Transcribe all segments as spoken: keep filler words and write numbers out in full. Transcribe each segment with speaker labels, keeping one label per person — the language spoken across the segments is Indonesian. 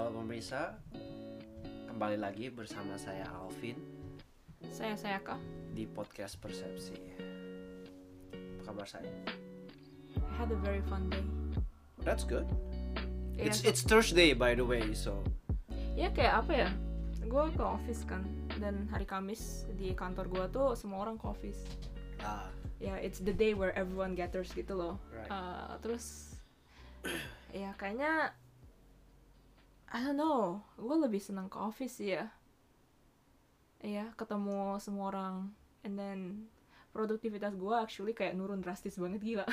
Speaker 1: Halo pemirsa, kembali lagi bersama saya Alvin
Speaker 2: Saya Sayaka.
Speaker 1: di podcast Persepsi. Apa kabar saya?
Speaker 2: I had a very fun day.
Speaker 1: That's good.
Speaker 2: Iya,
Speaker 1: It's
Speaker 2: so-
Speaker 1: it's Thursday by the way, so
Speaker 2: Ya kayak apa ya? Gue ke office kan, dan hari Kamis di kantor gue tuh semua orang ke office.
Speaker 1: ah
Speaker 2: Ya, it's the day where everyone gathers gitu loh.
Speaker 1: Right.
Speaker 2: Uh, terus, ya kayaknya, I don't know, gue lebih senang ke office sih ya. Iya, ketemu semua orang, and then produktivitas gue actually kayak nurun drastis banget, gila.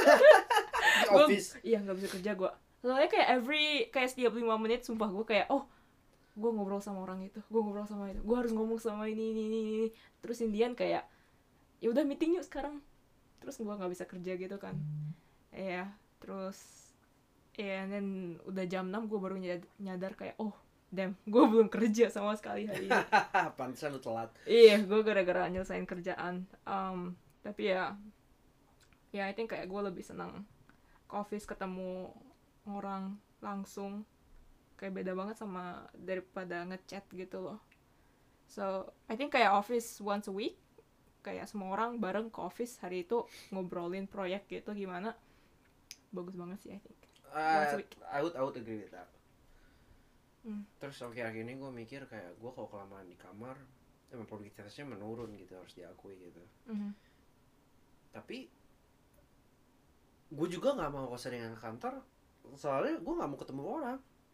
Speaker 1: di
Speaker 2: Gua-
Speaker 1: office.
Speaker 2: Iya, nggak bisa kerja gue. Soalnya kayak every kayak setiap lima menit sumpah gue kayak oh gue ngobrol sama orang itu, gue ngobrol sama itu, gue harus ngomong sama ini ini ini, ini. Terus Indian kayak ya udah meeting yuk sekarang. Terus gue nggak bisa kerja gitu kan. Iya, terus ya and then udah jam enam gue baru nyad- nyadar kayak oh damn gue belum kerja sama sekali hari ini.
Speaker 1: Pantesan lu telat.
Speaker 2: Iya, gue gara-gara nyelesain kerjaan. Um, tapi ya, ya I think kayak gue lebih senang ke office ketemu orang langsung. Kayak beda banget sama daripada ngechat gitu loh. So, I think kayak office once a week. Kayak semua orang bareng ke office hari itu ngobrolin proyek gitu gimana. Bagus banget sih I think. Once a
Speaker 1: Uh,
Speaker 2: week.
Speaker 1: I would I would agree with that.
Speaker 2: Hmm.
Speaker 1: Terus akhir-akhir ini gue mikir kayak gue kalau kelamaan di kamar emang produktivitasnya menurun gitu, harus diakui gitu.
Speaker 2: Mhm.
Speaker 1: Tapi gue juga nggak mau keseringan ke kantor, soalnya gue nggak mau ketemu orang.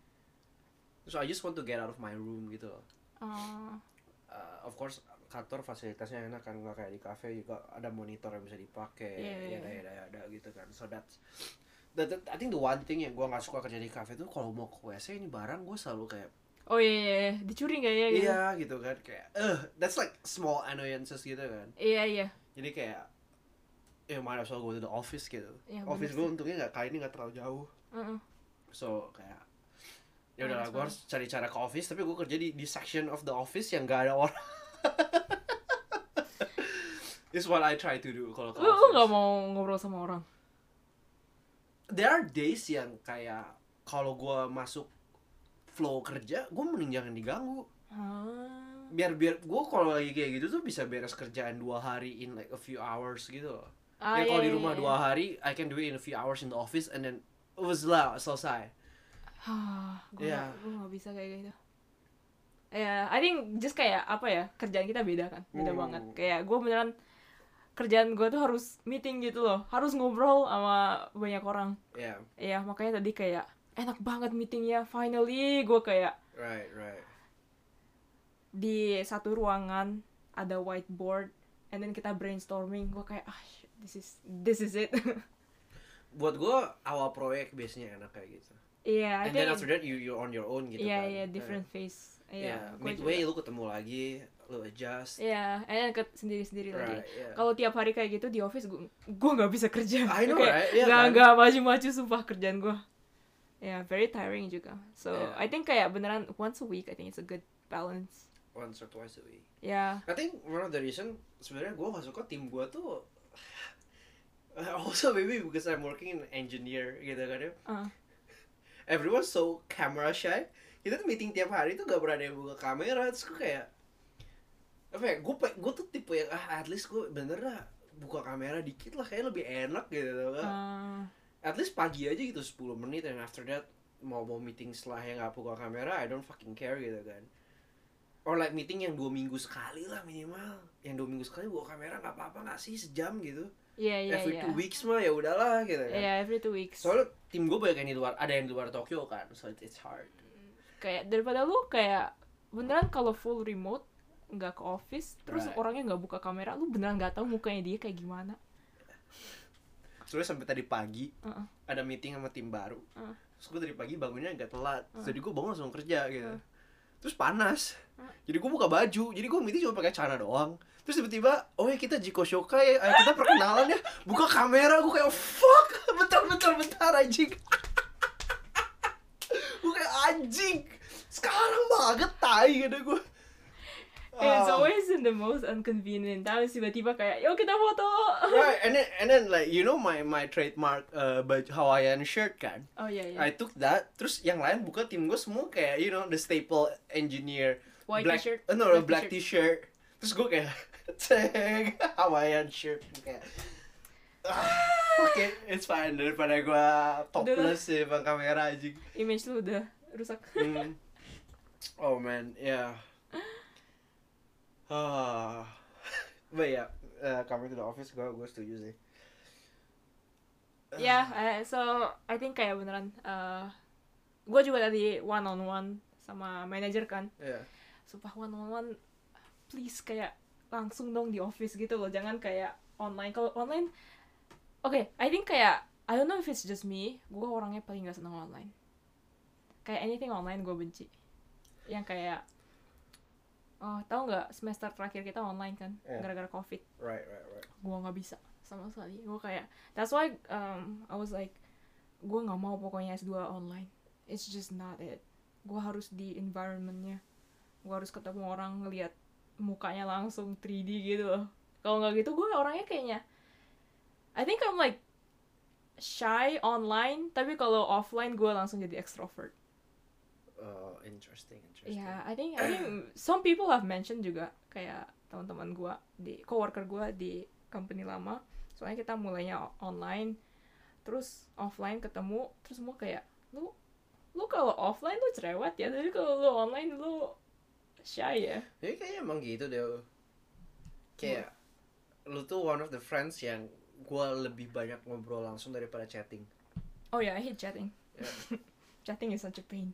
Speaker 1: So I just want to get out of my room gitu loh.
Speaker 2: Uh,
Speaker 1: Uh, of course kantor fasilitasnya enak kan, nggak kayak di cafe juga ada monitor yang bisa dipakai,
Speaker 2: Iya, iya,
Speaker 1: ya ada ada gitu kan. So that's that, that- I think the one thing yang gue nggak suka kerja di cafe tuh kalau mau ke W C ini barang gue selalu kayak
Speaker 2: oh iya, iya, iya, dicuri nggak ya gitu?
Speaker 1: iya gitu kan, kayak eh that's like small annoyances gitu kan.
Speaker 2: Iya iya.
Speaker 1: Jadi kayak ya might as well go to the office gitu.
Speaker 2: Iya,
Speaker 1: Office
Speaker 2: bener
Speaker 1: gue
Speaker 2: sih.
Speaker 1: untungnya nggak kali ini nggak terlalu jauh.
Speaker 2: Uh-uh.
Speaker 1: So kayak ya
Speaker 2: Might
Speaker 1: udahlah,
Speaker 2: as
Speaker 1: gue
Speaker 2: well.
Speaker 1: harus cari cara ke office, tapi gue kerja di di section of the office yang gak ada orang. It's what I try to do kalau ke
Speaker 2: Lu, lu gak
Speaker 1: office.
Speaker 2: mau ngobrol sama orang?
Speaker 1: There are days yang kayak kalau gue masuk flow kerja, gue mending jangan diganggu.
Speaker 2: Ah.
Speaker 1: Biar biar gue kalau lagi kayak gitu tuh bisa beres kerjaan dua hari in like a few hours gitu loh.
Speaker 2: Ah,
Speaker 1: Ya
Speaker 2: iya,
Speaker 1: kalau di
Speaker 2: iya,
Speaker 1: rumah
Speaker 2: iya.
Speaker 1: dua hari, I can do it in a few hours in the office and then it was lah selesai.
Speaker 2: Hah, gue
Speaker 1: Iya.
Speaker 2: gak, gue gak bisa kayak gitu. Ya, I think just kayak apa ya, kerjaan kita beda kan, beda
Speaker 1: Hmm.
Speaker 2: banget. Kayak gue beneran kerjaan gue tuh harus meeting gitu loh, harus ngobrol sama banyak orang.
Speaker 1: Yeah,
Speaker 2: Iya, makanya tadi kayak enak banget meetingnya, finally gue kayak
Speaker 1: right, right.
Speaker 2: di satu ruangan ada whiteboard, and then kita brainstorming. Gue kayak ah, shit, this is this is it.
Speaker 1: Buat gue awal proyek biasanya enak kayak gitu.
Speaker 2: Iya, I
Speaker 1: And then
Speaker 2: think.
Speaker 1: after that you you're on your own gitu
Speaker 2: Iya,
Speaker 1: kan.
Speaker 2: iya, different phase.
Speaker 1: Iya,
Speaker 2: Iya, gua
Speaker 1: midway
Speaker 2: juga.
Speaker 1: lu ketemu lagi, lu adjust.
Speaker 2: Iya, and then ke sendiri-sendiri lagi.
Speaker 1: Right, yeah.
Speaker 2: Kalau tiap hari kayak gitu di office gue gue nggak bisa kerja.
Speaker 1: I know,
Speaker 2: Kayak
Speaker 1: right? Iya
Speaker 2: nggak
Speaker 1: kan?
Speaker 2: nggak maju-maju sumpah kerjaan gue. Ya, very tiring juga. So,
Speaker 1: Yeah.
Speaker 2: I think kayak beneran once a week I think it's a good balance.
Speaker 1: Once or twice a week.
Speaker 2: Ya,
Speaker 1: I think one of the reason sebenarnya gue gak suka tim gue tuh also maybe because I'm working in engineer gitu kan ya.
Speaker 2: uh,
Speaker 1: Everyone's so camera shy. Kita tuh meeting tiap hari tuh gak pernah ada yang buka kamera. Terus gue kayak apa ya, gue gue tuh tipe yang ah at least gue bener lah buka kamera dikit lah, kayak lebih enak gitu kan.
Speaker 2: uh,
Speaker 1: At least pagi aja gitu sepuluh menit, and after that mau mau meeting setelah yang gak buka kamera I don't fucking care gitu kan. Or like meeting yang dua minggu sekali lah minimal, yang dua minggu sekali buka kamera nggak apa-apa nggak sih, sejam gitu.
Speaker 2: iya iya
Speaker 1: Every
Speaker 2: iya.
Speaker 1: two weeks mah ya udahlah gitu kan.
Speaker 2: Iya, every two weeks.
Speaker 1: Soalnya tim gue banyak yang di luar, ada yang di luar Tokyo kan, so it's hard.
Speaker 2: Kayak daripada lu kayak beneran kalau full remote nggak ke office, terus
Speaker 1: Right.
Speaker 2: orangnya nggak buka kamera, lu beneran nggak tahu mukanya dia kayak gimana.
Speaker 1: Soalnya sampai tadi pagi
Speaker 2: Uh-uh.
Speaker 1: ada meeting sama tim baru,
Speaker 2: Uh.
Speaker 1: terus gue dari pagi bangunnya agak telat,
Speaker 2: Uh.
Speaker 1: jadi gue bangun langsung kerja gitu.
Speaker 2: Uh.
Speaker 1: Terus panas,
Speaker 2: Uh.
Speaker 1: jadi gue buka baju, jadi gue meeting cuma pakai celana doang. Terus tiba-tiba, oh ya kita Jiko Shokai, ayo kita perkenalan ya, buka kamera, gue kayak fuck, bentar bentar bentar anjing. Gue kayak anjing, sekarang banget tai gitu gue.
Speaker 2: It's
Speaker 1: Oh.
Speaker 2: always in the most inconvenient times, tiba-tiba kayak, yuk kita foto.
Speaker 1: Right, and then and then like you know my my trademark uh, baju Hawaiian shirt kan.
Speaker 2: Oh iya iya.
Speaker 1: I took that, terus yang lain buka tim gue semua kayak you know the staple engineer
Speaker 2: White
Speaker 1: black,
Speaker 2: t-shirt.
Speaker 1: uh, no, no,
Speaker 2: Black
Speaker 1: black t-shirt. Terus gue kayak ceng Hawaiian shirt kayak ah, oke okay, it's fine daripada gue topless di depan kamera aja.
Speaker 2: Image lu udah rusak.
Speaker 1: Hmm. Oh man, yeah. Ah, but yeah, uh, coming to the office gue gue setuju sih.
Speaker 2: Ya, yeah, so I think kayak beneran, uh, gue juga tadi one on one sama manajer kan.
Speaker 1: Yeah.
Speaker 2: Sumpah one on one, please kayak langsung dong di office gitu loh, jangan kayak online. Kalau online, oke, okay, I think kayak I don't know if it's just me, gue orangnya paling gak seneng online. Kayak anything online gue benci. Yang kayak, oh tahu nggak semester terakhir kita online kan,
Speaker 1: Yeah.
Speaker 2: gara-gara covid.
Speaker 1: Right, right, right.
Speaker 2: Gue nggak bisa sama sekali. Gue kayak, that's why um, I was like, gue nggak mau pokoknya S dua online. It's just not it. Gue harus di environmentnya. Gue harus ketemu orang, ngeliat mukanya langsung three D gitu loh. Kalau nggak gitu gue orangnya kayaknya, I think I'm like shy online, tapi kalau offline gue langsung jadi extrovert.
Speaker 1: Uh, interesting, interesting.
Speaker 2: Yeah, I think I think some people have mentioned juga, kayak teman-teman gue di coworker gue di company lama, soalnya kita mulainya online, terus offline ketemu, terus semua kayak, lu lu kalau offline lu cerewet ya, tapi kalau lu online lu shy ya.
Speaker 1: Jadi kayaknya emang gitu deh. Kayak lu tuh one of the friends yang gue lebih banyak ngobrol langsung daripada chatting.
Speaker 2: Oh yeah, I hate chatting.
Speaker 1: Yeah.
Speaker 2: Chatting is such a pain.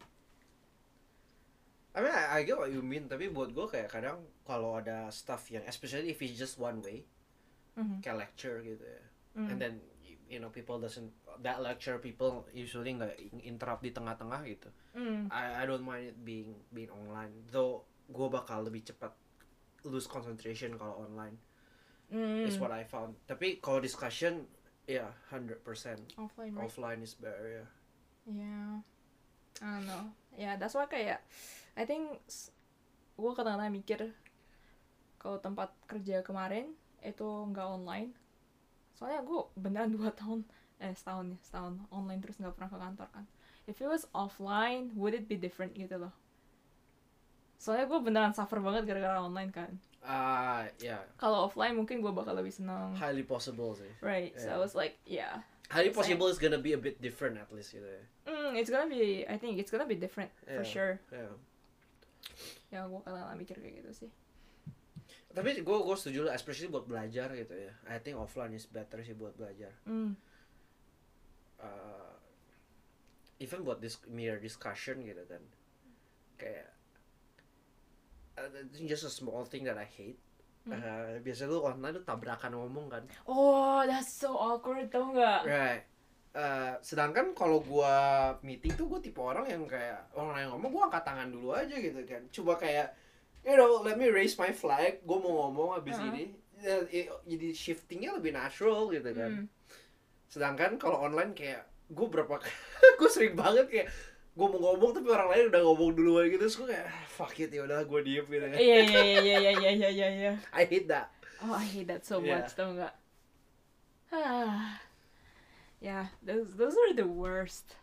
Speaker 1: I mean, I, I get what you mean, tapi buat gue kayak kadang kalau ada stuff yang, especially if it's just one way,
Speaker 2: Mm-hmm.
Speaker 1: kayak lecture gitu ya,
Speaker 2: Mm.
Speaker 1: and then you know people doesn't that lecture people usually nggak interrupt di tengah-tengah gitu.
Speaker 2: Mm.
Speaker 1: I I don't mind it being being online, though gue bakal lebih cepat lose concentration kalau online.
Speaker 2: Mm.
Speaker 1: Is what I found. Tapi kalau discussion, ya yeah, one hundred percent
Speaker 2: Offline, right?
Speaker 1: offline is better ya.
Speaker 2: Yeah, I don't know. Yeah, that's why kayak I think gue kadang-kadang mikir kalau tempat kerja kemarin itu nggak online. Soalnya gue beneran dua tahun eh setahun ya setahun online terus nggak pernah ke kantor kan. If it was offline, would it be different gitu loh? Soalnya gue beneran suffer banget gara-gara online kan.
Speaker 1: Ah, uh, ya. Yeah.
Speaker 2: Kalau offline mungkin gue bakal lebih senang.
Speaker 1: Highly possible sih.
Speaker 2: Right, yeah. So I was like, yeah.
Speaker 1: Highly possible is gonna be a bit different at least gitu ya.
Speaker 2: Mm, it's gonna be, I think it's gonna be different
Speaker 1: yeah.
Speaker 2: for sure.
Speaker 1: Yeah.
Speaker 2: Ya gue kadang-kadang mikir kayak gitu sih.
Speaker 1: Tapi gue gue setuju lah, especially buat belajar gitu ya. I think offline is better sih buat belajar.
Speaker 2: Mm.
Speaker 1: Uh, even buat this mere discussion gitu kan. Kayak uh, just a small thing that I hate.
Speaker 2: Mm.
Speaker 1: Uh, biasa lu online lu tabrakan ngomong kan.
Speaker 2: Oh, that's so awkward, tau nggak?
Speaker 1: Right. Uh, sedangkan kalau gua meeting tuh gua tipe orang yang kayak orang yang ngomong gua angkat tangan dulu aja gitu kan. Coba kayak you know, let me raise my flag, gua mau ngomong abis
Speaker 2: Uh-huh.
Speaker 1: ini. Ya, jadi shiftingnya lebih natural gitu kan.
Speaker 2: Mm.
Speaker 1: Sedangkan kalau online kayak gua berapa gua sering banget kayak gua mau ngomong tapi orang lain udah ngomong duluan gitu, terus gua kayak fuck it ya udah gua diem gitu.
Speaker 2: Iya iya iya iya iya iya iya iya.
Speaker 1: I hate that.
Speaker 2: Oh, I hate that so
Speaker 1: Yeah.
Speaker 2: much, tau nggak? Ah, yeah, those those are the worst.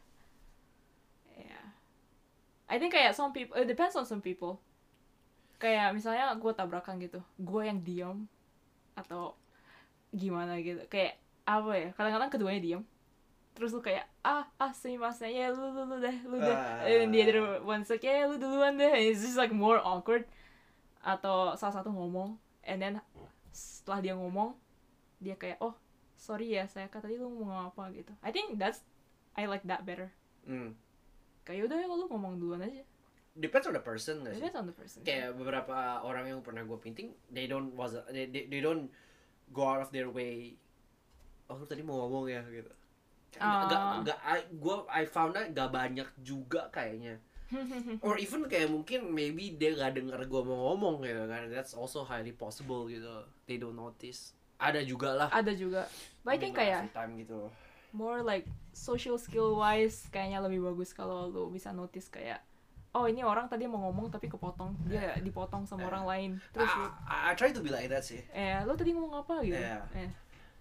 Speaker 2: Yeah, I think kayak some people, it depends on some people. Kayak misalnya gue tabrakan gitu, gue yang diam atau gimana gitu. Kayak apa ya? Kadang-kadang keduanya diam. Terus lu kayak ah ah sumimasen ya lu lu lu deh lu deh.
Speaker 1: Ah.
Speaker 2: And the other one's like ya lu duluan deh. And it's just like more awkward. Atau salah satu ngomong, and then setelah dia ngomong, dia kayak oh sorry ya saya kata tadi lu mau ngomong apa gitu. I think that's I like that better.
Speaker 1: Hmm.
Speaker 2: Kayak udah ya lu ngomong duluan aja.
Speaker 1: Depends on the person nggak sih?
Speaker 2: Depends on the person.
Speaker 1: Kayak beberapa orang yang pernah gue meeting, they don't was they, they, they don't go out of their way. Oh lu tadi mau ngomong ya gitu.
Speaker 2: Ah.
Speaker 1: Gak gak I gue I found out gak banyak juga kayaknya. Or even kayak mungkin maybe dia gak denger gue mau ngomong gitu kan. That's also highly possible gitu. They don't notice. Ada juga lah.
Speaker 2: Ada juga. But I think kayak
Speaker 1: every time gitu.
Speaker 2: more like social skill wise kayaknya lebih bagus kalau lu bisa notice kayak oh ini orang tadi mau ngomong tapi kepotong, dia dipotong sama
Speaker 1: Yeah.
Speaker 2: orang lain, terus lu,
Speaker 1: I, I try to be like that sih.
Speaker 2: eh lu tadi ngomong apa gitu.
Speaker 1: Yeah.
Speaker 2: eh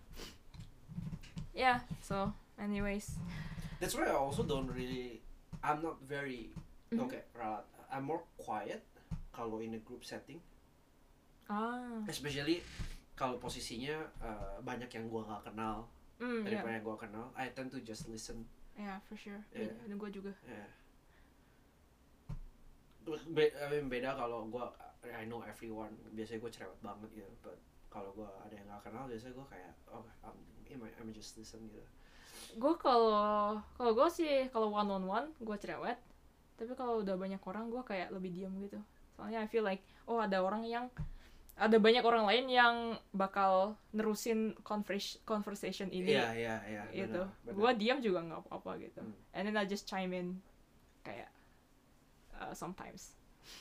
Speaker 2: yeah, so anyways,
Speaker 1: That's why I also don't really. I'm not very.
Speaker 2: Mhm.
Speaker 1: Okay, right. I'm more quiet kalau in a group setting,
Speaker 2: ah
Speaker 1: especially kalau posisinya uh, banyak yang gua nggak kenal
Speaker 2: mm, yeah,
Speaker 1: daripada yang gua kenal. I tend to just listen.
Speaker 2: yeah for sure.
Speaker 1: Yeah.
Speaker 2: Dan gue juga.
Speaker 1: Yeah. Be- I mean, beda kalau gua I know everyone. Biasanya gua cerewet banget gitu. But kalau gua ada yang nggak kenal, biasanya gua kayak oh I'm, I'm just listen gitu.
Speaker 2: Gue kalau kalau gue sih kalau one on one gue cerewet, tapi kalau udah banyak orang gue kayak lebih diam gitu, soalnya I feel like oh ada orang yang ada banyak orang lain yang bakal nerusin convers- conversation ini.
Speaker 1: Iya iya iya.
Speaker 2: Gitu,
Speaker 1: benar, benar.
Speaker 2: gue diam juga nggak apa-apa gitu.
Speaker 1: Hmm.
Speaker 2: And then I just chime in kayak uh, sometimes.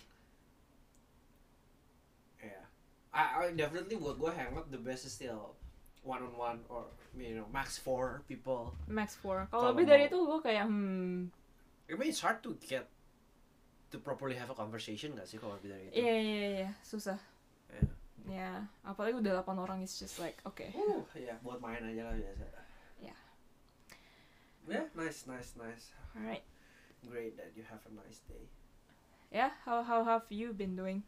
Speaker 1: Yeah, I, I definitely buat gue hangout the best is still one on one or you know max four people.
Speaker 2: Max four.
Speaker 1: Kalau
Speaker 2: Kalau lebih dari
Speaker 1: mau-
Speaker 2: itu gue kayak hmm
Speaker 1: I mean it's hard to get to properly have a conversation gak sih kalau lebih dari itu?
Speaker 2: iya iya iya susah.
Speaker 1: Yeah.
Speaker 2: Ya apalagi udah delapan orang, it's just like okay.
Speaker 1: Uh, ya buat main aja lah biasa.
Speaker 2: Yeah.
Speaker 1: Yeah, nice, nice, nice.
Speaker 2: Alright.
Speaker 1: Great that you have a nice day.
Speaker 2: Yeah, how how have you been doing?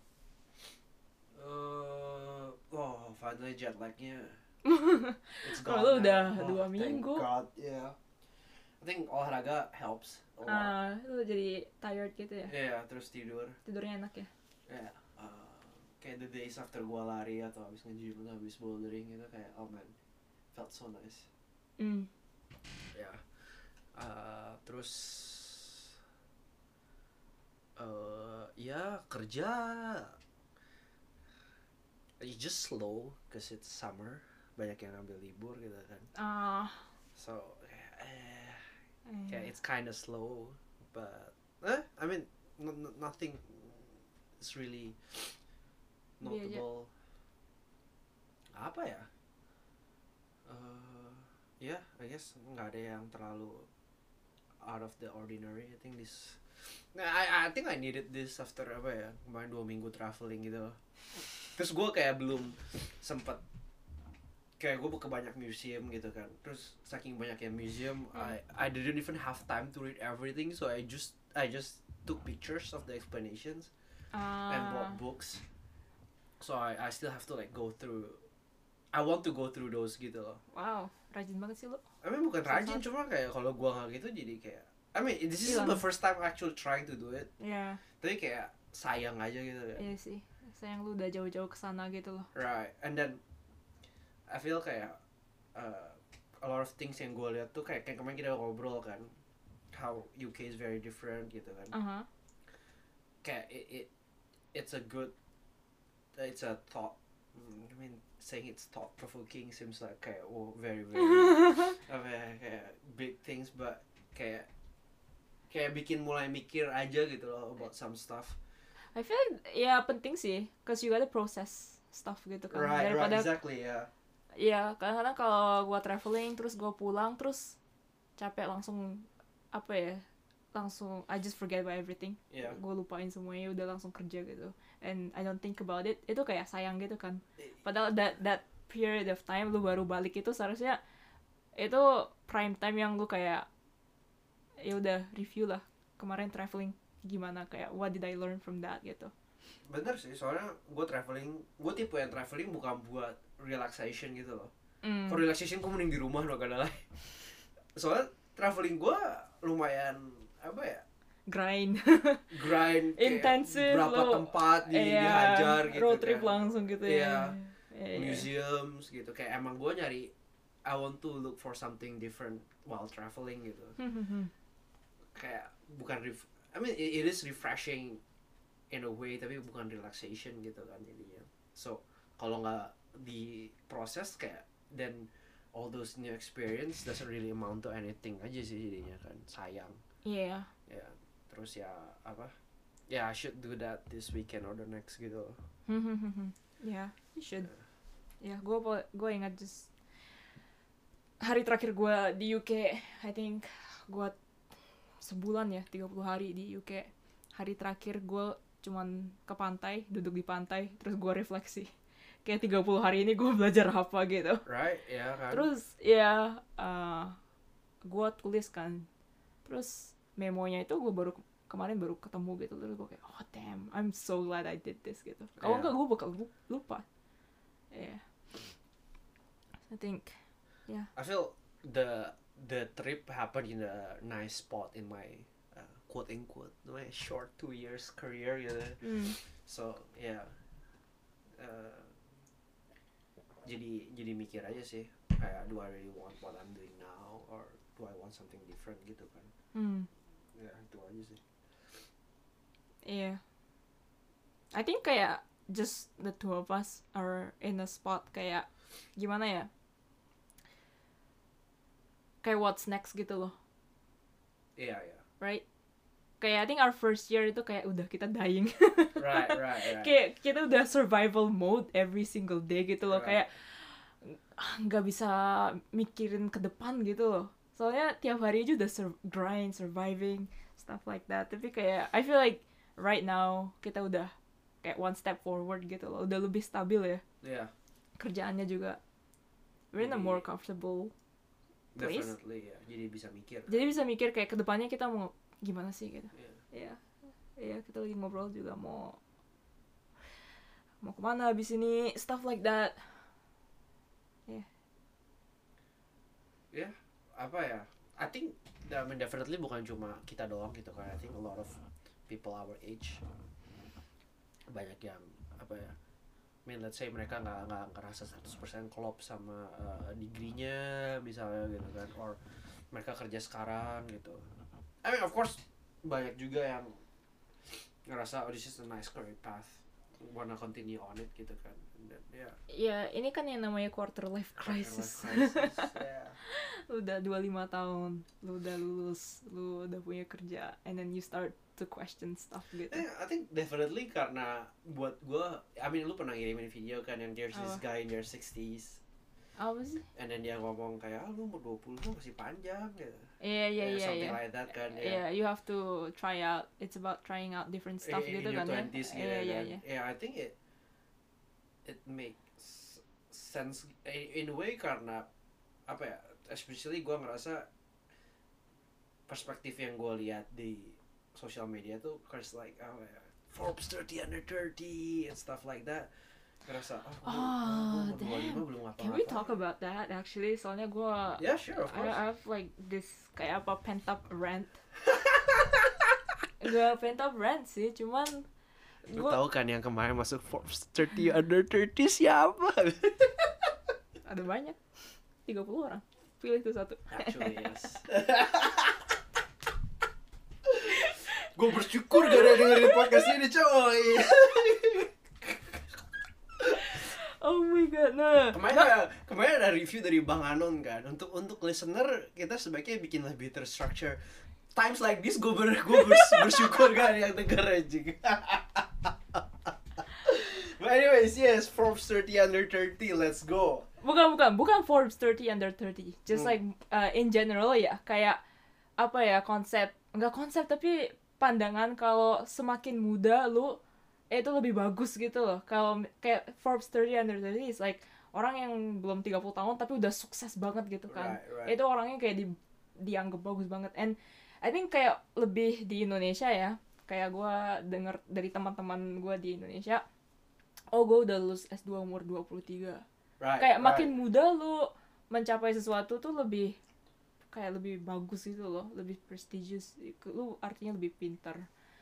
Speaker 1: Uh, oh, finally jet lagnya. It's
Speaker 2: Oh,
Speaker 1: gone
Speaker 2: lu
Speaker 1: now.
Speaker 2: udah
Speaker 1: Oh,
Speaker 2: dua
Speaker 1: thank
Speaker 2: minggu.
Speaker 1: God, yeah. I think olahraga helps a lot.
Speaker 2: Ah, lu jadi tired gitu ya?
Speaker 1: Yeah, terus tidur.
Speaker 2: Tidurnya enak ya?
Speaker 1: Yeah, uh, kayak the days after gua lari atau habis nge-gym atau habis bouldering gitu kayak oh man, felt so nice.
Speaker 2: Hmm.
Speaker 1: Ya, uh, terus uh, ya kerja, it's just slow cause it's summer, banyak yang ambil libur gitu kan.
Speaker 2: Ah.
Speaker 1: So eh,
Speaker 2: eh.
Speaker 1: kayak it's kinda slow, but eh, I mean n- n- nothing is really
Speaker 2: Iya, iya.
Speaker 1: notable. Apa ya? Uh, yeah, I guess nggak ada yang terlalu out of the ordinary. I think this, nah, I I think I needed this after apa ya kemarin dua minggu traveling gitu. Terus gue kayak belum sempet kayak gue ke banyak museum gitu kan. Terus saking banyaknya museum,
Speaker 2: Hmm.
Speaker 1: I I didn't even have time to read everything. So I just I just took pictures of the explanations and
Speaker 2: Ah.
Speaker 1: bought books. So I I still have to like go through. I want to go through those gitu loh.
Speaker 2: Wow, rajin banget sih lu.
Speaker 1: I mean bukan rajin,
Speaker 2: Sama.
Speaker 1: cuma kayak kalau gua nggak gitu jadi kayak I mean this is
Speaker 2: Hilang.
Speaker 1: the first time actually trying to do it.
Speaker 2: Iya,
Speaker 1: Tapi kayak sayang aja gitu kan.
Speaker 2: iya sih. Sayang lu udah jauh-jauh ke sana gitu loh.
Speaker 1: Right. And then I feel kayak uh, a lot of things yang gua lihat tuh kayak, kayak kemarin kita ngobrol kan how U K is very different gitu kan.
Speaker 2: Aha.
Speaker 1: Kayak it, it it's a good it's a thought. I mean saying it's thought provoking seems like kayak oh very very apa ya, kayak big things, but kayak kayak bikin mulai mikir aja gitu loh about some stuff.
Speaker 2: I feel like, ya penting sih, cause you gotta process stuff gitu kan.
Speaker 1: Right, right,
Speaker 2: Daripada
Speaker 1: exactly, ya.
Speaker 2: Iya, kadang-kadang kalau gua traveling terus gua pulang terus capek langsung apa ya? Langsung I just forget about everything.
Speaker 1: Yeah.
Speaker 2: Gue lupain semuanya, udah langsung kerja gitu. And I don't think about it. Itu kayak sayang gitu kan. Padahal that that period of time lu baru balik itu seharusnya itu prime time yang lu kayak ya udah review lah kemarin traveling gimana, kayak what did I learn from that gitu.
Speaker 1: Bener sih, soalnya gue traveling, gue tipe yang traveling bukan buat relaxation gitu loh.
Speaker 2: Mm.
Speaker 1: For relaxation gue mending di rumah loh kadang lah. Soalnya traveling gue lumayan apa ya?
Speaker 2: Grind.
Speaker 1: Grind kayak
Speaker 2: Intensif,
Speaker 1: berapa
Speaker 2: lo-
Speaker 1: tempat di,
Speaker 2: Iya,
Speaker 1: dihajar gitu
Speaker 2: road trip
Speaker 1: kan.
Speaker 2: langsung gitu
Speaker 1: Iya.
Speaker 2: ya. Iya, iya.
Speaker 1: Museums gitu, kayak emang gue nyari I want to look for something different while traveling gitu. Kayak bukan ref I mean it, it is refreshing in a way, tapi bukan relaxation gitu kan jadinya. So kalau nggak diproses kayak then all those new experience doesn't really amount to anything aja sih jadinya kan, sayang.
Speaker 2: Iya.
Speaker 1: Ya terus ya apa ya, I should do that this weekend or the next gitu.
Speaker 2: Ya, you should. Ya, gue gue ingat just hari terakhir gue di U K, I think gue sebulan ya, tiga puluh hari di U K. hari terakhir gue cuman ke pantai, duduk di pantai, terus gue refleksi kayak tiga puluh hari ini gue belajar apa gitu.
Speaker 1: Right, ya kan.
Speaker 2: Terus ya uh, gue tulis kan, terus memonya itu gue baru kemarin baru ketemu gitu, terus gue kayak oh damn, I'm so glad I did this gitu. Kalau
Speaker 1: Yeah.
Speaker 2: enggak gue bakal lupa. Yeah, I think yeah.
Speaker 1: I feel the the trip happened in a nice spot in my uh, quote unquote my short two years career gitu.
Speaker 2: Mm.
Speaker 1: So yeah, uh, jadi jadi mikir aja sih kayak do I really want what I'm doing now or do I want something different gitu kan.
Speaker 2: Mm.
Speaker 1: Ya itu aja sih.
Speaker 2: Yeah, I think kayak just the two of us are in a spot kayak gimana ya, kayak what's next gitu loh.
Speaker 1: Iya, yeah, iya. Yeah.
Speaker 2: Right? Kayak I think our first year itu kayak udah kita dying.
Speaker 1: Right, right, right.
Speaker 2: Kayak kita udah survival mode every single day gitu loh.
Speaker 1: Right.
Speaker 2: Kayak nggak bisa mikirin ke depan gitu loh. Soalnya tiap hari aja udah sur- grind, surviving, stuff like that. Tapi kayak I feel like right now kita udah kayak one step forward gitu loh. Udah lebih stabil ya.
Speaker 1: Yeah.
Speaker 2: Kerjaannya juga. We're in a
Speaker 1: Jadi-
Speaker 2: more comfortable place.
Speaker 1: Definitely ya. Jadi bisa mikir.
Speaker 2: Jadi bisa mikir kayak kedepannya kita mau gimana sih gitu.
Speaker 1: Iya.
Speaker 2: Iya, iya kita lagi ngobrol juga mau mau kemana abis ini, stuff like that.
Speaker 1: Ya, apa ya? I think I mean, definitely bukan cuma kita doang gitu kan. I think a lot of people our age banyak yang apa ya? I mean, let's say mereka nggak nggak ngerasa seratus persen klop sama uh, degree-nya misalnya gitu kan, or mereka kerja sekarang gitu. I mean, of course banyak juga yang ngerasa oh this is a nice career path, wanna continue on it gitu kan. And then, yeah,
Speaker 2: Ya ini kan yang namanya quarter life crisis.
Speaker 1: life crisis. Yeah.
Speaker 2: Lu udah dua puluh lima tahun, lu udah lulus, lu udah punya kerja, and then you start to question stuff gitu.
Speaker 1: Eh, I think definitely karena buat gue, I mean lu pernah ngirimin video kan yang there's this
Speaker 2: Apa?
Speaker 1: guy in their sixties
Speaker 2: Apa sih?
Speaker 1: and then dia ngomong kayak ah, lu umur dua puluh lu masih panjang gitu.
Speaker 2: Iya iya
Speaker 1: Yeah,
Speaker 2: iya
Speaker 1: something
Speaker 2: iya.
Speaker 1: like that kan ya.
Speaker 2: Yeah, you have to try out. It's about trying out different stuff
Speaker 1: in,
Speaker 2: gitu
Speaker 1: in your
Speaker 2: kan ya.
Speaker 1: twenties gitu
Speaker 2: Iya iya
Speaker 1: kan.
Speaker 2: iya.
Speaker 1: Yeah, I think it it makes sense in, in a way karena apa ya, especially gue ngerasa perspektif yang gue lihat di social media tuh cause like apa ya, Forbes thirty under thirty and stuff like that. Ngerasa oh,
Speaker 2: Oh,
Speaker 1: umur dua puluh lima
Speaker 2: damn.
Speaker 1: belum ngapa-ngapain.
Speaker 2: Can we talk about that actually? Soalnya gue
Speaker 1: Yeah, sure, of
Speaker 2: I,
Speaker 1: course.
Speaker 2: I have like this kayak apa pent up rant. Gak pent up rant sih, cuman
Speaker 1: Lu
Speaker 2: gua
Speaker 1: tahu kan yang kemarin masuk Forbes thirty under thirty siapa?
Speaker 2: ada banyak, tiga puluh orang. Pilih tuh satu.
Speaker 1: Actually, yes. Gue bersyukur gak ada dengerin podcast ini, coy.
Speaker 2: Oh my god, nah.
Speaker 1: Kemarin ada, kemarin ada review dari Bang Anon kan. Untuk untuk listener kita sebaiknya bikin lebih terstructure. Times like this gue ber, gue bers, bersyukur gak ada yang denger aja. But anyways, yes, Forbes thirty under thirty, let's go.
Speaker 2: Bukan bukan bukan Forbes thirty under thirty. Just
Speaker 1: Hmm.
Speaker 2: like uh, in general ya, kayak apa ya, konsep, enggak konsep tapi pandangan kalau semakin muda lu eh, itu lebih bagus gitu loh. Kalau kayak Forbes thirty under thirty is like orang yang belum tiga puluh tahun tapi udah sukses banget gitu kan.
Speaker 1: Right, right.
Speaker 2: Itu orangnya kayak di, dianggap bagus banget. And I think kayak lebih di Indonesia ya, kayak gue denger dari teman-teman gue di Indonesia, oh gue udah lulus S dua umur dua puluh tiga.
Speaker 1: Right,
Speaker 2: Kayak
Speaker 1: right.
Speaker 2: makin muda lu mencapai sesuatu tuh lebih kayak lebih bagus gitu loh, lebih prestigious, lu artinya lebih pintar.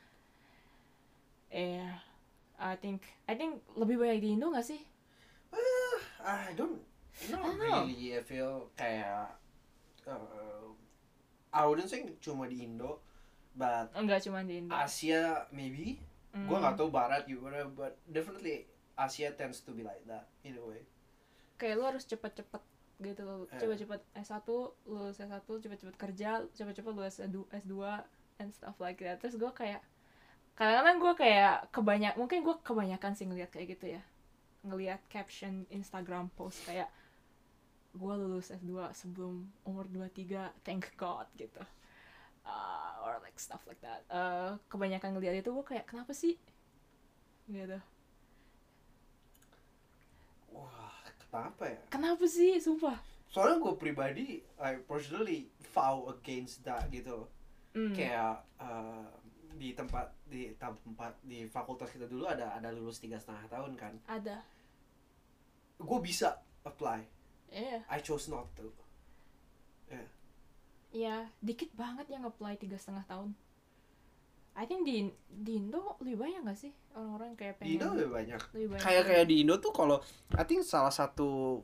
Speaker 2: Eh, I think I think lebih banyak di Indo gak sih?
Speaker 1: Uh, I don't, not
Speaker 2: I don't know.
Speaker 1: really. I feel kayak, uh, I wouldn't say cuma di Indo, but
Speaker 2: Enggak cuma di Indo.
Speaker 1: Asia maybe.
Speaker 2: Mm.
Speaker 1: Gua nggak tahu Barat gimana, but definitely Asia tends to be like that in a way.
Speaker 2: Kayak lu harus cepet-cepet gitu loh,
Speaker 1: Eh.
Speaker 2: cepet-cepet S satu, lulus S satu, cepet-cepet kerja, cepet-cepet lulus S dua and stuff like that. Terus gue kayak kadang-kadang gue kayak kebanyak, mungkin gue kebanyakan sih ngeliat kayak gitu ya, ngeliat caption Instagram post kayak gue lulus S dua sebelum umur dua puluh tiga, thank God gitu. uh, or like stuff like that. Uh, kebanyakan ngeliat itu gue kayak kenapa sih gitu.
Speaker 1: Wah, kenapa ya?
Speaker 2: Kenapa sih, sumpah.
Speaker 1: Soalnya gue pribadi, I personally fought against that gitu.
Speaker 2: Mm.
Speaker 1: Kayak uh, di tempat di tempat di fakultas kita dulu ada ada lulus tiga setengah tahun kan.
Speaker 2: Ada.
Speaker 1: Gue bisa apply.
Speaker 2: Iya. Yeah.
Speaker 1: I chose not to. Ya. Yeah.
Speaker 2: Iya, dikit banget yang apply tiga setengah tahun. I think di di Indo lebih banyak gak sih orang-orang kayak pengen.
Speaker 1: Di Indo lebih banyak.
Speaker 2: Lebih banyak.
Speaker 1: Kayak kayak di Indo tuh kalau I think salah satu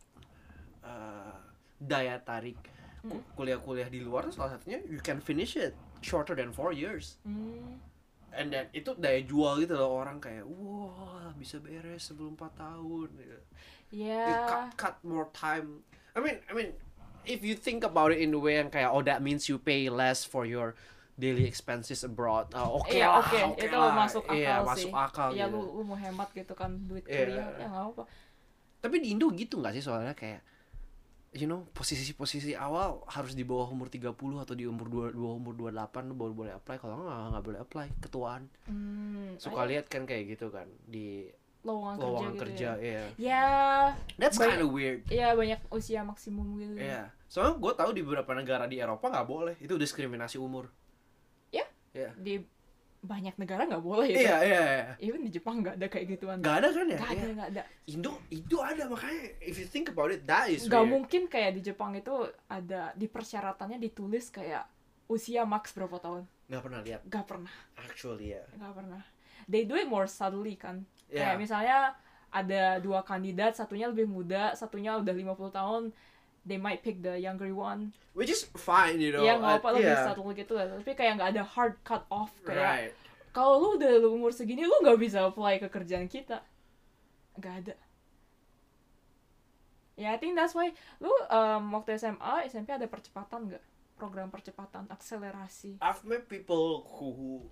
Speaker 1: uh, daya tarik ku- kuliah-kuliah di luar tuh salah satunya you can finish it shorter than four years.
Speaker 2: Mm.
Speaker 1: And then itu daya jual gitu loh, orang kayak wah bisa beres sebelum empat tahun gitu.
Speaker 2: Yeah.
Speaker 1: You cut, cut more time. I mean, I mean, if you think about it in a way yang kayak oh that means you pay less for your daily expenses abroad. Uh, oke okay
Speaker 2: Iya,
Speaker 1: lah,
Speaker 2: oke,
Speaker 1: oke okay
Speaker 2: itu
Speaker 1: lah.
Speaker 2: masuk akal
Speaker 1: Iya,
Speaker 2: sih.
Speaker 1: masuk akal
Speaker 2: Iya,
Speaker 1: gitu.
Speaker 2: lu, lu mau hemat gitu kan duit
Speaker 1: Iya.
Speaker 2: kuliah, ya nggak apa.
Speaker 1: Tapi di Indo gitu nggak sih, soalnya kayak you know posisi-posisi awal harus di bawah umur tiga puluh atau di umur dua umur dua puluh delapan lu baru boleh apply, kalau nggak nggak boleh apply, ketuaan.
Speaker 2: Hmm,
Speaker 1: Suka lihat kan kayak gitu kan di
Speaker 2: lowongan,
Speaker 1: lowongan
Speaker 2: kerja,
Speaker 1: kerja,
Speaker 2: gitu ya.
Speaker 1: iya.
Speaker 2: Ya,
Speaker 1: That's
Speaker 2: banyak-
Speaker 1: kind of weird.
Speaker 2: Iya, banyak usia maksimum gitu.
Speaker 1: Iya. Soalnya gue tahu di beberapa negara di Eropa nggak boleh, itu diskriminasi umur.
Speaker 2: Ya?
Speaker 1: Iya.
Speaker 2: Di banyak negara nggak boleh itu.
Speaker 1: Iya, iya, iya.
Speaker 2: Even di Jepang nggak ada kayak gituan.
Speaker 1: Nggak ada kan ya?
Speaker 2: Nggak ada,
Speaker 1: Iya.
Speaker 2: nggak ada.
Speaker 1: Indo, Indo ada, makanya if you think about it, that is
Speaker 2: Nggak
Speaker 1: weird.
Speaker 2: mungkin kayak di Jepang itu ada di persyaratannya ditulis kayak usia max berapa tahun.
Speaker 1: Nggak pernah lihat,
Speaker 2: Nggak pernah,
Speaker 1: actually ya.
Speaker 2: nggak pernah. They do it more subtly kan.
Speaker 1: Yeah.
Speaker 2: Kayak misalnya ada dua kandidat, satunya lebih muda, satunya udah lima puluh tahun. They might pick the younger one.
Speaker 1: Which is fine, you know.
Speaker 2: Iya, nggak
Speaker 1: uh,
Speaker 2: apa lebih
Speaker 1: yeah.
Speaker 2: subtle gitu lah. Tapi kayak nggak ada hard cut off kayak.
Speaker 1: Right.
Speaker 2: Kalau lu udah umur segini, lu nggak bisa apply ke kerjaan kita. Nggak ada. Ya, yeah, I think that's why lu um, waktu S M A, S M P ada percepatan nggak? Program percepatan, akselerasi.
Speaker 1: I've met people who,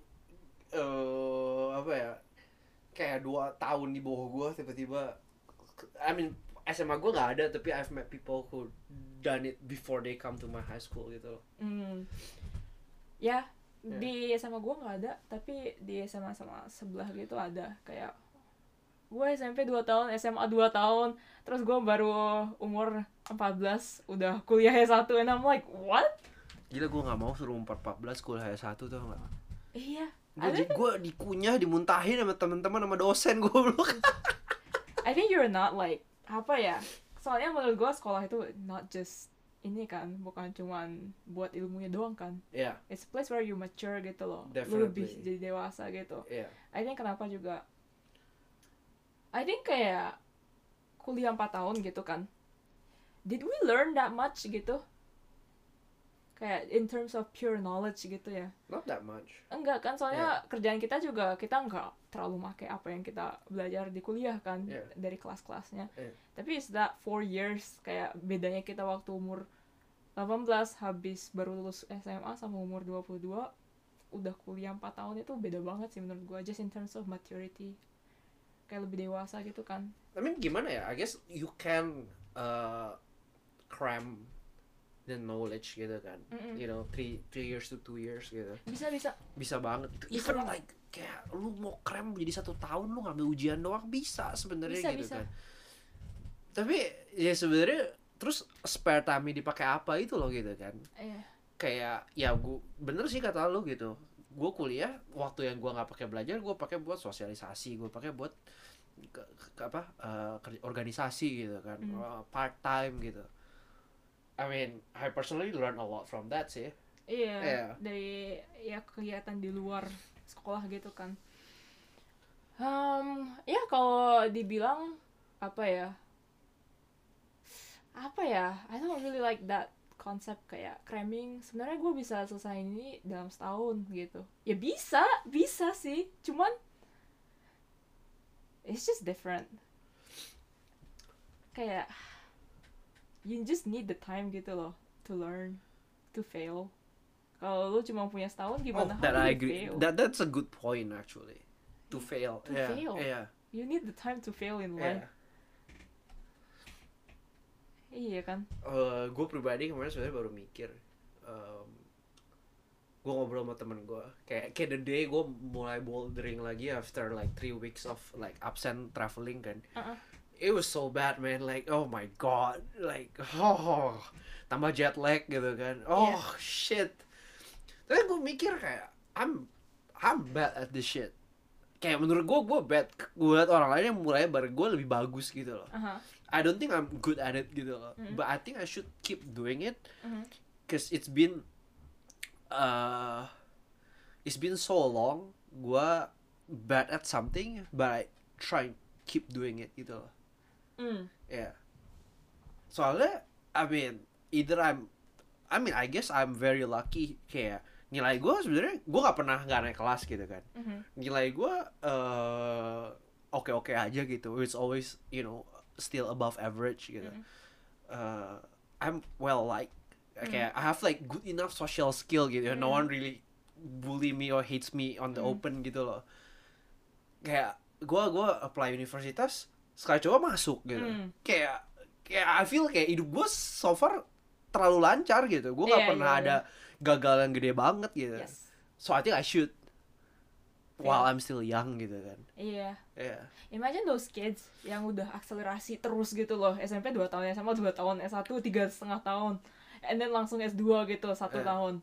Speaker 1: uh, apa ya, kayak dua tahun di bawah gue tiba-tiba, I mean S M A gue nggak ada, tapi I've met people who done it before they come to my high school gitu loh.
Speaker 2: Hmm. Ya,
Speaker 1: Yeah.
Speaker 2: di S M A gue nggak ada, tapi di S M A sama sebelah gitu ada. Kayak gue S M P dua tahun, S M A dua tahun, terus gue baru umur empat belas udah kuliah S satu, and I'm like, what?
Speaker 1: Gila, gue nggak mau suruh umur empat belas kuliah S satu tuh nggak.
Speaker 2: Iya.
Speaker 1: Gue
Speaker 2: Ada-
Speaker 1: gue dikunyah, dimuntahin sama teman-teman sama dosen gue belum.
Speaker 2: I think you're not like apa ya? Soalnya menurut gue sekolah itu not just ini kan, bukan cuman buat ilmunya doang kan.
Speaker 1: Iya,
Speaker 2: It's a place where you mature gitu loh. Lu
Speaker 1: Definitely.
Speaker 2: lebih jadi dewasa gitu.
Speaker 1: iya.
Speaker 2: I think kenapa juga I think kayak kuliah empat tahun gitu kan. Did we learn that much gitu? Kayak in terms of pure knowledge gitu ya.
Speaker 1: Not that much.
Speaker 2: Enggak kan, soalnya kerjaan kita juga kita enggak terlalu make apa yang kita belajar di kuliah kan,
Speaker 1: Yeah.
Speaker 2: dari kelas-kelasnya.
Speaker 1: Yeah.
Speaker 2: Tapi is that four years kayak bedanya kita waktu umur delapan belas habis baru lulus S M A sama umur dua puluh dua udah kuliah empat tahun, itu beda banget sih menurut gua, just in terms of maturity. Kayak lebih dewasa gitu kan.
Speaker 1: I mean gimana ya? I guess you can uh, cram the knowledge gitu kan.
Speaker 2: Mm-mm.
Speaker 1: You know, three three years to two years gitu.
Speaker 2: Bisa bisa.
Speaker 1: Bisa banget.
Speaker 2: Bisa
Speaker 1: Even
Speaker 2: banget.
Speaker 1: like kayak lu mau cram jadi satu tahun, lu ngambil ujian doang bisa sebenarnya
Speaker 2: Bisa,
Speaker 1: gitu
Speaker 2: bisa.
Speaker 1: kan. Tapi ya sebenarnya terus spare time dipakai apa itu loh gitu kan.
Speaker 2: Iya.
Speaker 1: Kayak ya gua bener sih kata lu gitu. Gue kuliah waktu yang gue nggak pakai belajar, gue pakai buat sosialisasi, gue pakai buat ke, ke apa uh, kerja- organisasi gitu kan,
Speaker 2: Mm.
Speaker 1: uh, part time gitu. I mean, I personally learn a lot from that sih.
Speaker 2: Iya,
Speaker 1: Iya.
Speaker 2: dari ya kegiatan di luar sekolah gitu kan. Um, ya kalau dibilang apa ya, apa ya, I don't really like that konsep kayak cramming. Sebenarnya gue bisa selesai ini dalam setahun gitu. Ya bisa, bisa sih. Cuman it's just different. Kayak you just need the time gitu loh to learn, to fail. Kalau lu cuma punya setahun gimana?
Speaker 1: Oh, that
Speaker 2: How do
Speaker 1: I
Speaker 2: you
Speaker 1: agree.
Speaker 2: fail?
Speaker 1: That that's a good point actually. To fail.
Speaker 2: To
Speaker 1: yeah.
Speaker 2: fail.
Speaker 1: Yeah.
Speaker 2: You need the time to fail in
Speaker 1: Yeah.
Speaker 2: life. Iya kan?
Speaker 1: Uh, gue pribadi kemarin sebenarnya baru mikir, um, gue ngobrol sama temen gue kayak kayak the day gue mulai bouldering lagi after like three weeks of like absent traveling kan.
Speaker 2: Uh-uh.
Speaker 1: It was so bad man, like oh my god, like oh tambah jet lag gitu kan, oh
Speaker 2: Yeah.
Speaker 1: shit. Tapi gue mikir kayak I'm I'm bad at this shit. Kayak menurut gue gue bad, gue liat orang lain yang mulai bareng gue lebih bagus gitu loh.
Speaker 2: Uh-huh.
Speaker 1: I don't think I'm good at it gitu loh,
Speaker 2: Mm.
Speaker 1: but I think I should keep doing it,
Speaker 2: Mhm.
Speaker 1: cause it's been uh it's been so long gue bad at something, but I try keep doing it gitu loh.
Speaker 2: Mm.
Speaker 1: Ya, yeah. Soalnya, I mean, either I'm, I mean, I guess I'm very lucky. Kayak nilai gue sebenarnya gue nggak pernah nggak naik kelas gitu kan.
Speaker 2: Mhm.
Speaker 1: Nilai gue uh, oke-oke aja gitu. It's always, you know, still above average gitu.
Speaker 2: Mhm.
Speaker 1: Uh, I'm well liked.
Speaker 2: Mm.
Speaker 1: Kayak I have like good enough social skill gitu. No
Speaker 2: Mm.
Speaker 1: one really bully me or hates me on the
Speaker 2: Mm.
Speaker 1: open gitu loh. Kayak gue gue apply universitas sekali coba masuk gitu.
Speaker 2: Mm.
Speaker 1: Kayak kayak I feel kayak hidup gue so far terlalu lancar gitu. Gue nggak
Speaker 2: Iya,
Speaker 1: pernah
Speaker 2: iya,
Speaker 1: ada gagal yang gede banget gitu.
Speaker 2: Yes.
Speaker 1: So I think I should while
Speaker 2: Yeah.
Speaker 1: I'm still young gitu kan.
Speaker 2: Iya.
Speaker 1: Yeah.
Speaker 2: Imagine those kids yang udah akselerasi terus gitu loh. S M P dua tahun, S M A dua tahun, S satu tiga setengah tahun, and then langsung S dua gitu satu
Speaker 1: Eh.
Speaker 2: tahun.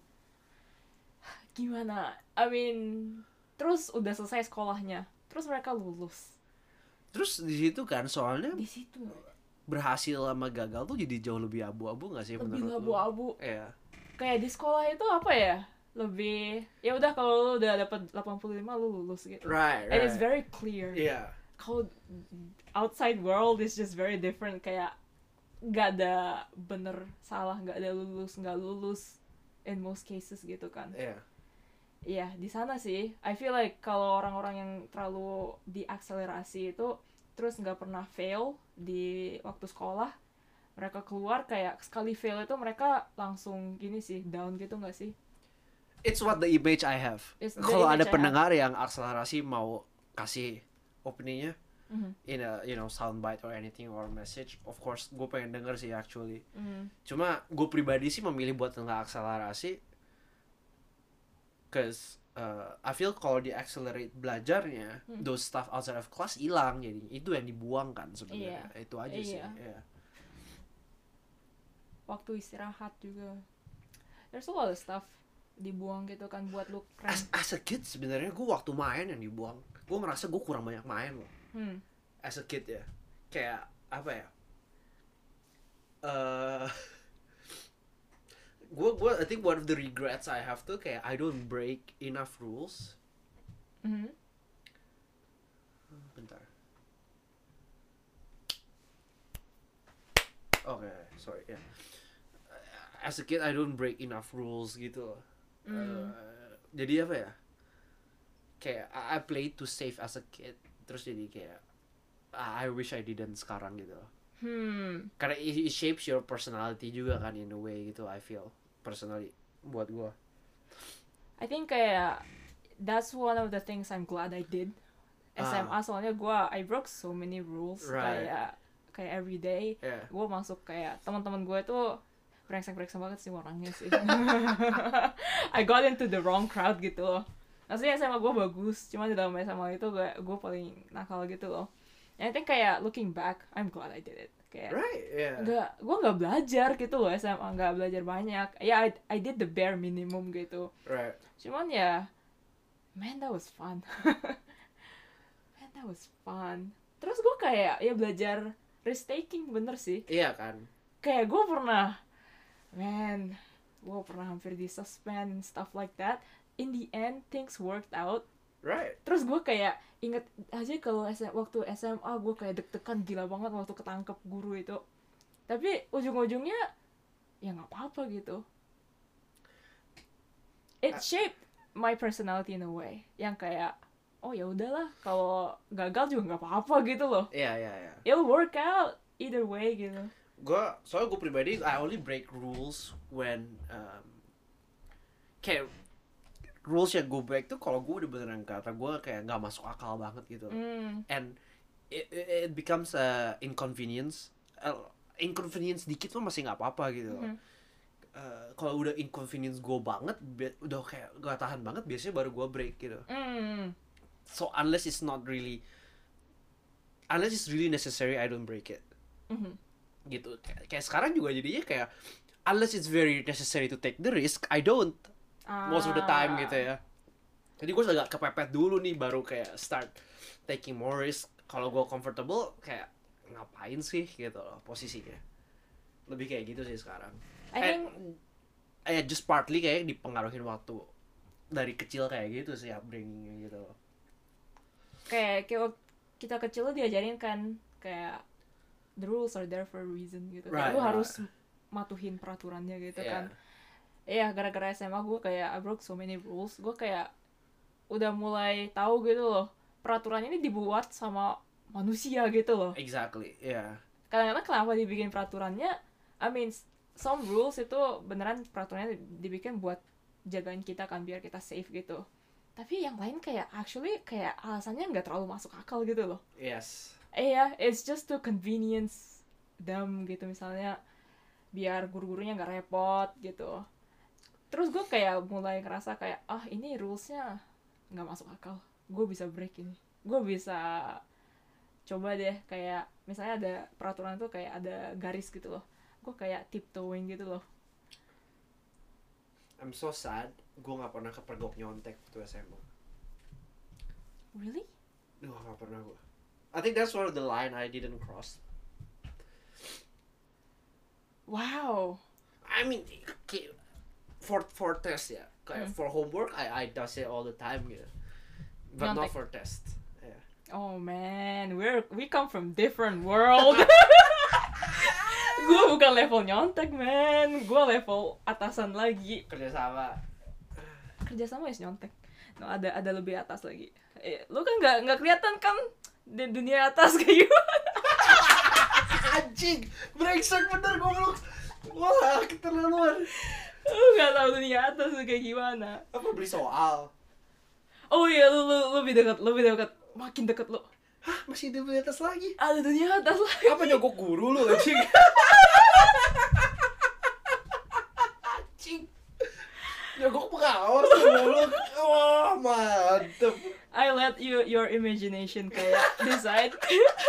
Speaker 2: Gimana? I mean, terus udah selesai sekolahnya, terus mereka lulus
Speaker 1: Terus di situ kan soalnya
Speaker 2: di situ
Speaker 1: berhasil sama gagal tuh jadi jauh lebih abu-abu nggak sih
Speaker 2: lebih
Speaker 1: menurut lu?
Speaker 2: abu-abu.
Speaker 1: Iya.
Speaker 2: Kayak di sekolah itu apa ya? Lebih ya udah kalau lu udah dapet delapan puluh lima lu lulus gitu.
Speaker 1: Right,
Speaker 2: And it's
Speaker 1: right.
Speaker 2: very clear.
Speaker 1: Iya.
Speaker 2: Kalau outside world is just very different, kayak nggak ada bener salah, nggak ada lulus nggak lulus in most cases gitu kan.
Speaker 1: Iya.
Speaker 2: Iya, di sana sih I feel like kalau orang-orang yang terlalu diakselerasi itu terus nggak pernah fail di waktu sekolah, mereka keluar kayak sekali fail itu mereka langsung gini sih, down gitu nggak sih?
Speaker 1: It's what the image I have.
Speaker 2: It's the
Speaker 1: Kalau ada
Speaker 2: image I
Speaker 1: pendengar yang akselerasi mau kasih opininya
Speaker 2: Mhm.
Speaker 1: in a you know soundbite or anything or message, of course gue pengen denger sih actually.
Speaker 2: Mhm.
Speaker 1: Cuma gue pribadi sih memilih buat nggak akselerasi, cause uh, I feel kalau di accelerate belajarnya,
Speaker 2: Hmm.
Speaker 1: those stuff outside of class hilang, jadi itu yang dibuang kan sebenarnya.
Speaker 2: Iya.
Speaker 1: Itu aja sih.
Speaker 2: Iya.
Speaker 1: Yeah.
Speaker 2: Waktu istirahat juga there's a lot of stuff dibuang gitu kan buat lu keren.
Speaker 1: As, as a kid sebenarnya gue waktu main yang dibuang. Gue ngerasa gue kurang banyak main loh.
Speaker 2: Hmm.
Speaker 1: As a kid ya, kayak apa ya? Uh, gue gue I think one of the regrets I have tuh kayak I don't break enough rules.
Speaker 2: Mhm.
Speaker 1: Bentar. Oke, sorry ya. As a kid I don't break enough rules gitu loh.
Speaker 2: Mm.
Speaker 1: Uh, jadi apa ya? Kayak I, I play to save as a kid. Terus jadi kayak I wish I didn't sekarang gitu loh.
Speaker 2: Hmm.
Speaker 1: Karena it, it shapes your personality juga kan in a way gitu, I feel personally buat gua.
Speaker 2: I think kayak that's one of the things I'm glad I did. S M A
Speaker 1: Ah.
Speaker 2: soalnya gua I broke so many rules.
Speaker 1: Right.
Speaker 2: Kayak kayak every day
Speaker 1: Yeah.
Speaker 2: gue masuk kayak teman-teman gue tuh brengsek-brengsek banget sih orangnya sih. I got into the wrong crowd gitu loh. Maksudnya S M A gue bagus, cuma di dalam S M A itu gue gue paling nakal gitu loh. And I think kayak looking back, I'm glad I did it. Kayak
Speaker 1: Right, yeah.
Speaker 2: nggak, gue nggak belajar gitu loh S M A, nggak belajar banyak. Ya, yeah, I, I did the bare minimum gitu.
Speaker 1: Right.
Speaker 2: Cuman ya, man that was fun. Man that was fun. Terus gue kayak ya belajar risk taking, bener sih.
Speaker 1: Iya kan.
Speaker 2: Kayak gue pernah, man, gue pernah hampir di suspend stuff like that. In the end things worked out.
Speaker 1: Right.
Speaker 2: Terus gue kayak inget aja kalau S M, waktu S M A gue kayak deg-degan gila banget waktu ketangkep guru itu. Tapi ujung-ujungnya ya nggak apa-apa gitu. It shaped my personality in a way yang kayak oh ya udahlah, kalau gagal juga nggak apa-apa gitu loh.
Speaker 1: Iya, iya, iya.
Speaker 2: It'll work out either way gitu.
Speaker 1: Gue soalnya gue pribadi I only break rules when um, kayak rules yang gue break tuh kalau gue udah beneran kata gue kayak nggak masuk akal banget gitu.
Speaker 2: Mm.
Speaker 1: And it, it becomes a inconvenience. Uh, inconvenience dikit tuh masih nggak apa-apa gitu.
Speaker 2: Mhm.
Speaker 1: Uh, kalau udah inconvenience gue banget, be- udah kayak gak tahan banget, biasanya baru gue break gitu.
Speaker 2: Mm.
Speaker 1: So unless it's not really, unless it's really necessary, I don't break it.
Speaker 2: Mhm.
Speaker 1: Gitu. Kayak, kayak sekarang juga jadinya kayak unless it's very necessary to take the risk, I don't most of the time
Speaker 2: Ah.
Speaker 1: gitu ya. Jadi gue agak kepepet dulu nih baru kayak start taking more risk. Kalau gue comfortable kayak ngapain sih gitu loh posisinya. Lebih kayak gitu sih sekarang.
Speaker 2: I think
Speaker 1: Eh just partly kayak dipengaruhin waktu dari kecil kayak gitu sih upbringingnya gitu loh.
Speaker 2: kayak kayak waktu kita kecil tuh diajarin kan kayak the rules are there for a reason gitu.
Speaker 1: Right,
Speaker 2: Kayak lu
Speaker 1: right.
Speaker 2: harus matuhin peraturannya gitu
Speaker 1: Yeah.
Speaker 2: kan. Iya, gara-gara S M A gue kayak I broke so many rules. Gue kayak udah mulai tahu gitu loh. Peraturan ini dibuat sama manusia gitu loh.
Speaker 1: Exactly, yeah.
Speaker 2: Kadang-kadang kenapa dibikin peraturannya, I mean, some rules itu beneran peraturannya dibikin buat jagain kita kan, biar kita safe gitu. Tapi yang lain kayak actually kayak alasannya nggak terlalu masuk akal gitu loh.
Speaker 1: Yes.
Speaker 2: Iya, it's just to convenience them gitu, misalnya biar guru-gurunya nggak repot gitu. Terus gue kayak mulai ngerasa kayak, ah ini rulesnya nggak masuk akal, gue bisa break ini, gue bisa coba deh kayak misalnya ada peraturan tuh kayak ada garis gitu loh, gue kayak tiptoeing gitu loh.
Speaker 1: I'm so sad, gue gak pernah kepergok nyontek waktu S M A.
Speaker 2: Really?
Speaker 1: Duh, gak pernah gue. I think that's one of the line I didn't cross.
Speaker 2: Wow.
Speaker 1: I mean, kayak for for test ya, kayak
Speaker 2: Hmm.
Speaker 1: for homework I I does it all the time gitu, but not
Speaker 2: Nyontek.
Speaker 1: for test. Yeah.
Speaker 2: Oh man, we're we come from different world. Gue bukan level nyontek man, gue level atasan lagi.
Speaker 1: Kerjasama.
Speaker 2: Kerjasama is nyontek. No, ada ada lebih atas lagi. Eh, lu kan nggak nggak kelihatan kan di dunia atas kayak gimana?
Speaker 1: Anjing, brengsek bener goblok. Wah, keterlaluan.
Speaker 2: Lu nggak tahu dunia atas tuh kayak gimana.
Speaker 1: Apa beli soal?
Speaker 2: Oh iya, lu lu lebih dekat, lebih dekat, makin dekat lu.
Speaker 1: Hah, masih di atas lagi?
Speaker 2: Ada dunia atas lagi.
Speaker 1: Apa nyogok guru lu anjing? Anjing. Nyogok pengawas goblok. Wah, mantep.
Speaker 2: I let you your imagination kayak decide.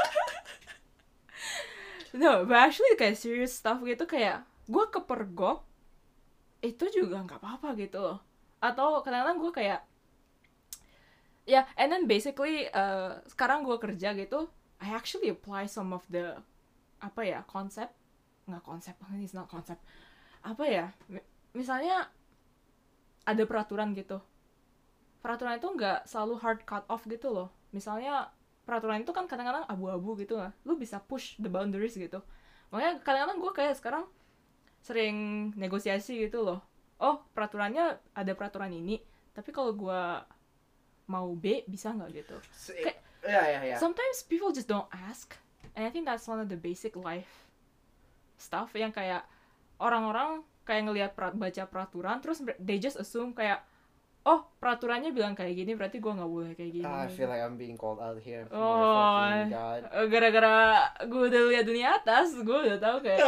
Speaker 2: No, but actually kayak serious stuff gitu kayak gue kepergok itu juga nggak apa-apa gitu loh. Atau kadang-kadang gue kayak ya, yeah, and then basically uh, sekarang gue kerja gitu, I actually apply some of the apa ya konsep nggak konsep ini not konsep apa ya mi- misalnya ada peraturan gitu, peraturan itu nggak selalu hard cut off gitu loh. Misalnya peraturan itu kan kadang-kadang abu-abu gitu lah, lu bisa push the boundaries gitu. Makanya kadang-kadang gue kayak sekarang sering negosiasi gitu loh. Oh, peraturannya ada peraturan ini, tapi kalau gue mau B bisa nggak gitu. Kayak-
Speaker 1: Ya ya ya.
Speaker 2: Sometimes people just don't ask, and I think that's one of the basic life stuff yang kayak orang-orang kayak ngelihat per- baca peraturan terus they just assume kayak oh peraturannya bilang kayak gini berarti gue nggak boleh kayak gini.
Speaker 1: I feel like I'm being called out here.
Speaker 2: Oh,
Speaker 1: Motherfucking God.
Speaker 2: eh, gara-gara gue udah lihat dunia atas, gue udah tahu kayak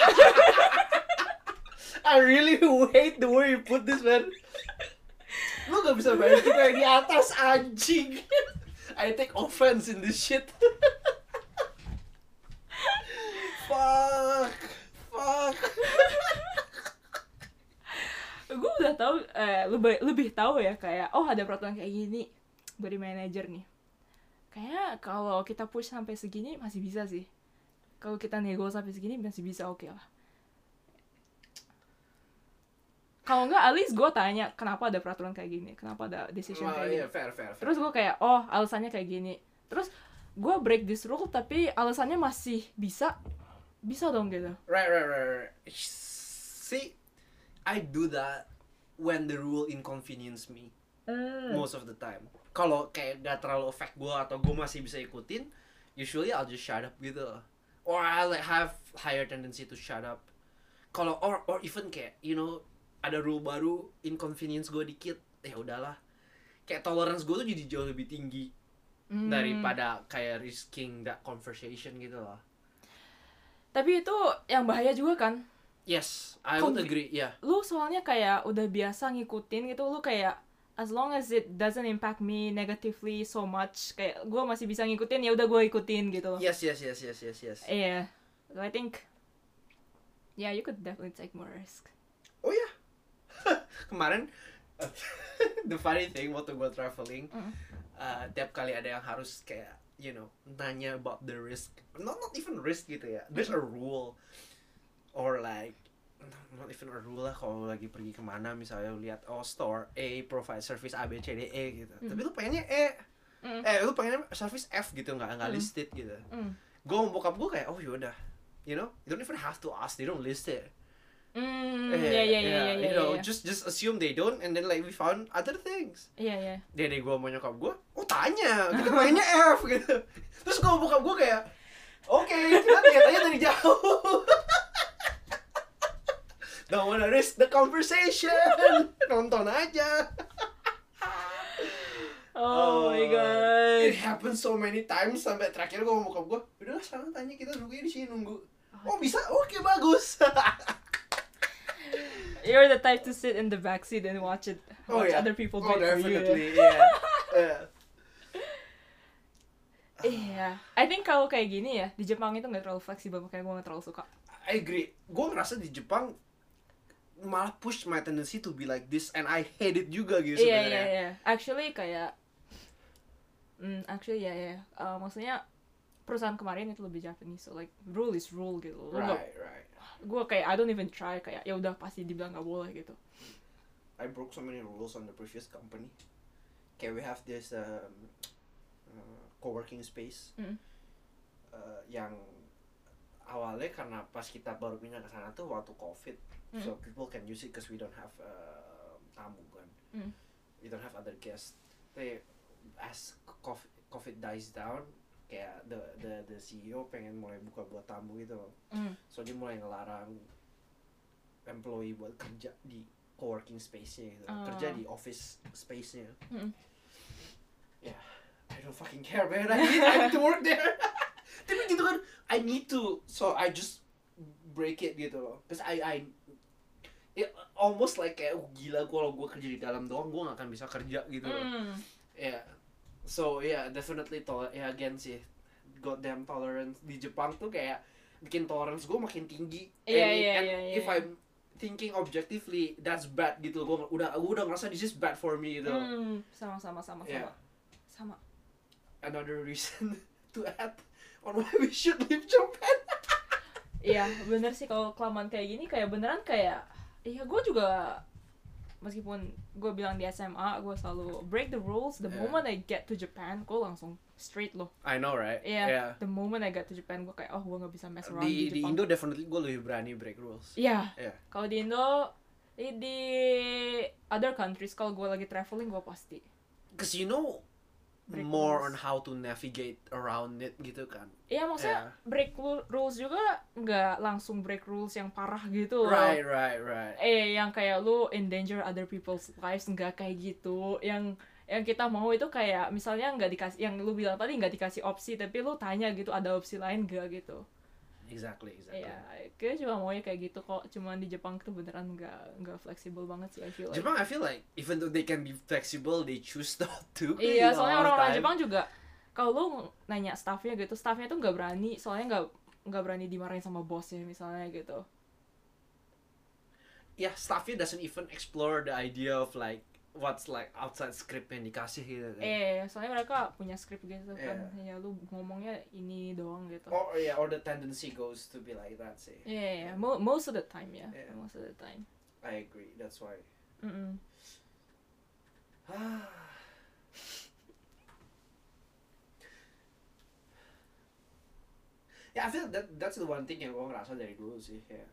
Speaker 1: I really hate the way you put this, man. Lu gak bisa bayangin kita yang di atas, anjing. I take offense in this shit. Fuck. Fuck.
Speaker 2: gue udah tahu eh, lebih lebih tahu ya kayak oh ada peraturan kayak gini dari manajer nih. Kayak kalau kita push sampai segini masih bisa sih. Kalau kita nego sampai segini masih bisa, oke lah. Kalau enggak, at least gue tanya kenapa ada peraturan kayak gini, kenapa ada decision
Speaker 1: Oh,
Speaker 2: kayak
Speaker 1: iya,
Speaker 2: gini.
Speaker 1: fair, fair, fair.
Speaker 2: Terus gue kayak, oh alasannya kayak gini. Terus gue break this rule tapi alasannya masih bisa, bisa dong gitu.
Speaker 1: Right, right, right, right. See, I do that when the rule inconvenience me most of the time. Kalau kayak gak terlalu affect gue atau gue masih bisa ikutin, usually I'll just shut up gitu. Or I'll like have higher tendency to shut up. Kalau or or even kayak you know ada rule baru inconvenience gue dikit, ya udahlah. Kayak tolerance gue tuh jadi jauh lebih tinggi
Speaker 2: Hmm.
Speaker 1: daripada kayak risking that conversation gitu loh.
Speaker 2: Tapi itu yang bahaya juga kan.
Speaker 1: Yes, I
Speaker 2: Kok-
Speaker 1: would agree. Yeah.
Speaker 2: Lu soalnya kayak udah biasa ngikutin gitu, lu kayak as long as it doesn't impact me negatively so much, kayak gue masih bisa ngikutin, ya udah gue ikutin gitu.
Speaker 1: Yes, yes, yes, yes, yes, yes.
Speaker 2: Iya, so I think yeah, you could definitely take more risk.
Speaker 1: Oh ya. Kemarin the funny thing waktu gue traveling,
Speaker 2: Mm.
Speaker 1: uh, tiap kali ada yang harus kayak you know nanya about the risk, not not even risk gitu ya. There's a rule or like not even a rule lah kalau lagi pergi kemana misalnya lu lihat oh store A provide service A B C D E gitu.
Speaker 2: Mm.
Speaker 1: Tapi lu pengennya E.
Speaker 2: Mm.
Speaker 1: Eh lu pengennya service F gitu nggak nggak
Speaker 2: Mm.
Speaker 1: listed gitu.
Speaker 2: Mm.
Speaker 1: Gue mau bokap gue kayak oh yaudah, you know you don't even have to ask, they don't list it.
Speaker 2: Mm,
Speaker 1: Eh,
Speaker 2: yeah, yeah, yeah, yeah,
Speaker 1: you
Speaker 2: yeah,
Speaker 1: know,
Speaker 2: yeah.
Speaker 1: just just assume they don't, and then like we found other things.
Speaker 2: Iya, iya.
Speaker 1: Dede gue mau nyokap gue, oh tanya, kita mainnya F gitu. Terus gue bokap gue kayak, oke, okay, kita lihat aja dari jauh. Don't wanna risk the conversation, nonton aja.
Speaker 2: Oh, my
Speaker 1: It
Speaker 2: god.
Speaker 1: happens so many times sampai terakhir gue mau bokap gue, udahlah sekarang tanya kita nungguin di sini nunggu. Oh bisa, oke bagus.
Speaker 2: You're the type to sit in the backseat and watch it,
Speaker 1: Oh,
Speaker 2: watch
Speaker 1: yeah.
Speaker 2: other people
Speaker 1: Oh
Speaker 2: do it for you.
Speaker 1: definitely, yeah. Yeah.
Speaker 2: Iya, I think kalau kayak gini ya, di Jepang itu nggak terlalu fleksibel, makanya gue nggak terlalu suka.
Speaker 1: I agree. Gue ngerasa di Jepang malah push my tendency to be like this, and I hate it juga gitu
Speaker 2: Iya,
Speaker 1: sebenarnya.
Speaker 2: iya, iya. Actually kayak, hmm, actually ya, ya. Uh, maksudnya perusahaan kemarin itu lebih Japanese, so like rule is rule gitu. Lu nggak-
Speaker 1: Right, right.
Speaker 2: gue kayak I don't even try, kayak ya udah pasti dibilang nggak boleh gitu.
Speaker 1: I broke so many rules on the previous company. Okay, we have this um, uh, co-working space
Speaker 2: Mm.
Speaker 1: uh, yang awalnya karena pas kita baru pindah ke sana tuh waktu COVID,
Speaker 2: Mm.
Speaker 1: so people can use it because we don't have uh, tamu kan,
Speaker 2: Mm.
Speaker 1: we don't have other guests. Tapi as COVID, COVID dies down, kayak the the the C E O pengen mulai buka buat tamu gitu loh.
Speaker 2: Mm.
Speaker 1: So dia mulai ngelarang employee buat kerja di co-working space-nya gitu,
Speaker 2: Oh.
Speaker 1: kerja di office space-nya.
Speaker 2: Mm.
Speaker 1: Yeah, I don't fucking care man, I need, I need to work there. Tapi gitu kan, I need to, so I just break it gitu loh, cause I I it almost like kayak oh, gila kalau gue kerja di dalam doang gue gak akan bisa kerja gitu loh.
Speaker 2: Mm.
Speaker 1: Yeah, so yeah, definitely tol ya again sih, goddamn tolerance di Jepang tuh kayak bikin tolerance gue makin tinggi.
Speaker 2: Iya,
Speaker 1: And-
Speaker 2: iya,
Speaker 1: and
Speaker 2: iya, iya.
Speaker 1: If I'm thinking objectively, that's bad gitu. Gue udah gue udah ngerasa this is bad for me gitu.
Speaker 2: Mm. Sama, sama, sama, sama.
Speaker 1: Yeah.
Speaker 2: Sama.
Speaker 1: Another reason to add on why we should leave Japan.
Speaker 2: Iya, bener sih kalau kelamaan kayak gini, kayak beneran kayak, iya gue juga, meskipun gue bilang di S M A, gue selalu break the rules, the
Speaker 1: Yeah.
Speaker 2: moment I get to Japan, gue langsung straight loh.
Speaker 1: I know right?
Speaker 2: Iya,
Speaker 1: Yeah.
Speaker 2: the moment I get to Japan, gue kayak, oh gue gak bisa mess around di,
Speaker 1: Di di
Speaker 2: Jepang.
Speaker 1: Indo definitely gue lebih berani break rules.
Speaker 2: Iya,
Speaker 1: Yeah.
Speaker 2: kalau di Indo, di, di other countries, kalau gue lagi traveling, gue pasti.
Speaker 1: Cause you know
Speaker 2: Break
Speaker 1: more
Speaker 2: rules.
Speaker 1: on how to navigate around it gitu kan.
Speaker 2: Iya, maksudnya
Speaker 1: Yeah.
Speaker 2: break lu- rules juga nggak langsung break rules yang parah gitu loh.
Speaker 1: Right, right, right.
Speaker 2: Eh, yang kayak lu endanger other people's lives, nggak kayak gitu. Yang yang kita mau itu kayak misalnya nggak dikasih, yang lu bilang tadi nggak dikasih opsi, tapi lu tanya gitu ada opsi lain nggak gitu.
Speaker 1: Exactly, exactly.
Speaker 2: Iya, kayak cuma maunya kayak gitu kok. Cuman di Jepang tuh beneran nggak nggak fleksibel banget sih, I feel like.
Speaker 1: Jepang, I feel like even though they can be flexible, they choose not to.
Speaker 2: Iya, soalnya
Speaker 1: all the
Speaker 2: orang-orang
Speaker 1: time.
Speaker 2: Jepang juga kalau lu nanya staffnya gitu, staffnya tuh nggak berani, soalnya nggak nggak berani dimarahin sama bosnya misalnya gitu.
Speaker 1: Yeah, staffnya doesn't even explore the idea of like what's like outside script yang dikasih gitu kan.
Speaker 2: Eh, soalnya mereka punya skrip gitu kan.
Speaker 1: Iya.
Speaker 2: Ya lu ngomongnya ini doang gitu.
Speaker 1: Or yeah, or the tendency goes to be like that sih.
Speaker 2: Iya, yeah, yeah. Mo- most of the time ya,
Speaker 1: Yeah.
Speaker 2: most of the time.
Speaker 1: I agree. That's why.
Speaker 2: Mm-mm.
Speaker 1: Yeah, I feel that that's the one thing yang gue ngerasa dari dulu sih ya.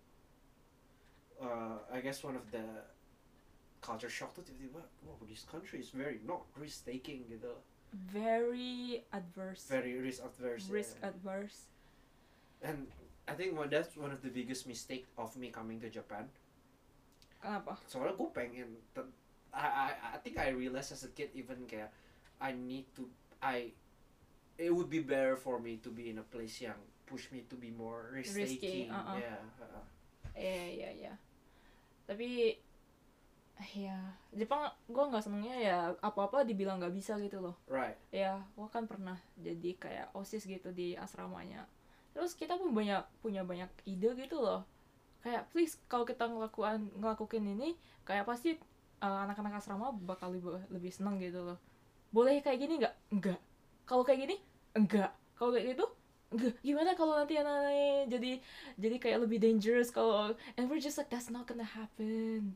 Speaker 1: Uh, I guess one of the culture shock tuh tiba-tiba, wow, this country is very not risk taking gitu,
Speaker 2: Very adverse.
Speaker 1: very risk adverse.
Speaker 2: risk
Speaker 1: yeah.
Speaker 2: adverse.
Speaker 1: And I think one, that's one of the biggest mistake of me coming to Japan.
Speaker 2: Kenapa?
Speaker 1: Soalnya gue pengen, te- I, I I think I realized as a kid even kayak I need to I it would be better for me to be in a place yang push me to be more risk
Speaker 2: Risky,
Speaker 1: taking.
Speaker 2: uh-uh.
Speaker 1: Yeah. uh-uh.
Speaker 2: Iya iya iya. Tapi ya Jepang gue nggak senengnya ya apa-apa dibilang nggak bisa gitu loh.
Speaker 1: Right.
Speaker 2: Ya gue kan pernah jadi kayak osis gitu di asramanya. Terus kita pun banyak punya banyak ide gitu loh. Kayak please kalau kita ngelakuin ngelakuin ini kayak pasti uh, anak-anak asrama bakal lebih lebih seneng gitu loh. Boleh kayak gini nggak? Enggak. Kalau kayak gini? Enggak. Kalau kayak gitu? Enggak. Gimana kalau nanti anak-anaknya jadi jadi kayak lebih dangerous kalau and we're just like that's not gonna happen.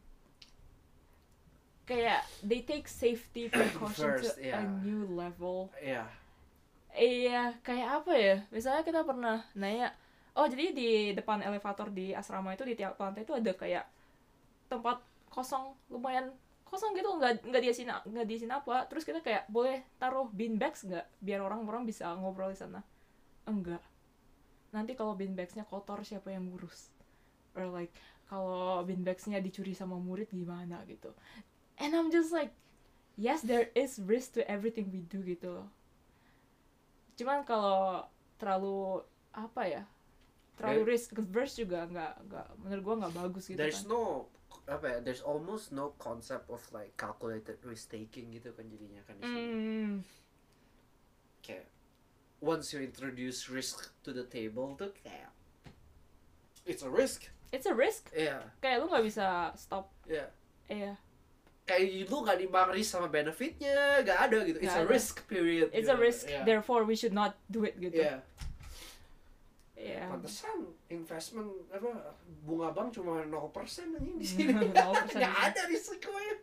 Speaker 2: Kayak they take safety precaution
Speaker 1: First,
Speaker 2: to
Speaker 1: yeah.
Speaker 2: a new level.
Speaker 1: Iya.
Speaker 2: Iya, kayak apa ya? Misalnya kita pernah nanya, oh jadi di depan elevator di asrama itu di tiap lantai itu ada kayak tempat kosong lumayan kosong gitu, nggak nggak diisiin nggak diisiin apa. Terus kita kayak boleh taruh bean bags nggak biar orang-orang bisa ngobrol di sana? Enggak. Nanti kalau bean bagsnya kotor siapa yang ngurus? Or like kalau bean bagsnya dicuri sama murid gimana gitu? And I'm just like, yes, there is risk to everything we do gitu loh. Cuman kalau terlalu apa ya, terlalu
Speaker 1: There-
Speaker 2: risk averse juga nggak nggak menurut gua nggak bagus gitu
Speaker 1: There's
Speaker 2: kan.
Speaker 1: no apa ya, there's almost no concept of like calculated risk taking gitu kan jadinya kan di sini.
Speaker 2: Hmm,
Speaker 1: Kayak once you introduce risk to the table tuh kayak it's a risk.
Speaker 2: it's a risk.
Speaker 1: Iya,
Speaker 2: Kayak lu nggak bisa stop.
Speaker 1: iya.
Speaker 2: Iya,
Speaker 1: Kayak lu gak dibang risk sama benefitnya, gak ada gitu. It's
Speaker 2: Nggak
Speaker 1: a
Speaker 2: ada.
Speaker 1: risk period.
Speaker 2: it's
Speaker 1: gitu.
Speaker 2: a risk.
Speaker 1: Iya.
Speaker 2: Therefore we should not do it gitu.
Speaker 1: Iya.
Speaker 2: Iya.
Speaker 1: Pantesan investment apa bunga bank cuma nol persen anjing di sini.
Speaker 2: nol persen.
Speaker 1: Gak ada risikonya.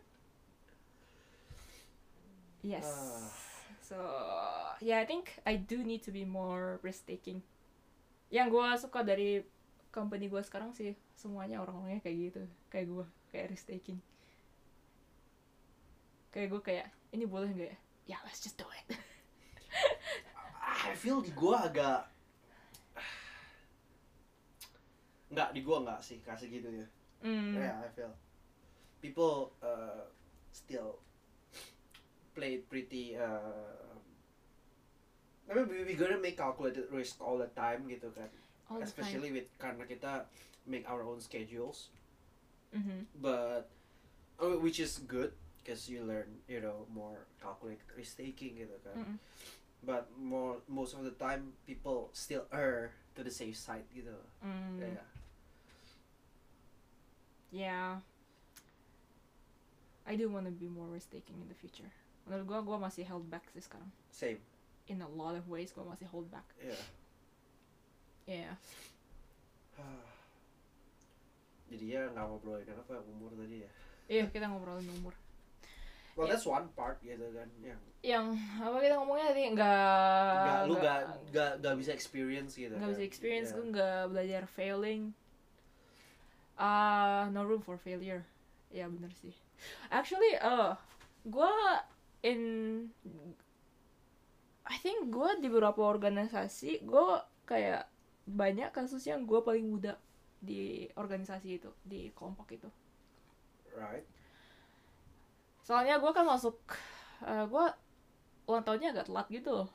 Speaker 2: Yes.
Speaker 1: Ah.
Speaker 2: So yeah, I think I do need to be more risk taking. Yang gue suka dari company gue sekarang sih semuanya orang-orangnya kayak gitu, kayak gue, kayak risk taking. Kayak gue kayak ini boleh nggak ya? Ya let's just do it.
Speaker 1: I feel di gua agak nggak di gua nggak sih kasih gitu ya.
Speaker 2: Hmm.
Speaker 1: Yeah, I feel people uh, still play pretty. Uh, I mean, we we gonna make calculated risk all the time gitu kan.
Speaker 2: All the
Speaker 1: Especially with karena kita make our own schedules,
Speaker 2: time. Mhm.
Speaker 1: but uh, which is good because you learn, you know, more calculated risk taking gitu kan.
Speaker 2: Mm-mm.
Speaker 1: But more most of the time people still err to the safe side gitu.
Speaker 2: Mm.
Speaker 1: Yeah.
Speaker 2: Yeah. I do want to be more risk taking in the future. Menurut gue, gue masih held back sih sekarang.
Speaker 1: Same.
Speaker 2: In a lot of ways, gue masih hold back.
Speaker 1: Yeah.
Speaker 2: Yeah.
Speaker 1: Jadi ya nggak ngobrolin apa umur tadi ya.
Speaker 2: Iya, kita ngobrolin umur.
Speaker 1: Well,
Speaker 2: Yeah.
Speaker 1: that's one part gitu kan yang
Speaker 2: Yang apa kita ngomongnya tadi nggak
Speaker 1: nggak lu nggak nggak nggak bisa experience gitu.
Speaker 2: nggak
Speaker 1: kan.
Speaker 2: bisa experience,
Speaker 1: Yeah.
Speaker 2: gue nggak belajar failing. Ah, no room for failure. Ya bener sih. Actually, uh, gue in I think gue di beberapa organisasi gue kayak banyak kasus yang gue paling muda di organisasi itu, di kelompok itu.
Speaker 1: Right.
Speaker 2: Soalnya gue kan masuk, uh, gue ulang tahunnya agak telat gitu loh.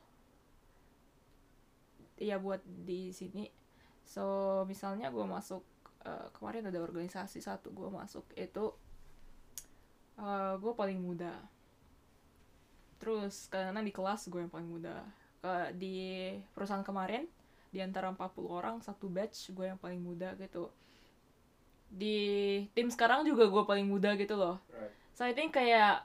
Speaker 2: Iya buat di sini. So misalnya gue masuk uh, kemarin ada organisasi satu gue masuk itu uh, gue paling muda. Terus karena di kelas gue yang paling muda. Uh, di perusahaan kemarin di antara empat puluh orang satu batch gue yang paling muda gitu. Di tim sekarang juga gue paling muda gitu loh.
Speaker 1: Right.
Speaker 2: So I think kayak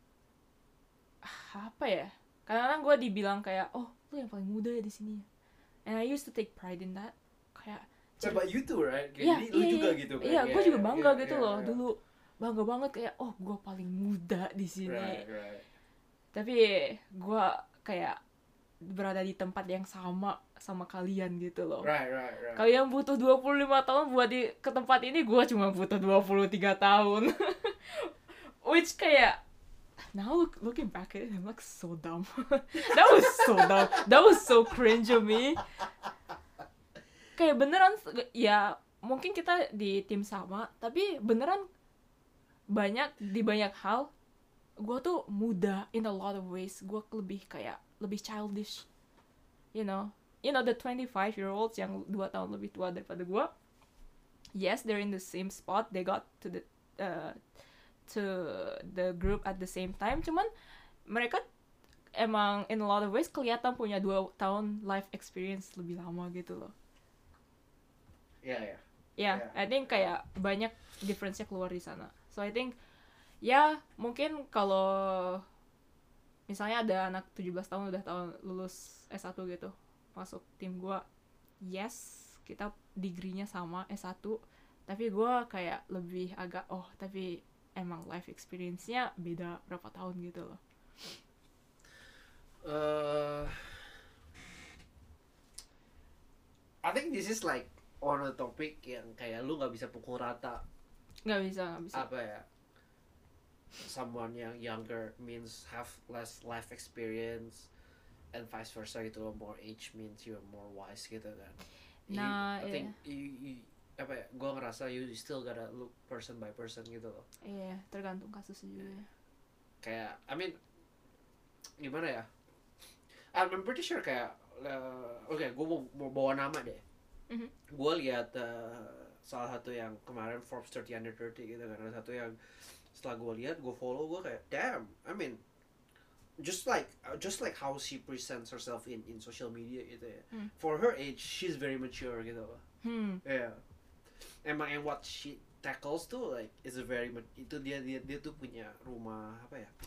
Speaker 2: apa ya? Kadang-kadang gue dibilang kayak, oh lu yang paling muda ya di sini. And I used to take pride in that. Kayak,
Speaker 1: So, but you too, right? Kayak
Speaker 2: iya,
Speaker 1: jadi lu
Speaker 2: iya,
Speaker 1: juga
Speaker 2: iya.
Speaker 1: gitu kan?
Speaker 2: Iya, gue juga bangga
Speaker 1: yeah,
Speaker 2: gitu
Speaker 1: yeah,
Speaker 2: loh.
Speaker 1: yeah.
Speaker 2: Dulu bangga banget kayak, oh gue paling muda di sini.
Speaker 1: Right, right.
Speaker 2: Tapi gue kayak berada di tempat yang sama sama kalian gitu loh.
Speaker 1: Right, right, right.
Speaker 2: Kalian butuh dua puluh lima tahun buat di ke tempat ini, gue cuma butuh dua puluh tiga tahun. Which kayak now look, looking back at it, I'm like so dumb. That was so dumb. That was so cringe of me. Kayak beneran ya mungkin kita di tim sama, tapi beneran banyak di banyak hal gue tuh muda in a lot of ways. Gue lebih kayak lebih childish, you know, you know the twenty-five year olds yang dua tahun lebih tua daripada gue. yes, they're in the same spot, they got to the uh, to the group at the same time, cuman mereka emang in a lot of ways kelihatan punya dua tahun life experience lebih lama gitu loh.
Speaker 1: Ya yeah, ya. Yeah.
Speaker 2: Ya, yeah, yeah. I think kayak banyak difference-nya keluar di sana. So I think ya mungkin kalau misalnya ada anak tujuh belas tahun udah tahun lulus S satu gitu masuk tim gue, yes kita degree-nya sama S satu, tapi gue kayak lebih agak oh tapi emang life experience-nya beda berapa tahun gitu loh.
Speaker 1: Uh, I think this is like on a topic yang kayak lu nggak bisa pukul rata.
Speaker 2: Nggak bisa, nggak bisa.
Speaker 1: Apa ya? Someone yang younger means have less life experience and vice versa gitu loh. More age means you're more wise gitu kan.
Speaker 2: Nah,
Speaker 1: you, I
Speaker 2: yeah.
Speaker 1: think you, you, apa ya? Gue ngerasa you still gotta look person by person gitu loh.
Speaker 2: Iya, yeah, tergantung kasus juga.
Speaker 1: Kayak, I mean, gimana ya? I'm pretty sure kayak, uh, oke, okay, gue mau, mau bawa nama deh.
Speaker 2: Mm-hmm.
Speaker 1: Gue lihat uh, salah satu yang kemarin Forbes thirty under thirty gitu kan, ada satu yang setelah gue lihat, gue follow, gue kayak, damn, I mean, just like just like how she presents herself in in social media gitu ya. Mm. For her age, she's very mature gitu loh.
Speaker 2: Hmm.
Speaker 1: Yeah. Emang and what she tackles tuh like is a very itu dia dia dia tuh punya rumah apa ya?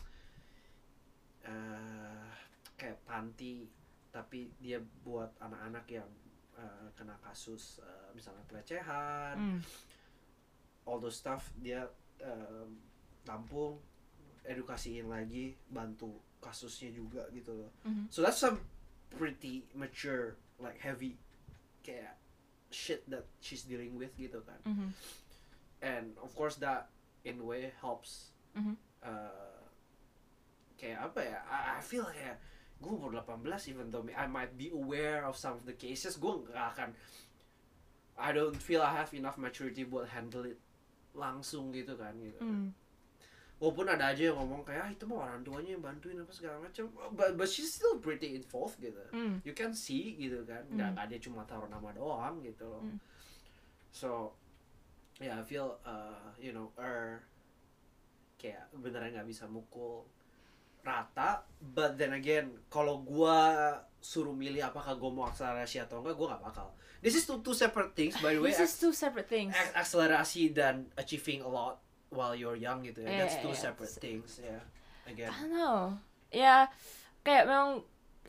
Speaker 1: Uh, kayak panti, tapi dia buat anak-anak yang uh, kena kasus uh, misalnya pelecehan, mm. all those stuff dia um, tampung, edukasiin lagi, bantu kasusnya juga gitu loh. Mm-hmm. So that's some pretty mature, like heavy kayak shit that she's dealing with gitu kan. Mm-hmm. And of course that in a way helps. Mm-hmm. Uh, kayak apa ya? I, I feel kayak gue umur eighteen even though I might be aware of some of the cases, gue gak akan, I don't feel I have enough maturity buat handle it langsung gitu kan gitu. Mm. Walaupun ada aja yang ngomong kayak ah, itu mah orang tuanya yang bantuin apa segala macam, but, but she's still pretty involved gitu. Mm. You can see gitu kan, mm. gak, gak dia cuma taruh nama doang gitu loh. Mm. So yeah, I feel uh, you know er kayak beneran gak bisa mukul rata, but then again kalau gua suruh milih apakah gua mau akselerasi atau enggak, gua nggak bakal. This is two, two separate things by the way.
Speaker 2: This is two separate things.
Speaker 1: Akselerasi dan achieving a lot while you're young gitu ya.
Speaker 2: Yeah,
Speaker 1: That's two
Speaker 2: yeah,
Speaker 1: separate
Speaker 2: yeah.
Speaker 1: things ya. Yeah. Again.
Speaker 2: I don't know. Ya yeah, kayak memang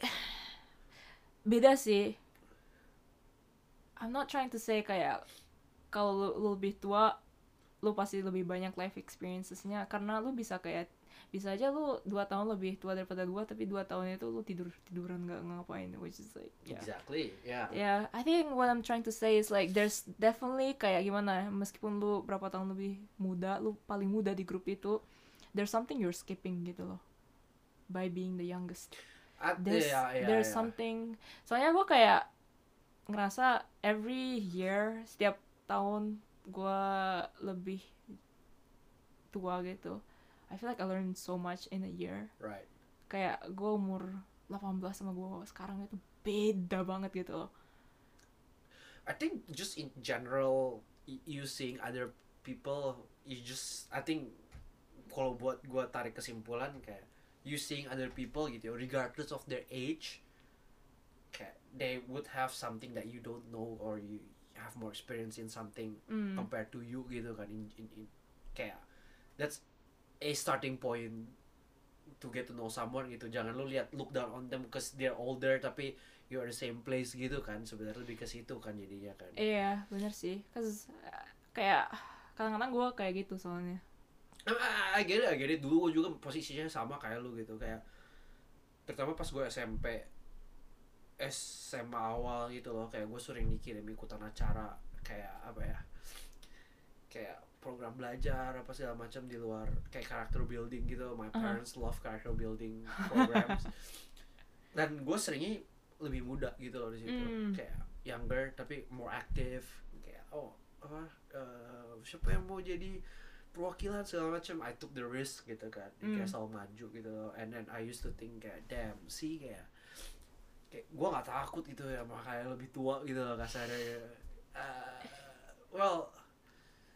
Speaker 2: beda sih. I'm not trying to say kayak kalau lu, lu lebih tua lu pasti lebih banyak life experiences-nya, karena lu bisa kayak bisa aja lu dua tahun lebih tua daripada gua, tapi dua tahun itu lu tidur tiduran nggak ngapain, which is like yeah.
Speaker 1: Exactly, yeah.
Speaker 2: Yeah, I think what I'm trying to say is like there's definitely kayak gimana, meskipun lu berapa tahun lebih muda, lu paling muda di grup itu, there's something you're skipping gitu loh, by being the youngest.
Speaker 1: At,
Speaker 2: there's
Speaker 1: yeah, yeah,
Speaker 2: there's
Speaker 1: yeah.
Speaker 2: something, soalnya gua kayak ngerasa every year, setiap tahun gua lebih tua gitu, I feel like I learned so much in a year.
Speaker 1: Right.
Speaker 2: Kayak gue umur eighteen sama gue sekarang itu beda banget gitu loh.
Speaker 1: I think just in general, you seeing other people, you just, I think kalau buat gue tarik kesimpulan kayak you seeing other people gitu, regardless of their age, kayak they would have something that you don't know, or you have more experience in something mm. compared to you gitu kan. In, in, in kayak that's a starting point to get to know someone gitu. Jangan lu lihat look down on them because they're older tapi you are the same place gitu kan. Sebenarnya lebih ke situ kan jadinya kan.
Speaker 2: Iya, benar sih. Cause uh, kayak kadang-kadang gue kayak gitu soalnya.
Speaker 1: I get it, I get it. Dulu gue juga posisinya sama kayak lu gitu, kayak terutama pas gue S M P, S M A awal gitu loh, kayak gue sering dikirim ikutan acara kayak apa ya, kayak program belajar apa segala macam di luar, kayak character building gitu. My parents uh-huh. love character building programs. Dan gue seringnya lebih muda gitu loh di situ, mm. kayak younger tapi more active. Kayak oh apa uh, siapa yang mau jadi perwakilan segala macam. I took the risk gitu kan, mm. kayak selalu maju gitu loh. And then I used to think kayak damn sih kayak kayak gue nggak takut gitu ya, makanya lebih tua gitu loh kasarnya. Uh, well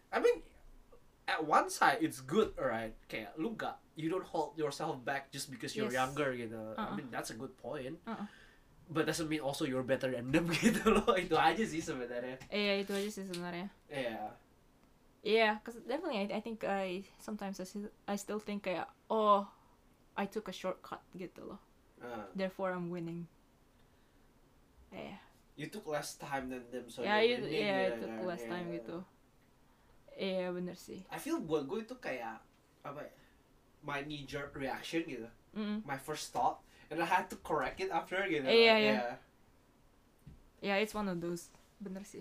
Speaker 1: I mean, at one side it's good, alright. Kayak lu gak, you don't hold yourself back just because you're
Speaker 2: Yes.
Speaker 1: younger gitu. I
Speaker 2: Uh-uh.
Speaker 1: mean that's a good point.
Speaker 2: Uh-uh.
Speaker 1: But doesn't mean also you're better than them gitu loh. Itu aja sih sebenarnya.
Speaker 2: Iya itu aja sih sebenarnya.
Speaker 1: Yeah.
Speaker 2: Yeah, cause definitely I, I think I sometimes I still, I still think kayak oh I took a shortcut gitu loh.
Speaker 1: Uh,
Speaker 2: Therefore I'm winning. Yeah.
Speaker 1: you took less time than them, so
Speaker 2: Ya
Speaker 1: you're
Speaker 2: itu
Speaker 1: winning,
Speaker 2: ya
Speaker 1: gitu
Speaker 2: itu
Speaker 1: kan.
Speaker 2: last time
Speaker 1: Yeah.
Speaker 2: gitu. Iya bener sih.
Speaker 1: I feel buat gue itu kayak apa ya? My knee jerk reaction gitu.
Speaker 2: Mm.
Speaker 1: My first thought, and I had to correct it after gitu.
Speaker 2: Iya, iya.
Speaker 1: Yeah.
Speaker 2: Yeah, it's one of those. Bener sih.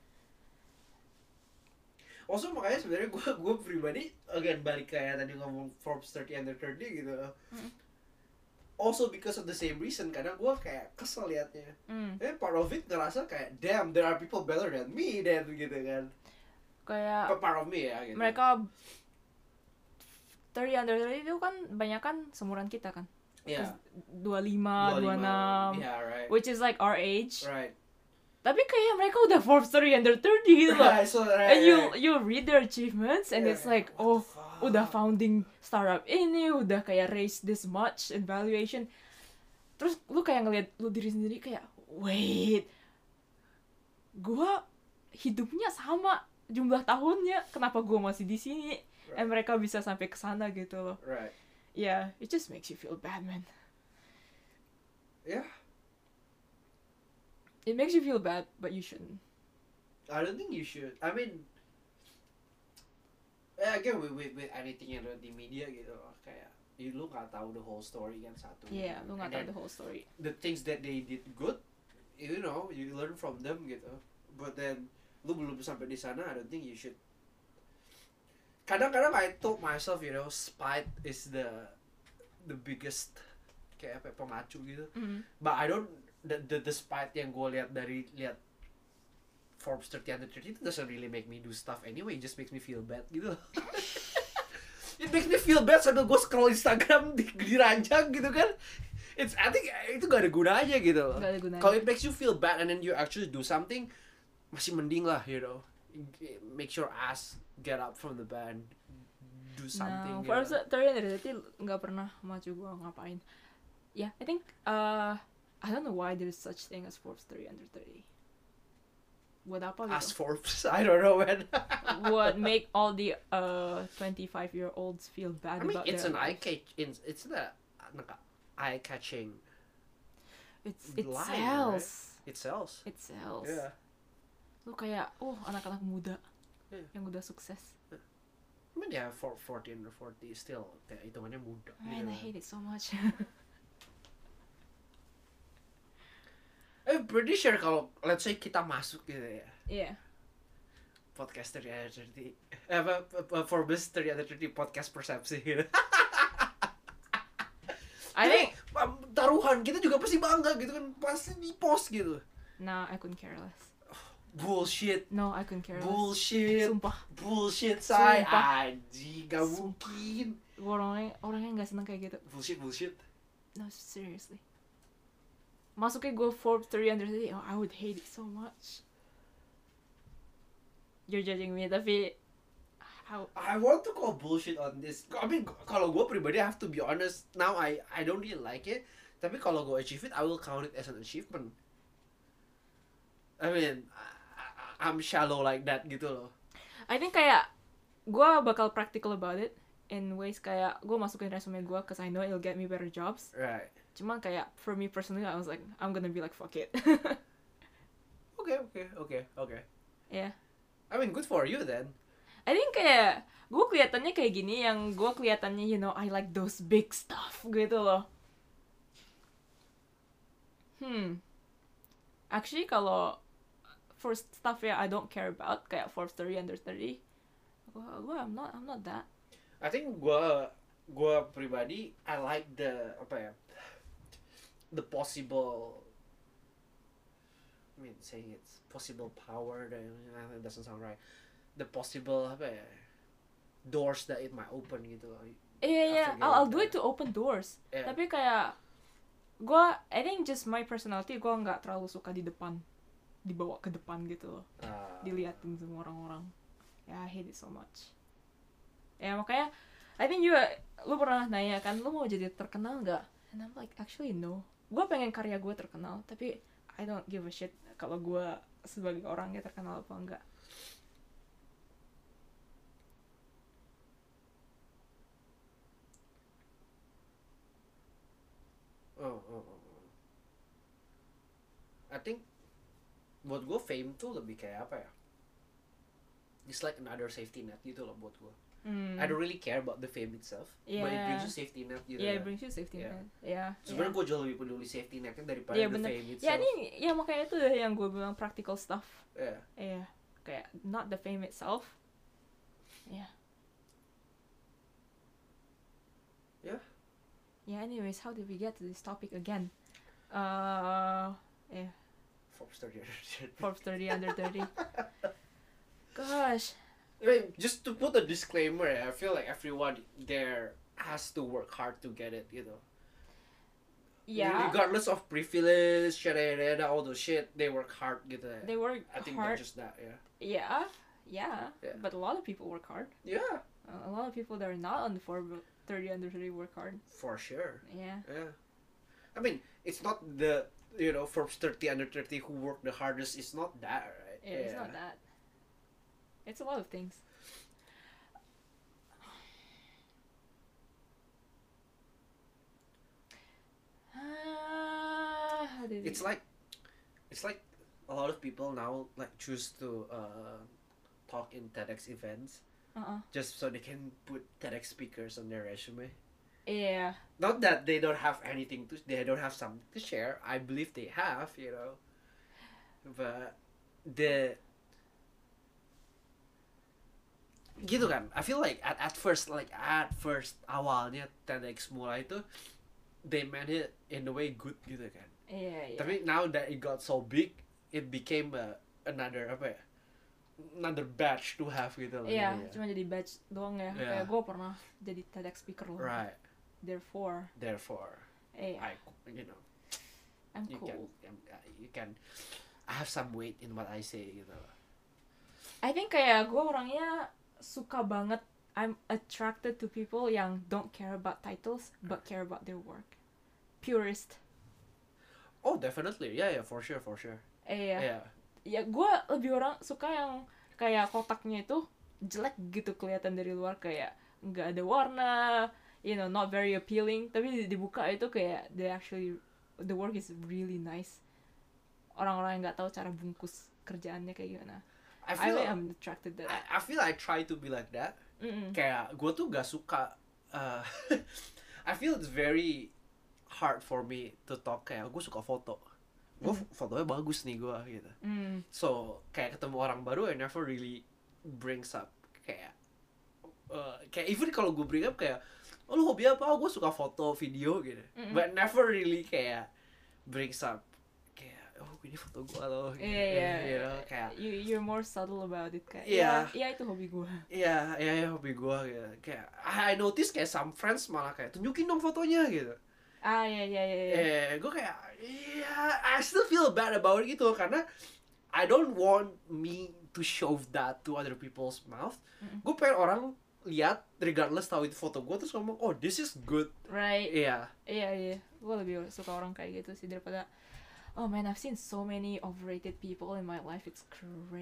Speaker 1: Also makanya sebenarnya gue gue pribadi again balik kayak tadi ngomong Forbes thirty under thirty gitu.
Speaker 2: Mm.
Speaker 1: Also because of the same reason, kadang gue kayak kesel liatnya.
Speaker 2: Mm.
Speaker 1: Eh part of it ngerasa kayak damn there are people better than me then gitu kan.
Speaker 2: Kayak
Speaker 1: But part of me ya gitu.
Speaker 2: mereka thirty under thirty itu kan banyak kan seumuran kita kan.
Speaker 1: Yeah.
Speaker 2: dua puluh lima, dua puluh enam.
Speaker 1: Yeah, right.
Speaker 2: Which is like our age.
Speaker 1: Right.
Speaker 2: Tapi kayak mereka udah Forbes thirty under thirty gitu loh.
Speaker 1: Right, so, right,
Speaker 2: And you
Speaker 1: right.
Speaker 2: you read their achievements and
Speaker 1: Yeah.
Speaker 2: it's like
Speaker 1: What
Speaker 2: oh
Speaker 1: the fuck?
Speaker 2: udah founding startup ini udah kayak raise this much in valuation. Terus lu kayak ngeliat lu diri sendiri kayak wait, gua hidupnya sama jumlah tahunnya, kenapa gua masih di sini?
Speaker 1: Right.
Speaker 2: And mereka bisa sampai ke sana gitu loh.
Speaker 1: Right.
Speaker 2: Yeah, it just makes you feel bad, man.
Speaker 1: Yeah.
Speaker 2: It makes you feel bad, but you shouldn't.
Speaker 1: I don't think you should. I mean, eh, again with, with with anything yang ada di media gitu loh, kayak you lu nggak tahu the whole story kan satu.
Speaker 2: Yeah, lu nggak
Speaker 1: And
Speaker 2: tahu
Speaker 1: then
Speaker 2: the whole story.
Speaker 1: The things that they did good, you know, you learn from them gitu. But then lu belum sampai di sana, I don't think you should. Kadang-kadang I told myself, you know, spite is the the biggest kayak apa ya, pemacu gitu.
Speaker 2: Mm.
Speaker 1: But I don't the the, the spite yang gue lihat dari lihat Forbes thirty under thirty itu doesn't really make me do stuff anyway, it just makes me feel bad gitu. It makes me feel bad sambil gue scroll Instagram di, di ranjang gitu kan. It's I think itu gak ada gunanya gitu.
Speaker 2: Gak ada gunanya.
Speaker 1: Kalau it makes you feel bad and then you actually do something, masih mending lah, you know. Make your ass get up from the bed, do something.
Speaker 2: No,
Speaker 1: gitu.
Speaker 2: Forbes thirty under thirty nggak pernah maju gua ngapain. Yeah, I think uh I don't know why there's such thing as Forbes thirty under thirty. Buat apa gitu?
Speaker 1: As Forbes, I don't know man.
Speaker 2: Would make all the uh twenty-five year olds feel bad
Speaker 1: I mean,
Speaker 2: about
Speaker 1: it's
Speaker 2: their
Speaker 1: an eye
Speaker 2: life.
Speaker 1: catch. It's it's the eye catching.
Speaker 2: It's it
Speaker 1: line,
Speaker 2: sells.
Speaker 1: It sells.
Speaker 2: It sells.
Speaker 1: Yeah.
Speaker 2: Lu kayak oh anak-anak muda
Speaker 1: Yeah.
Speaker 2: yang udah sukses.
Speaker 1: I mean, yeah, for forty under forty still kayak hitungannya muda.
Speaker 2: Man, I
Speaker 1: gitu.
Speaker 2: hate it so much.
Speaker 1: I'm pretty sure kalau let's say kita masuk gitu ya,
Speaker 2: Yeah.
Speaker 1: podcast thirty under thirty, eh, apa apa, Forbes thirty under thirty podcast persepsi gitu.
Speaker 2: I think
Speaker 1: um, taruhan kita juga pasti bangga gitu kan, pasti di post gitu.
Speaker 2: nah I couldn't care less.
Speaker 1: Bullshit.
Speaker 2: No, I couldn't care less.
Speaker 1: Bullshit.
Speaker 2: Sumpah.
Speaker 1: Bullshit, say.
Speaker 2: Sumpah.
Speaker 1: Anjing, gak
Speaker 2: Sumpah.
Speaker 1: mungkin.
Speaker 2: Gua orangnya orangnya nggak seneng kayak gitu.
Speaker 1: Bullshit, bullshit.
Speaker 2: No, seriously. Masuknya gue Forbes thirty under thirty, oh, I would hate it so much. You're judging me, tapi how?
Speaker 1: I want to call bullshit on this. I mean, kalau gue pribadi, I have to be honest. Now, I I don't really like it. Tapi kalau gue achieve it, I will count it as an achievement. I mean, I, I'm shallow like that gitu loh.
Speaker 2: I think kayak gue bakal practical about it in ways kayak gue masukin resume gue, cause I know it'll get me better jobs.
Speaker 1: Right.
Speaker 2: Cuman kayak for me personally, I was like, I'm gonna be like fuck it.
Speaker 1: Okay, okay, okay, okay.
Speaker 2: Yeah.
Speaker 1: I mean, good for you then.
Speaker 2: I think kayak gue kelihatannya kayak gini, yang gue kelihatannya you know I like those big stuff gitu loh. Hmm. Actually kalau for stuff ya I don't care about kayak Forbes thirty under thirty, gue gue I'm not I'm not that.
Speaker 1: I think gue gue pribadi, I like the apa ya, the possible. I mean, saying it's possible power, that that doesn't sound right. The possible apa ya, doors that it might open gitu loh.
Speaker 2: Iya yeah, iya,
Speaker 1: After
Speaker 2: I'll, I'll do
Speaker 1: getting
Speaker 2: it to open doors.
Speaker 1: Yeah.
Speaker 2: Tapi kayak gue, I think just my personality, gue nggak terlalu suka di depan, dibawa ke depan gitu loh,
Speaker 1: Uh,
Speaker 2: diliatin semua orang-orang. Yeah, I hate it so much. Ya makanya I think juga lu pernah nanya kan lu mau jadi terkenal nggak? And I'm like actually no. Gue pengen karya gue terkenal tapi I don't give a shit kalau gue sebagai orangnya terkenal apa enggak.
Speaker 1: Oh, oh, oh. I think buat gue fame tuh lebih kayak apa ya? It's like another safety net gitu loh buat gue.
Speaker 2: Hmm.
Speaker 1: I don't really care about the fame itself,
Speaker 2: yeah.
Speaker 1: but it brings you safety net gitu.
Speaker 2: Yeah,
Speaker 1: ya.
Speaker 2: it brings you safety
Speaker 1: Yeah.
Speaker 2: net. Yeah.
Speaker 1: Sebenarnya
Speaker 2: yeah.
Speaker 1: gue jauh lebih peduli safety netnya daripada
Speaker 2: yeah,
Speaker 1: the
Speaker 2: bener.
Speaker 1: fame itself.
Speaker 2: Ya ini ya makanya itu yang gue bilang practical stuff.
Speaker 1: Yeah.
Speaker 2: Yeah. Kayak not the fame itself. Yeah.
Speaker 1: Yeah.
Speaker 2: Yeah. Anyways, how did we get to this topic again? Uh, yeah.
Speaker 1: Forbes thirty under thirty.
Speaker 2: Forbes thirty under thirty. Gosh.
Speaker 1: I mean, just to put a disclaimer, I feel like everyone there has to work hard to get it, you know.
Speaker 2: Yeah.
Speaker 1: Regardless of privilege, shit, all the shit, they work hard gitu.
Speaker 2: They work
Speaker 1: I think
Speaker 2: hard.
Speaker 1: that's just that, yeah.
Speaker 2: Yeah. Yeah.
Speaker 1: Yeah.
Speaker 2: But a lot of people work hard.
Speaker 1: Yeah,
Speaker 2: Uh, a lot of people that are not on the Forbes thirty under thirty work hard.
Speaker 1: for sure.
Speaker 2: Yeah.
Speaker 1: Yeah. I mean, it's not the, you know, Forbes thirty under thirty who work the hardest. It's not that, right?
Speaker 2: Yeah, it's not that. It's a lot of things. Uh, how did
Speaker 1: It's
Speaker 2: we...
Speaker 1: like, it's like a lot of people now like choose to uh, talk in TEDx events
Speaker 2: Uh-uh.
Speaker 1: just so they can put TEDx speakers on their resume.
Speaker 2: Yeah.
Speaker 1: Not that they don't have anything to, they don't have something to share. I believe they have, you know. But the gitu kan, I feel like at, at first like at first awalnya TEDx mulai itu they meant it in a way good gitu kan.
Speaker 2: Yeah, yeah.
Speaker 1: Tapi now that it got so big, it became a, another apa ya? Another batch to have gitu loh.
Speaker 2: Iya,
Speaker 1: jadinya.
Speaker 2: cuma jadi badge doang ya.
Speaker 1: Yeah.
Speaker 2: Kayak gue pernah jadi TEDx speaker loh.
Speaker 1: Right.
Speaker 2: Therefore,
Speaker 1: Therefore,
Speaker 2: eh,
Speaker 1: I you know
Speaker 2: I'm
Speaker 1: you
Speaker 2: cool.
Speaker 1: can you can I have some weight in what I say gitu.
Speaker 2: I think kayak gue orangnya suka banget. I'm attracted to people yang don't care about titles but care about their work. Purist.
Speaker 1: Oh, definitely. Yeah, yeah, for sure, for sure.
Speaker 2: Eh, ya.
Speaker 1: Yeah.
Speaker 2: Ya gue lebih orang suka yang kayak kotaknya itu jelek gitu kelihatan dari luar, kayak nggak ada warna, you know, not very appealing. Tapi dibuka itu kayak they actually the work is really nice. Orang-orang yang nggak tahu cara bungkus kerjaannya kayak gimana.
Speaker 1: I
Speaker 2: I
Speaker 1: feel
Speaker 2: think I'm attracted to that.
Speaker 1: I, I feel I try to be like that.
Speaker 2: Mm-mm.
Speaker 1: Kayak gue tuh gak suka. Uh, I feel it's very hard for me to talk. Kayak gue suka foto. Gue
Speaker 2: Mm.
Speaker 1: fotonya bagus nih gue gitu.
Speaker 2: Mm.
Speaker 1: So kayak ketemu orang baru, I never really brings up kayak uh, kayak even kalau gue bring up kayak, oh lu hobi apa? Oh, gue suka foto, video gitu.
Speaker 2: Mm-mm.
Speaker 1: But never really kayak brings up kayak, oh ini foto gue loh.
Speaker 2: Iya, iya.
Speaker 1: You know, kayak
Speaker 2: You you're more subtle about it kayak.
Speaker 1: Iya.
Speaker 2: Iya, itu hobi gue.
Speaker 1: iya, iya, iya hobi gue gitu. Kayak I, I notice kayak some friends malah kayak tunjukin dong fotonya gitu.
Speaker 2: Ah, iya, iya, iya. iya.
Speaker 1: Eh, gue kayak, iya, I still feel bad about it gitu karena I don't want me to show that to other people's mouth.
Speaker 2: Mm-mm.
Speaker 1: Gue pengen orang lihat regardless tahu itu foto gue terus ngomong, oh this is good.
Speaker 2: Right.
Speaker 1: Iya.
Speaker 2: Iya, iya. Gue lebih suka orang kayak gitu sih daripada, oh man, I've seen so many overrated people in my life. It's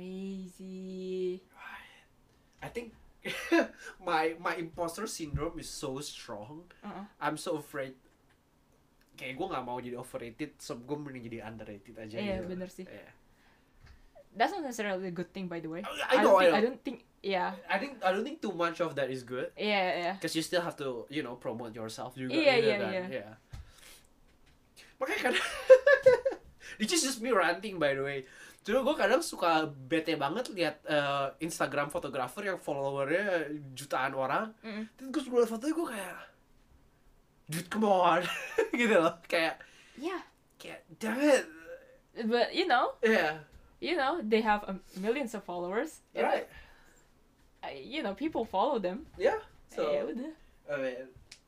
Speaker 2: crazy.
Speaker 1: I think my my imposter syndrome is so strong.
Speaker 2: Uh-uh.
Speaker 1: I'm so afraid. Kayak gue nggak mau jadi overrated, so gue mending jadi underrated aja.
Speaker 2: Iya,
Speaker 1: gitu.
Speaker 2: bener sih.
Speaker 1: Iya.
Speaker 2: That's not necessarily a good thing, by the way.
Speaker 1: I know,
Speaker 2: don't
Speaker 1: I
Speaker 2: think,
Speaker 1: know.
Speaker 2: I don't think, yeah.
Speaker 1: I think I don't think too much of that is good.
Speaker 2: Iya, iya.
Speaker 1: Because you still have to, you know, promote yourself juga.
Speaker 2: Iya,
Speaker 1: gitu
Speaker 2: iya,
Speaker 1: kan.
Speaker 2: iya.
Speaker 1: Yeah. Makanya kadang this is just me ranting by the way. Cuma gue kadang suka bete banget lihat uh, Instagram fotografer yang followernya jutaan orang.
Speaker 2: Mm-mm.
Speaker 1: Terus gue suka liat fotonya gue kayak, dude come on. Gitu loh. Kayak,
Speaker 2: Yeah.
Speaker 1: kayak damn it.
Speaker 2: But, you know,
Speaker 1: Yeah.
Speaker 2: you know, they have um, millions of followers. You know,
Speaker 1: Right.
Speaker 2: I- you know, people follow them.
Speaker 1: Yeah. So,
Speaker 2: Eh, udah.
Speaker 1: I mean,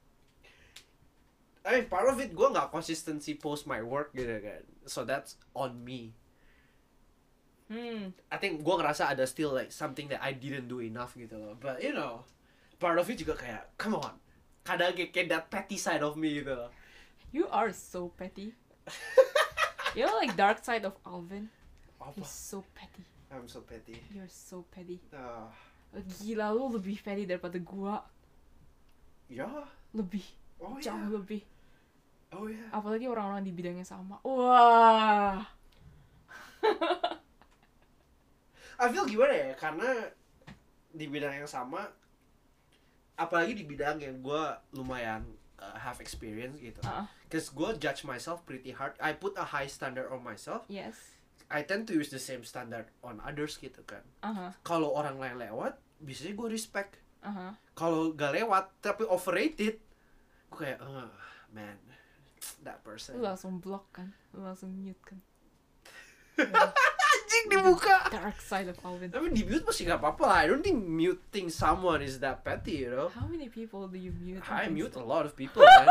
Speaker 1: I mean part of it gue nggak consistency post my work gitu kan. So that's on me.
Speaker 2: Hmm.
Speaker 1: I think gue ngerasa ada still like something that I didn't do enough gitu loh. But you know, part of it juga kayak, come on, kadang kayak, kayak that petty side of me gitu loh.
Speaker 2: You are so petty. You're like dark side of Alvin.
Speaker 1: Apa?
Speaker 2: He's so petty.
Speaker 1: I'm so petty.
Speaker 2: You're so petty.
Speaker 1: Ah,
Speaker 2: Gila, lu lebih petty daripada gua.
Speaker 1: ya.
Speaker 2: Lebih.
Speaker 1: Oh
Speaker 2: Jauh
Speaker 1: ya.
Speaker 2: lebih.
Speaker 1: Oh ya.
Speaker 2: Apalagi orang-orang di bidangnya sama. Wah.
Speaker 1: I feel gimana ya, karena di bidang yang sama, apalagi di bidang yang gue lumayan uh, have experience gitu.
Speaker 2: Uh-uh.
Speaker 1: Cause gue judge myself pretty hard. I put a high standard on myself.
Speaker 2: Yes.
Speaker 1: I tend to use the same standard on others gitu kan.
Speaker 2: Uh-huh.
Speaker 1: Kalau orang lain lewat, biasanya gue respect.
Speaker 2: Uh-huh.
Speaker 1: Kalau gak lewat tapi overrated, gue kayak, uh, man, that person.
Speaker 2: Lu langsung block kan? Lu langsung mute kan?
Speaker 1: Anjing dibuka.
Speaker 2: Dark side of Alvin.
Speaker 1: Tapi di mute masih gak apa-apa lah. I don't think muting someone is that petty, you know.
Speaker 2: How many people do you mute?
Speaker 1: I
Speaker 2: on
Speaker 1: mute a
Speaker 2: Insta?
Speaker 1: lot of people, man.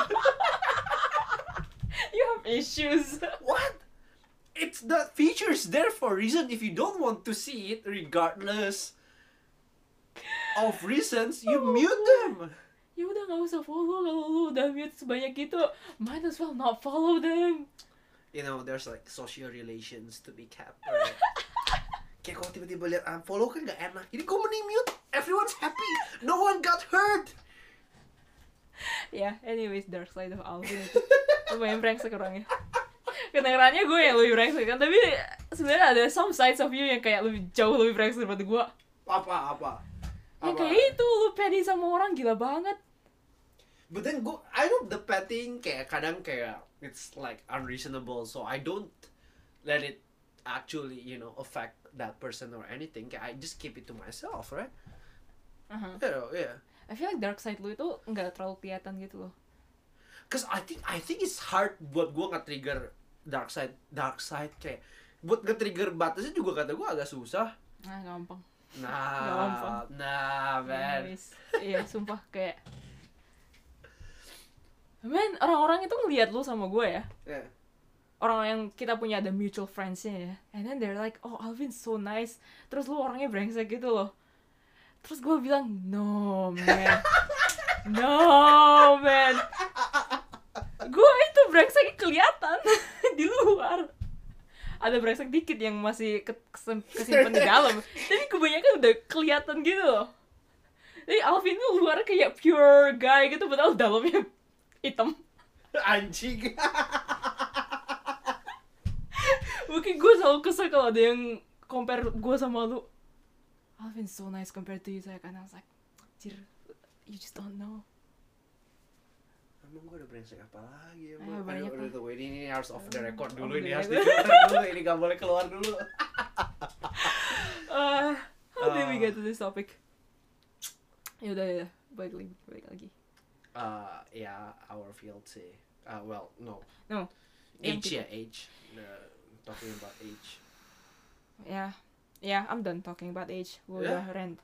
Speaker 2: You have issues.
Speaker 1: What? It's the feature's there for a reason. If you don't want to see it, regardless of reasons, you mute them.
Speaker 2: Ya udah nggak usah follow kalau lu udah mute sebanyak itu. Might as well not follow them.
Speaker 1: You know, there's like social relations to be kept. Right? Kayak kalau tiba-tiba lihat unfollow kan gak enak. Ini gue mending mute. Everyone's happy. No one got hurt.
Speaker 2: Ya, yeah, anyways, dark side of Alvin itu lumayan brengsek orangnya. Kedengarannya gue yang lebih brengsek kan, tapi sebenarnya ada some sides of you yang kayak lebih jauh lebih brengsek daripada gue.
Speaker 1: Apa apa?
Speaker 2: Yang
Speaker 1: Apa?
Speaker 2: kayak itu, lu petty sama orang gila banget.
Speaker 1: But then gue, I know the petting kayak kadang kayak it's like unreasonable, so I don't let it actually, you know, affect that person or anything. Kayak I just keep it to myself, right?
Speaker 2: Uh-huh.
Speaker 1: You know, yeah.
Speaker 2: I feel like dark side lu itu nggak terlalu kelihatan gitu loh.
Speaker 1: Cause I think I think it's hard buat gue nge-trigger dark side, dark side kayak buat nge-trigger batasnya juga kata gue agak susah.
Speaker 2: Nah, gampang.
Speaker 1: Nah,
Speaker 2: Gampang.
Speaker 1: nah, man.
Speaker 2: Anyways, iya, sumpah kayak man, orang-orang itu ngelihat lu sama gue ya.
Speaker 1: Yeah.
Speaker 2: Orang yang kita punya ada mutual friends-nya ya. And then they're like, oh Alvin so nice. Terus lu orangnya brengsek gitu loh. Terus gue bilang, no man. No man. Gue itu brengseknya kelihatan di luar. Ada brengsek dikit yang masih ke kesimpan di dalam. Tapi kebanyakan udah kelihatan gitu loh. Jadi Alvin tuh luar kayak pure guy gitu, padahal dalamnya hitam.
Speaker 1: Anjing.
Speaker 2: Mungkin gue selalu kesel kalau ada yang compare gue sama lu. Alvin so nice compared to you, saya kan. I was like, anjir, you just don't know.
Speaker 1: Emang gue udah brengsek apa lagi?
Speaker 2: Ayo,
Speaker 1: Emang
Speaker 2: banyak
Speaker 1: aduh,
Speaker 2: lah.
Speaker 1: udah, ini, ini harus off the record
Speaker 2: Off
Speaker 1: dulu,
Speaker 2: the
Speaker 1: ini harus
Speaker 2: record.
Speaker 1: di dulu, ini gak boleh keluar dulu.
Speaker 2: Uh, how did we
Speaker 1: Uh.
Speaker 2: get to this topic? Yaudah, yaudah, balik lagi, balik lagi.
Speaker 1: Uh, yeah, our field sih. Uh, well, no.
Speaker 2: No.
Speaker 1: Age
Speaker 2: Yang
Speaker 1: ya, age. Uh, talking about age.
Speaker 2: Yeah, yeah, I'm done talking about age. Gue
Speaker 1: Yeah.
Speaker 2: udah rant.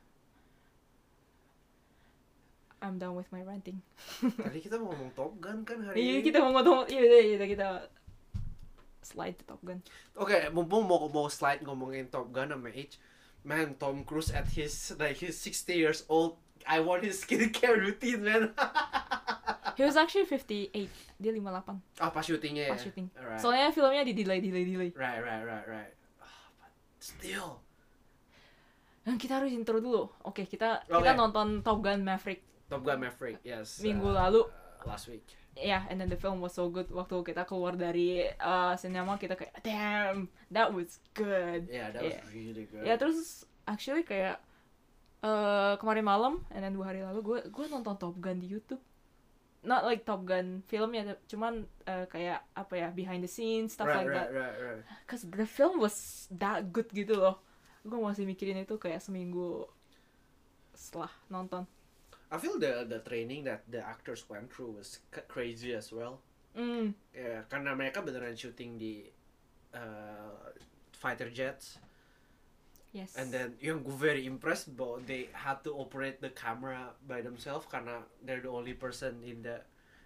Speaker 2: I'm done with my ranting.
Speaker 1: Tadi kita mau ngomong Top Gun kan hari
Speaker 2: Iya,
Speaker 1: ini.
Speaker 2: kita mau ngomong, iya, iya, iya, kita slide to Top Gun.
Speaker 1: Oke, mumpung mau mau slide ngomongin Top Gun sama age. Man, Tom Cruise at his like his sixty years old, I want his skincare routine, man.
Speaker 2: He was actually fifty-eight, dia fifty-eight.
Speaker 1: Ah, pas syutingnya ya.
Speaker 2: Pas syuting.
Speaker 1: Alright.
Speaker 2: Soalnya filmnya di delay, delay, delay.
Speaker 1: Right, right, right, right. Oh, but still.
Speaker 2: Dan kita harus intro dulu. Oke, kita
Speaker 1: Oke.
Speaker 2: kita nonton Top Gun Maverick.
Speaker 1: Top Gun Maverick, yes.
Speaker 2: Minggu
Speaker 1: uh,
Speaker 2: lalu.
Speaker 1: uh, last week.
Speaker 2: Yeah, and then the film was so good. Waktu kita keluar dari uh, cinema, kita kayak, damn, that was good.
Speaker 1: Yeah, that
Speaker 2: Yeah.
Speaker 1: was really good.
Speaker 2: Ya, terus actually kayak uh, kemarin malam, and then dua hari lalu gue gue nonton Top Gun di YouTube. Not like Top Gun filmnya, cuman uh, kayak apa ya, behind the scenes stuff
Speaker 1: right,
Speaker 2: like
Speaker 1: right,
Speaker 2: that.
Speaker 1: right, right.
Speaker 2: Cause the film was that good gitu loh. Gue masih mikirin itu kayak seminggu setelah nonton.
Speaker 1: I feel the the training that the actors went through was c- crazy as well.
Speaker 2: Mm.
Speaker 1: Ya, karena mereka beneran syuting di uh, fighter jets.
Speaker 2: Yes.
Speaker 1: And then yang gue very impressed bahwa they had to operate the camera by themselves karena they're the only person in the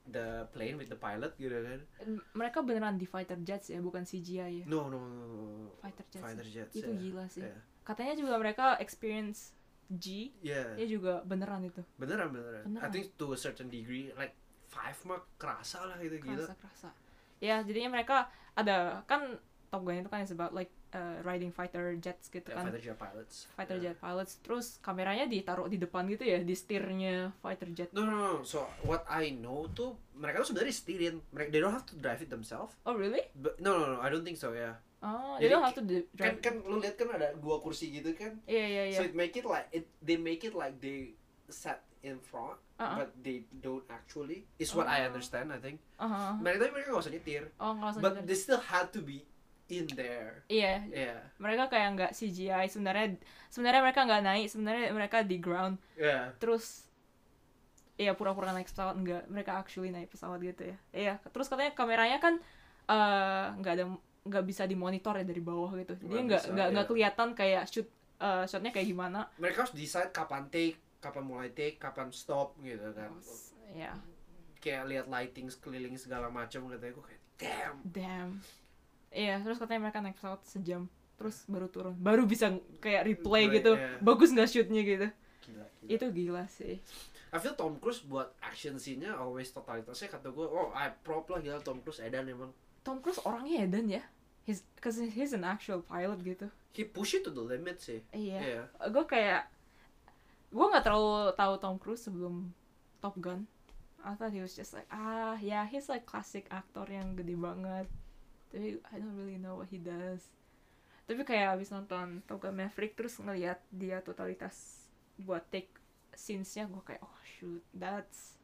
Speaker 1: the plane with the pilot gitu kan.
Speaker 2: Mereka beneran di fighter jets ya, bukan C G I ya.
Speaker 1: No no no, no.
Speaker 2: Fighter jets,
Speaker 1: fighter jets
Speaker 2: itu
Speaker 1: yeah.
Speaker 2: gila sih
Speaker 1: yeah.
Speaker 2: Katanya juga mereka experience G
Speaker 1: yeah.
Speaker 2: dia juga beneran itu
Speaker 1: beneran, beneran
Speaker 2: beneran
Speaker 1: I think to a certain degree like five mah kerasa lah gitu, gila
Speaker 2: kerasa kerasa ya. Jadinya mereka ada kan Top Gun itu kan is about like uh, riding fighter jets gitu
Speaker 1: yeah,
Speaker 2: kan,
Speaker 1: fighter jet pilots
Speaker 2: fighter
Speaker 1: yeah.
Speaker 2: jet pilots. Terus kameranya ditaruh di depan gitu ya, di setirnya fighter jet.
Speaker 1: No, no, no. So what I know tuh mereka tuh sebenarnya setirin. Mereka they don't have to drive it themselves.
Speaker 2: Oh really?
Speaker 1: But, no, no, no. I don't think so ya. Yeah.
Speaker 2: Oh,
Speaker 1: Jadi,
Speaker 2: they don't have to drive.
Speaker 1: Kan kan lu lihat kan ada dua kursi gitu kan.
Speaker 2: Iya yeah, iya yeah, iya.
Speaker 1: So it make it like it they make it like they sat in front, uh-huh. but they don't actually. Is what uh-huh. I understand. I think.
Speaker 2: Uh-huh.
Speaker 1: Mereka mereka nggak usah nyetir.
Speaker 2: Oh nggak usah
Speaker 1: But
Speaker 2: nyetir.
Speaker 1: they still had to be in there.
Speaker 2: Iya.
Speaker 1: Yeah. Yeah.
Speaker 2: Mereka kayak nggak C G I sebenarnya. Sebenarnya mereka nggak naik. Sebenarnya mereka di ground.
Speaker 1: Yeah.
Speaker 2: Terus iya pura-pura naik pesawat, enggak, mereka actually naik pesawat gitu ya. Iya, terus katanya kameranya kan nggak uh, ada nggak bisa dimonitor ya dari bawah gitu. Dia nggak nggak nggak kelihatan kayak shoot uh, shotnya kayak gimana.
Speaker 1: Mereka harus decide kapan take, kapan mulai take, kapan stop gitu kan.
Speaker 2: Iya. Yeah.
Speaker 1: Kayak lihat lighting sekeliling segala macam katanya, gue kayak damn.
Speaker 2: Damn. Iya, terus katanya mereka naik pesawat sejam, terus baru turun, baru bisa kayak replay
Speaker 1: Play,
Speaker 2: gitu,
Speaker 1: yeah.
Speaker 2: bagus nggak shootnya gitu.
Speaker 1: Gila, gila.
Speaker 2: Itu gila sih.
Speaker 1: I feel Tom Cruise buat action scene-nya always totalitasnya kata gue, oh I prop lah gila Tom Cruise edan emang.
Speaker 2: Tom Cruise orangnya edan ya, he's, cause he's an actual pilot gitu.
Speaker 1: He push it to the limit sih.
Speaker 2: Iya. Yeah. Gue kayak, gue nggak terlalu tahu Tom Cruise sebelum Top Gun. I thought he was just like, ah yeah, he's like classic aktor yang gede banget. Tapi I don't really know what he does. Tapi kayak abis nonton Top Gun Maverick terus ngeliat dia totalitas buat take scenes-nya, gue kayak oh shoot, that's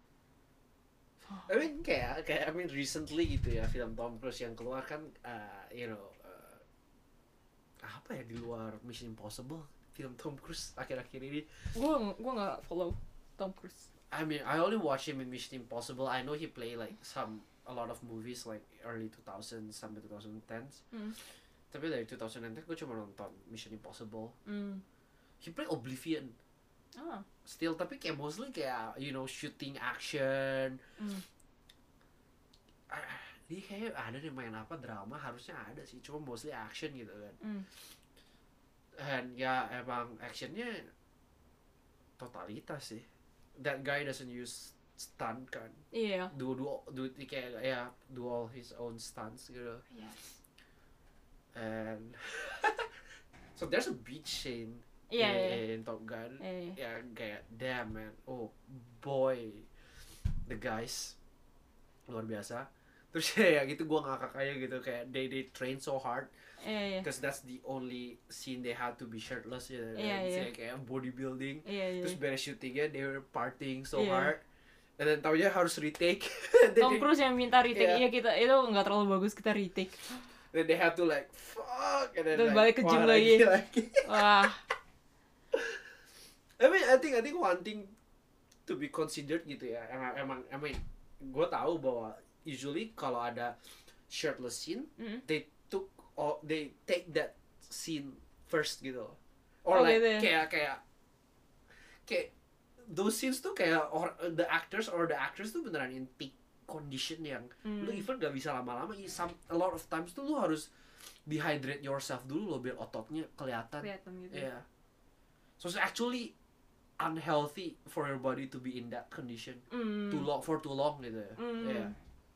Speaker 1: oh. I mean kayak kayak I mean recently gitu ya, film Tom Cruise yang keluar kan uh, you know uh, apa ya di luar Mission Impossible, film Tom Cruise akhir-akhir ini.
Speaker 2: Gue gue nggak follow Tom Cruise.
Speaker 1: I mean I only watch him in Mission Impossible. I know he play like some a lot of movies like early two thousands sampai twenty tens. Mm. Tapi dari twenty ten gue cuma nonton Mission Impossible. Mm. He play Oblivion. Ah. Still tapi kayak mostly kayak you know shooting action. Mm. Uh, dia kayak ada nih main apa drama harusnya ada sih, cuma mostly action gitu kan. Mm. Dan ya emang actionnya totalitas sih. That guy doesn't use stunt kan.
Speaker 2: Iya. Yeah.
Speaker 1: Do do do kayak ya do all his own stunts gitu.
Speaker 2: Yes.
Speaker 1: And so there's a beach scene
Speaker 2: yeah,
Speaker 1: in,
Speaker 2: yeah.
Speaker 1: in Top Gun.
Speaker 2: Yeah, yeah.
Speaker 1: Ya kayak damn man. Oh boy. The guys luar biasa. Terus ya gitu gue ngakak aja gitu kayak they they train so hard.
Speaker 2: Yeah, yeah.
Speaker 1: Because that's the only scene they had to be shirtless ya.
Speaker 2: Yeah, yeah.
Speaker 1: Kayak bodybuilding.
Speaker 2: Yeah, yeah.
Speaker 1: Terus beres syutingnya they were partying so
Speaker 2: yeah.
Speaker 1: hard. And then taunya harus retake.
Speaker 2: Tom Cruise yang minta retake, yeah. Iya kita itu nggak terlalu bagus kita retake.
Speaker 1: Then they have to like fuck and then
Speaker 2: terus
Speaker 1: like,
Speaker 2: balik ke gym lagi. lagi. Wah.
Speaker 1: I mean I think I think one thing to be considered gitu ya. Emang emang I mean gue tahu bahwa usually kalau ada shirtless scene, mm-hmm. they took or they take that scene first gitu. Or oh, like gitu. kayak kayak kayak those scenes tuh kayak or the actors or the actors tuh beneran in peak condition yang mm. lu even gak bisa lama-lama. Some a lot of times tuh lu harus dehydrate yourself dulu lo biar ototnya kelihatan.
Speaker 2: Kelihatan gitu.
Speaker 1: Yeah. So it's actually unhealthy for your body to be in that condition mm. too long for too long gitu ya. Mm. Yeah.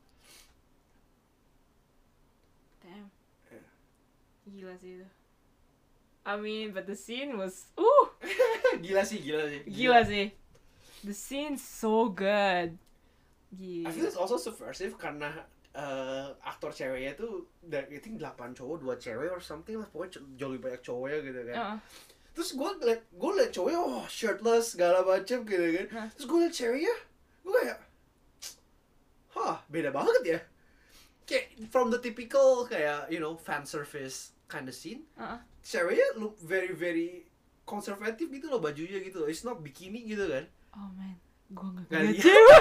Speaker 2: Damn. Yeah. Gila sih itu. I mean, but the scene was uh
Speaker 1: gila sih, gila sih.
Speaker 2: Gila, gila sih. The scene's so good.
Speaker 1: Gila. I feel it's also subversive karena uh, aktor ceweknya tuh dari I think delapan cowok, dua cewek or something lah, pokoknya jauh lebih banyak cowoknya gitu kan. Uh-uh. Terus gue liat, gue liat cowoknya oh shirtless segala macem gitu kan. Uh. Terus gue liat ceweknya, gue kayak, hah beda banget ya. Kayak from the typical kayak you know fan service kind of scene. Uh-uh. Ceweknya look very very konservatif gitu loh bajunya gitu loh. It's not bikini gitu kan.
Speaker 2: Oh man, gue gak ngeliat cewek.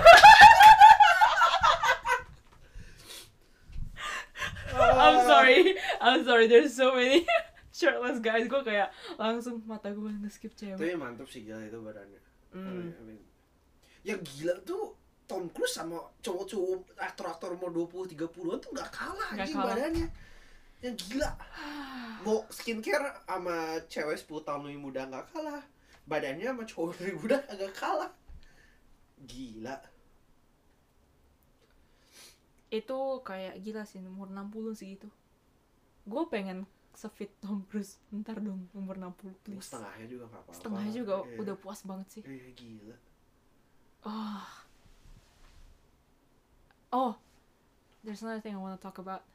Speaker 2: I'm sorry, I'm sorry. There's so many shirtless guys. Gue kayak langsung mata gue nge-skip cewek.
Speaker 1: Tapi mantap sih gila itu badannya. Mm. I mean, yang gila tuh Tom Cruise sama cowok-cowok aktor-aktor umur dua puluh tiga puluhan tuh gak kalah
Speaker 2: Nggak
Speaker 1: anjing
Speaker 2: kalah.
Speaker 1: badannya. Yang gila. Mau skincare sama cewek sepuluh tahun lebih muda gak kalah. Badannya sama cowok lebih muda agak kalah. Gila.
Speaker 2: Itu kayak gila sih, umur enam puluh segitu. Gue pengen sefit Tom Cruise. Bentar dong, umur enam puluh please.
Speaker 1: Setengahnya juga gak apa-apa.
Speaker 2: Setengahnya juga
Speaker 1: Iya.
Speaker 2: udah puas banget sih.
Speaker 1: Iya gila.
Speaker 2: Oh. Oh. There's another thing I want to talk about.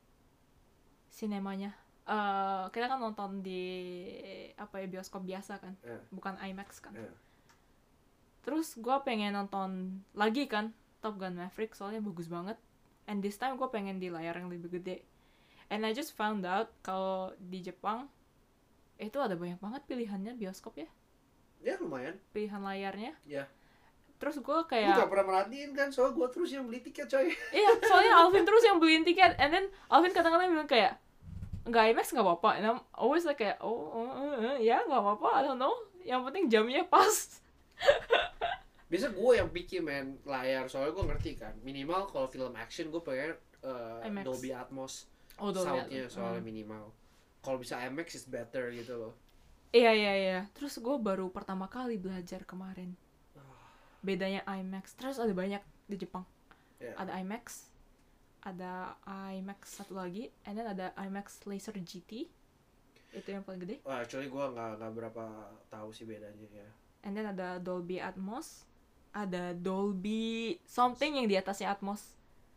Speaker 2: Sinemanya. Eh, kita kan nonton di apa ya, bioskop biasa kan,
Speaker 1: Iya.
Speaker 2: bukan IMAX kan.
Speaker 1: Iya.
Speaker 2: Terus gue pengen nonton lagi kan Top Gun Maverick, soalnya bagus banget. And this time gue pengen di layar yang lebih gede. And I just found out kalau di Jepang itu ada banyak banget pilihannya bioskop ya,
Speaker 1: Ya lumayan.
Speaker 2: pilihan layarnya.
Speaker 1: Ya.
Speaker 2: Terus gue
Speaker 1: Gue
Speaker 2: kayak,
Speaker 1: gak pernah merhatiin kan, soal gue terus yang beli tiket coy.
Speaker 2: iya, soalnya Alvin terus yang beliin tiket. And then Alvin kadang-kadang bilang kayak, nggak IMAX nggak apa-apa. And I'm always like kayak, oh, uh, uh, uh, ya nggak apa-apa, I don't know. Yang penting jamnya pas.
Speaker 1: Biasa gue yang picky man layar, soalnya gue ngerti kan. Minimal kalau film action gue pengen uh,
Speaker 2: IMAX.
Speaker 1: Dolby Atmos.
Speaker 2: Oh, Dolby
Speaker 1: Soundnya
Speaker 2: Atmos.
Speaker 1: soalnya
Speaker 2: Hmm.
Speaker 1: minimal. Kalau bisa IMAX is better gitu loh.
Speaker 2: Iya, iya, iya. Terus gue baru pertama kali belajar kemarin bedanya IMAX. Terus ada banyak di Jepang.
Speaker 1: Yeah.
Speaker 2: Ada IMAX, ada IMAX satu lagi, and then ada IMAX Laser G T. Itu yang paling gede.
Speaker 1: Wah, actually gue nggak nggak berapa tahu sih bedanya ya.
Speaker 2: And then ada Dolby Atmos, ada Dolby something yang di atasnya Atmos.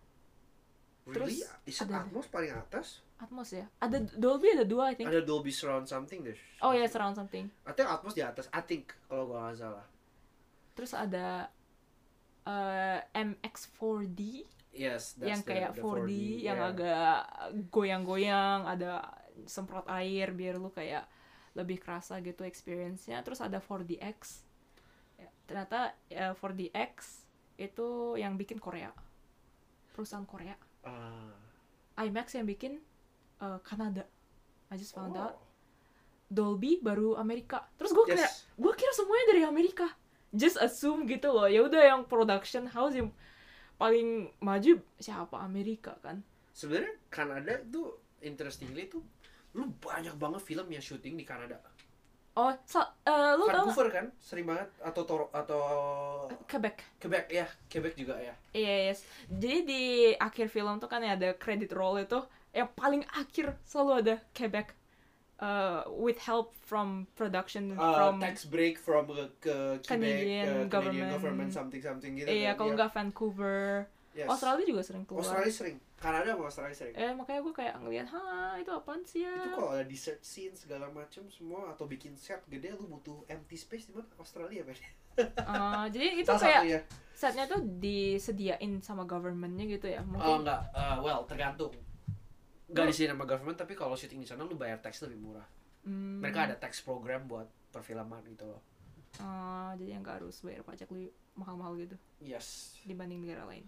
Speaker 1: Really?
Speaker 2: Terus
Speaker 1: Is
Speaker 2: ada-
Speaker 1: Atmos paling atas?
Speaker 2: Atmos ya? Ada Dolby, ada dua I think.
Speaker 1: Ada Dolby Surround something deh.
Speaker 2: Oh ya, surround something.
Speaker 1: I think Atmos di atas. I think kalau gue nggak salah.
Speaker 2: Terus ada uh, M X four D
Speaker 1: Yes, that's
Speaker 2: yang
Speaker 1: the-
Speaker 2: kayak
Speaker 1: the
Speaker 2: four D, yang
Speaker 1: yeah.
Speaker 2: agak goyang-goyang, ada semprot air biar lu kayak lebih kerasa gitu experience-nya. Terus ada four D X. Ya, ternyata ya, four D X itu yang bikin Korea. Perusahaan Korea.
Speaker 1: Ah.
Speaker 2: IMAX yang bikin uh, Kanada. I just found
Speaker 1: Oh.
Speaker 2: out. Dolby baru Amerika. Terus gue kayak,
Speaker 1: Yes.
Speaker 2: gue kira semuanya dari Amerika. Just assume gitu loh. Ya udah yang production house yang paling maju siapa, Amerika kan.
Speaker 1: Sebenarnya Kanada tuh interestingly tuh lu banyak banget film yang syuting di Kanada.
Speaker 2: Oh, so, uh, lu tau
Speaker 1: Vancouver kan sering banget atau Toro atau
Speaker 2: nggak? Quebec.
Speaker 1: Quebec ya, Quebec juga ya.
Speaker 2: Iya, yes. Jadi di akhir film tuh kan ada credit roll itu, yang paling akhir selalu ada Quebec. Uh, with help from production
Speaker 1: Uh,
Speaker 2: from
Speaker 1: tax break from ke, ke Quebec,
Speaker 2: Canadian
Speaker 1: uh, Canadian
Speaker 2: government.
Speaker 1: government something something gitu.
Speaker 2: iya,
Speaker 1: kan,
Speaker 2: kalau
Speaker 1: ya.
Speaker 2: nggak Vancouver.
Speaker 1: Yes.
Speaker 2: Australia juga sering keluar.
Speaker 1: Australia sering, Kanada sama Australia sering.
Speaker 2: Eh makanya gue kayak ngeliat, ha itu apaan sih ya?
Speaker 1: Itu kalau ada desert scene segala macam semua atau bikin set gede lu butuh empty space di mana? Australia kan.
Speaker 2: Uh, jadi itu
Speaker 1: Salah
Speaker 2: kayak
Speaker 1: satunya.
Speaker 2: setnya tuh disediain sama governmentnya gitu ya?
Speaker 1: Oh
Speaker 2: Mungkin.
Speaker 1: enggak, uh, well tergantung. Enggak di sini sama government, tapi kalau syuting di sana lu bayar tax lebih murah.
Speaker 2: Hmm,
Speaker 1: Mereka ada tax program buat perfilman gitu loh.
Speaker 2: uh, jadi yang nggak harus bayar pajak lebih mahal-mahal gitu
Speaker 1: Yes.
Speaker 2: dibanding negara lain.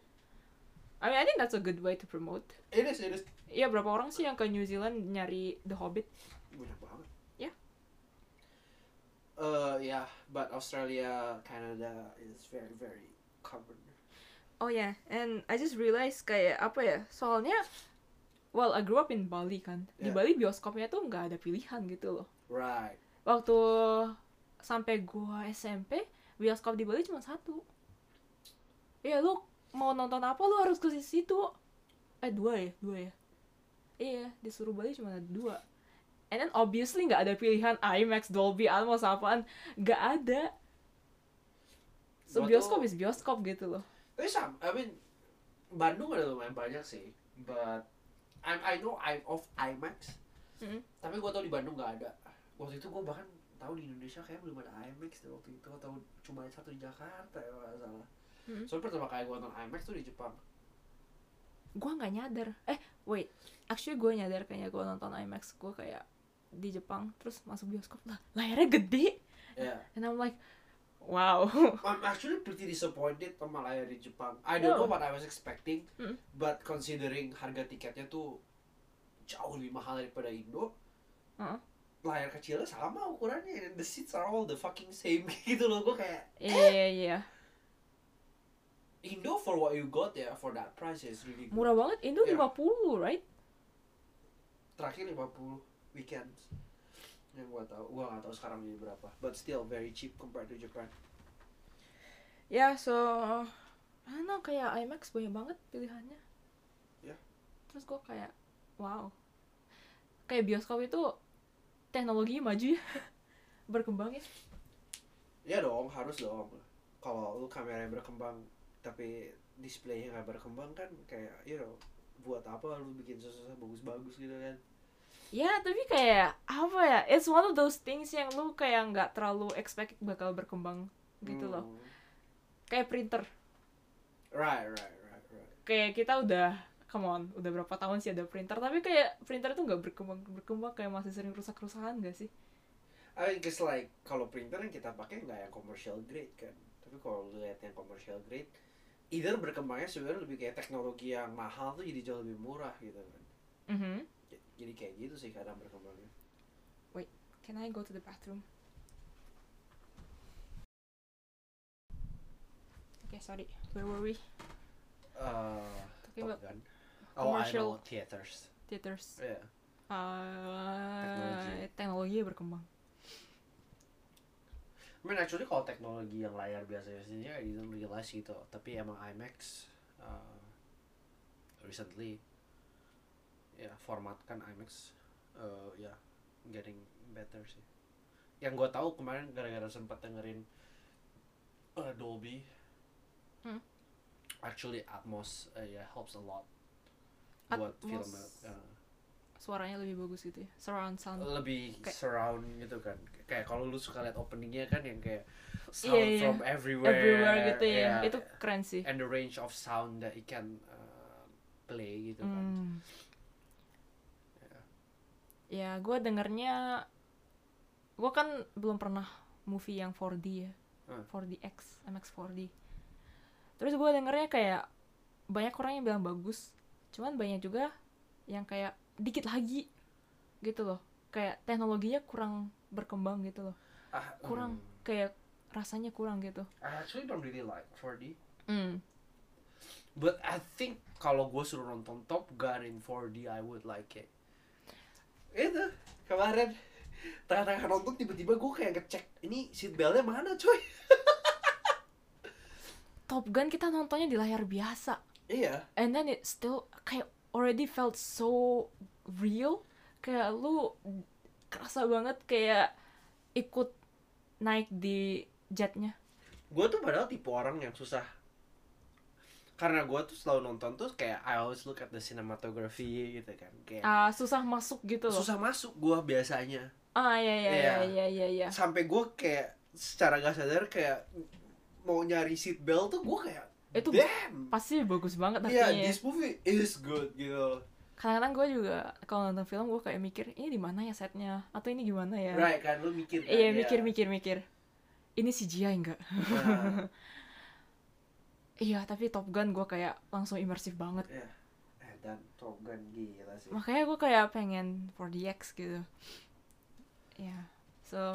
Speaker 2: I mean, I think that's a good way to promote.
Speaker 1: It is, it is.
Speaker 2: Iya, berapa orang sih yang ke New Zealand nyari The Hobbit?
Speaker 1: Banyak banget.
Speaker 2: Ya.
Speaker 1: Uh, yeah, but Australia, Canada is very, very covered.
Speaker 2: Oh ya, yeah. And I just realized kayak apa ya? Soalnya, well, I grew up in Bali kan. Di
Speaker 1: Yeah.
Speaker 2: Bali bioskopnya tuh nggak ada pilihan gitu loh.
Speaker 1: Right.
Speaker 2: Waktu sampai gua S M P, bioskop di Bali cuma satu. Ya lu mau nonton apa lu harus ke situ. Eh dua ya, dua ya. Iya, disuruh Bali cuma ada dua. And then obviously nggak ada pilihan IMAX, Dolby Atmos apaan, nggak ada. So
Speaker 1: Gua
Speaker 2: bioskop
Speaker 1: tuh-
Speaker 2: is bioskop gitu loh.
Speaker 1: Tapi sama, I mean, Bandung ada lumayan banyak sih, but I I know I'm of IMAX,
Speaker 2: Mm-hmm.
Speaker 1: tapi gue tau di Bandung nggak ada. Waktu itu gue bahkan tahu di Indonesia kayak belum ada IMAX deh waktu itu, atau cuma ada satu di Jakarta ya kalau nggak salah.
Speaker 2: Mm-hmm.
Speaker 1: Soalnya pertama kali gue nonton IMAX tuh di Jepang.
Speaker 2: Gue nggak nyadar. Eh wait, actually gue nyadar kayaknya gue nonton IMAX gue kayak di Jepang, terus masuk bioskop lah, layarnya gede.
Speaker 1: Yeah.
Speaker 2: And I'm like, wow.
Speaker 1: I'm actually pretty disappointed sama layar di Jepang. I don't
Speaker 2: Oh.
Speaker 1: know what I was expecting,
Speaker 2: Mm.
Speaker 1: but considering harga tiketnya tuh jauh lebih mahal daripada Indo,
Speaker 2: Uh-uh.
Speaker 1: layar kecilnya sama ukurannya, and the seats are all the fucking same gitu loh. Gue kayak
Speaker 2: Iya, iya, iya.
Speaker 1: Indo for what you got ya, for that price is really good.
Speaker 2: Murah banget, Indo
Speaker 1: Yeah.
Speaker 2: lima puluh, right?
Speaker 1: Terakhir lima puluh weekends. Yang gua tahu, gua nggak tahu sekarang ini berapa. But still very cheap compared to Japan.
Speaker 2: Ya, yeah, so I don't know, kayak IMAX banyak banget pilihannya.
Speaker 1: Ya. Yeah.
Speaker 2: Terus gue kayak, wow. Kayak bioskop itu teknologi maju ya. Berkembang ya.
Speaker 1: Ya dong, harus dong. Kalau lu kameranya berkembang tapi displaynya nggak berkembang kan kayak, you know, buat apa lu bikin susah-susah bagus-bagus gitu kan?
Speaker 2: Ya, tapi kayak apa ya? It's one of those things yang lu kayak nggak terlalu expect bakal berkembang gitu
Speaker 1: Hmm.
Speaker 2: loh. Kayak printer.
Speaker 1: Right, right, right, right.
Speaker 2: Kayak kita udah, come on, udah berapa tahun sih ada printer, tapi kayak printer itu nggak berkembang berkembang kayak masih sering rusak-rusakan gak sih?
Speaker 1: I mean, cause like kalau printer yang kita pakai nggak yang commercial grade kan, tapi kalau lu lihat yang commercial grade, either berkembangnya sebenarnya lebih kayak teknologi yang mahal tuh jadi jauh lebih murah gitu kan.
Speaker 2: Mhm.
Speaker 1: Jadi kayak gitu sih kadang berkembangnya.
Speaker 2: Wait, can I go to the bathroom? Okay, sorry. Where were we?
Speaker 1: Uh,
Speaker 2: Talking
Speaker 1: Top
Speaker 2: about
Speaker 1: Gun. Oh, I
Speaker 2: commercial
Speaker 1: know, theaters.
Speaker 2: theaters.
Speaker 1: Yeah.
Speaker 2: Uh,
Speaker 1: Teknologi.
Speaker 2: teknologi berkembang.
Speaker 1: I mean actually kalau teknologi yang layar biasa-biasanya I didn't realize gitu, tapi emang IMAX uh, recently ya yeah, formatkan IMAX uh, ya yeah, getting better sih. Yang gue tahu kemarin gara-gara sempat dengerin uh, Dolby,
Speaker 2: Hmm.
Speaker 1: actually Atmos uh, ya yeah, helps a lot buat
Speaker 2: Atmos.
Speaker 1: film uh,
Speaker 2: Suaranya lebih bagus gitu ya, surround sound.
Speaker 1: lebih
Speaker 2: Kayak-
Speaker 1: surround gitu kan, kayak kalau lu suka lihat openingnya kan yang kayak sound
Speaker 2: Iya, iya.
Speaker 1: from everywhere,
Speaker 2: Everywhere gitu ya,
Speaker 1: yeah.
Speaker 2: itu keren sih.
Speaker 1: And the range of sound that it can uh, play gitu kan.
Speaker 2: Hmm.
Speaker 1: Yeah.
Speaker 2: Ya, gue dengernya, gue kan belum pernah movie yang four D ya,
Speaker 1: Hmm.
Speaker 2: four D X, IMAX four D. Terus gue dengernya kayak banyak orang yang bilang bagus, cuman banyak juga yang kayak dikit lagi gitu loh, kayak teknologinya kurang berkembang gitu loh,
Speaker 1: Ah,
Speaker 2: kurang
Speaker 1: hmm.
Speaker 2: kayak rasanya kurang gitu.
Speaker 1: I actually don't really like four D,
Speaker 2: Hmm.
Speaker 1: but I think kalau gue suruh nonton Top Gun in four D I would like it. Itu kemarin tengah-tengah nonton tiba-tiba gue kayak ngecek ini seat beltnya mana coy.
Speaker 2: Top Gun kita nontonnya di layar biasa,
Speaker 1: Iya.
Speaker 2: and then it still kayak already felt so real, kayak lu kerasa banget kayak ikut naik di jetnya.
Speaker 1: Gue tuh padahal tipe orang yang susah, karena gue tuh selalu nonton tuh kayak I always look at the cinematography gitu kan, kayak
Speaker 2: Ah, susah masuk gitu loh.
Speaker 1: susah masuk gue biasanya.
Speaker 2: Ah, ya ya
Speaker 1: Iya.
Speaker 2: ya ya ya ya.
Speaker 1: Sampai gue kayak secara gak sadar kayak mau nyari seat belt tuh gue kayak
Speaker 2: Itu
Speaker 1: damn.
Speaker 2: pasti bagus banget tapi
Speaker 1: Iya,
Speaker 2: ya.
Speaker 1: this movie is good gitu.
Speaker 2: Kadang-kadang gue juga kalau nonton film gue kayak mikir ini di mana ya setnya atau ini gimana ya.
Speaker 1: Right kan, lu mikir kan.
Speaker 2: Iya,
Speaker 1: ya.
Speaker 2: mikir mikir mikir. Ini C G I enggak?
Speaker 1: Nah,
Speaker 2: Iya, tapi Top Gun gue kayak langsung imersif banget.
Speaker 1: ya. Eh, dan Top Gun gila sih.
Speaker 2: Makanya gue kayak pengen four D X gitu. Ya, yeah. So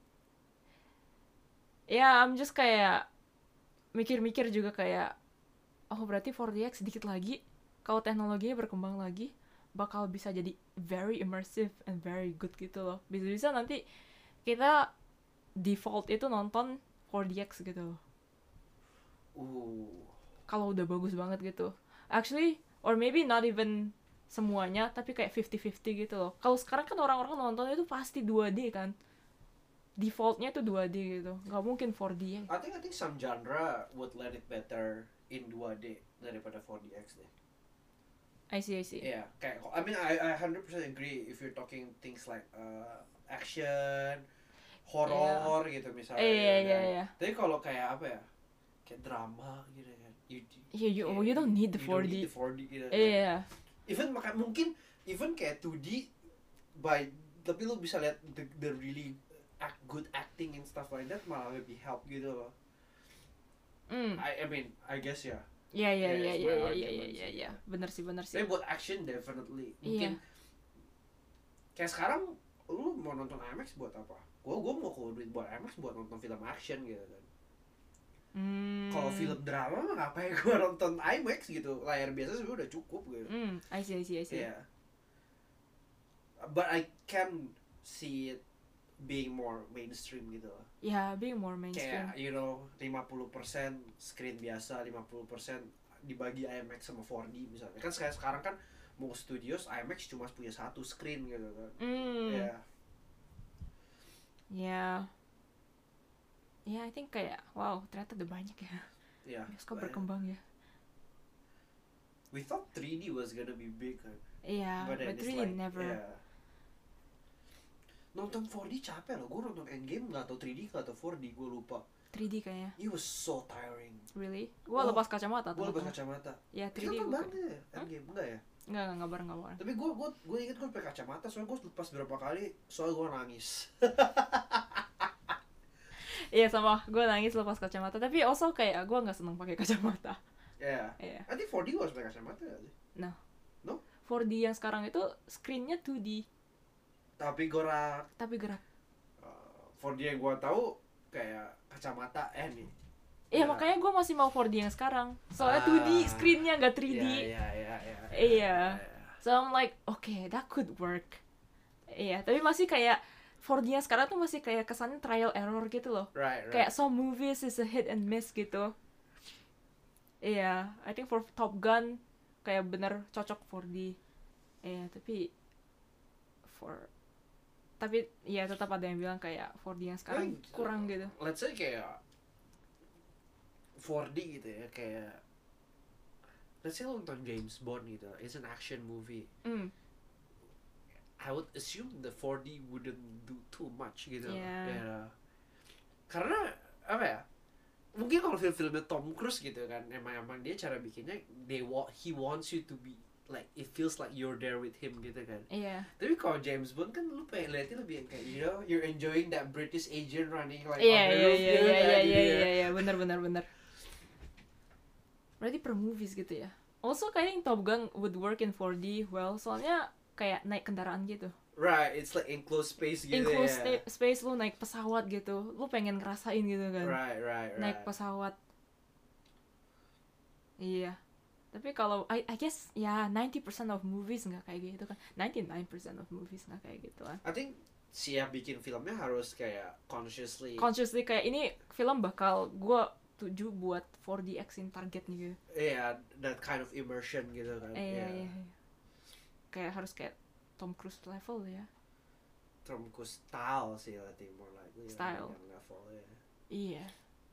Speaker 2: ya yeah, I'm just kayak mikir-mikir juga kayak oh berarti four D X sedikit lagi kalau teknologinya berkembang lagi bakal bisa jadi very immersive and very good gitu loh. Bisa-bisa nanti kita default itu nonton four D X gitu loh.
Speaker 1: Uh.
Speaker 2: Kalau udah bagus banget gitu. Actually, or maybe not even semuanya, tapi kayak fifty-fifty gitu loh. Kalau sekarang kan orang-orang nonton itu pasti two D kan. Defaultnya itu two D gitu. Nggak mungkin four D ya.
Speaker 1: I think I think some genre would let it better in two D daripada four D X deh.
Speaker 2: I see, I see.
Speaker 1: Iya, yeah, kayak I mean I I one hundred percent agree if you're talking things like uh, action, horror yeah. gitu misalnya.
Speaker 2: Iya, iya,
Speaker 1: kan.
Speaker 2: iya, iya.
Speaker 1: Tapi kalau kayak apa ya? Kayak drama gitu kan. You,
Speaker 2: Yeah, you, oh, you don't need the
Speaker 1: you
Speaker 2: four
Speaker 1: don't
Speaker 2: D.
Speaker 1: need the four D gitu.
Speaker 2: Iya. Yeah.
Speaker 1: Even maka mungkin even kayak two D by tapi lu bisa lihat the, the really act, good acting and stuff like that malah lebih help gitu loh.
Speaker 2: Mm.
Speaker 1: I I mean I guess ya.
Speaker 2: Iya, iya,
Speaker 1: Yeah,
Speaker 2: iya,
Speaker 1: it's
Speaker 2: iya,
Speaker 1: my
Speaker 2: iya,
Speaker 1: argument
Speaker 2: iya,
Speaker 1: sih.
Speaker 2: iya, iya. Bener sih, bener sih.
Speaker 1: Tapi buat action definitely mungkin
Speaker 2: Iya.
Speaker 1: kayak sekarang lu mau nonton IMAX buat apa? Gua gua mau keluar duit buat IMAX buat nonton film action gitu kan.
Speaker 2: Hmm.
Speaker 1: Kalau Kalau film drama mah ngapain gue nonton IMAX gitu, layar biasa sebenarnya udah cukup gitu.
Speaker 2: Hmm, I see, I see, I see.
Speaker 1: Yeah. But I can see it being more mainstream gitu loh.
Speaker 2: Yeah, being more mainstream.
Speaker 1: Kayak you know lima puluh persen screen biasa, lima puluh persen dibagi IMAX sama four D misalnya. Kan sekarang sekarang kan mau studios IMAX cuma punya satu screen gitu kan.
Speaker 2: Hmm.
Speaker 1: Yeah.
Speaker 2: Yeah. Yeah, I think kayak wow, ternyata udah banyak ya.
Speaker 1: Yeah.
Speaker 2: Bioskop
Speaker 1: banyak.
Speaker 2: berkembang ya.
Speaker 1: We thought three D was gonna be big kan.
Speaker 2: Iya,
Speaker 1: But then
Speaker 2: but
Speaker 1: it's
Speaker 2: really
Speaker 1: like,
Speaker 2: never.
Speaker 1: yeah. Nonton four D capek loh. Gue nonton Endgame nggak tau three D nggak tau four D, gue lupa.
Speaker 2: three D kayaknya.
Speaker 1: It was so tiring.
Speaker 2: Really? Gua
Speaker 1: Oh,
Speaker 2: lepas kacamata
Speaker 1: Gue
Speaker 2: tuh.
Speaker 1: lepas kacamata.
Speaker 2: Ya,
Speaker 1: Kita
Speaker 2: three D
Speaker 1: nonton
Speaker 2: gua.
Speaker 1: bareng ya Endgame enggak ya?
Speaker 2: Enggak, enggak, enggak bareng, enggak bareng.
Speaker 1: Tapi gue gue gue inget gue pakai kacamata soalnya gue lepas berapa kali soalnya gue nangis.
Speaker 2: Iya sama, gue nangis lepas kacamata. Tapi also kayak gue nggak seneng pakai kacamata.
Speaker 1: Ya.
Speaker 2: Iya.
Speaker 1: Nanti four D gue harus pakai kacamata gak sih?
Speaker 2: No.
Speaker 1: No?
Speaker 2: four D yang sekarang itu screennya two D,
Speaker 1: Tapi gerak.
Speaker 2: tapi gerak.
Speaker 1: Uh, four D yang gue tahu kayak kacamata eh nih.
Speaker 2: Iya,
Speaker 1: Ya.
Speaker 2: makanya gue masih mau four D yang sekarang. Soalnya
Speaker 1: Ah.
Speaker 2: two D screennya nggak three D.
Speaker 1: Iya iya iya iya.
Speaker 2: Iya. So I'm like, okay, that could work. Iya, tapi masih kayak four D yang sekarang tuh masih kayak kesannya trial error gitu loh.
Speaker 1: Right right.
Speaker 2: Kayak some movies is a hit and miss gitu. Iya, I think for Top Gun kayak bener cocok four D. Iya, tapi for tapi ya tetap ada yang bilang kayak four D yang sekarang
Speaker 1: Well,
Speaker 2: kurang gitu.
Speaker 1: Let's say kayak four D gitu ya, kayak let's say lo nonton James Bond gitu, it's an action movie.
Speaker 2: Mm.
Speaker 1: I would assume the four D wouldn't do too much gitu.
Speaker 2: Yeah.
Speaker 1: Ya. Karena apa ya? Mungkin kalau film-filmnya Tom Cruise gitu kan, emang emang dia cara bikinnya they want he wants you to be like it feels like you're there with him gitu kan.
Speaker 2: Iya.
Speaker 1: Tapi kalau James Bond kan lu pengen liatnya lebih yang kayak you know you're enjoying that British agent running like
Speaker 2: Iya,
Speaker 1: on the
Speaker 2: iya,
Speaker 1: roof
Speaker 2: iya,
Speaker 1: gitu
Speaker 2: iya,
Speaker 1: kan,
Speaker 2: iya,
Speaker 1: gitu
Speaker 2: iya,
Speaker 1: ya.
Speaker 2: iya, iya, benar, benar, benar. Berarti per movies gitu ya. Also kayaknya Top Gun would work in four D well, soalnya kayak naik kendaraan gitu.
Speaker 1: Right, it's like enclosed space gitu
Speaker 2: Enclosed
Speaker 1: ya.
Speaker 2: sta- space lu naik pesawat gitu, lu pengen ngerasain gitu kan.
Speaker 1: Right, right, right.
Speaker 2: Naik pesawat. Iya. Tapi kalau I, I guess ya ninety percent of movies nggak kayak gitu kan. ninety-nine percent of movies nggak kayak gitu kan.
Speaker 1: I think siap bikin filmnya harus kayak consciously.
Speaker 2: Consciously kayak ini film bakal gua tuju buat four D X in target nih gitu.
Speaker 1: Yeah, that kind of immersion gitu kan.
Speaker 2: Eh, iya,
Speaker 1: Yeah.
Speaker 2: iya, iya. Kayak harus kayak Tom Cruise level ya.
Speaker 1: Tom Cruise style sih I think more likely.
Speaker 2: Style.
Speaker 1: Yang level ya.
Speaker 2: Iya.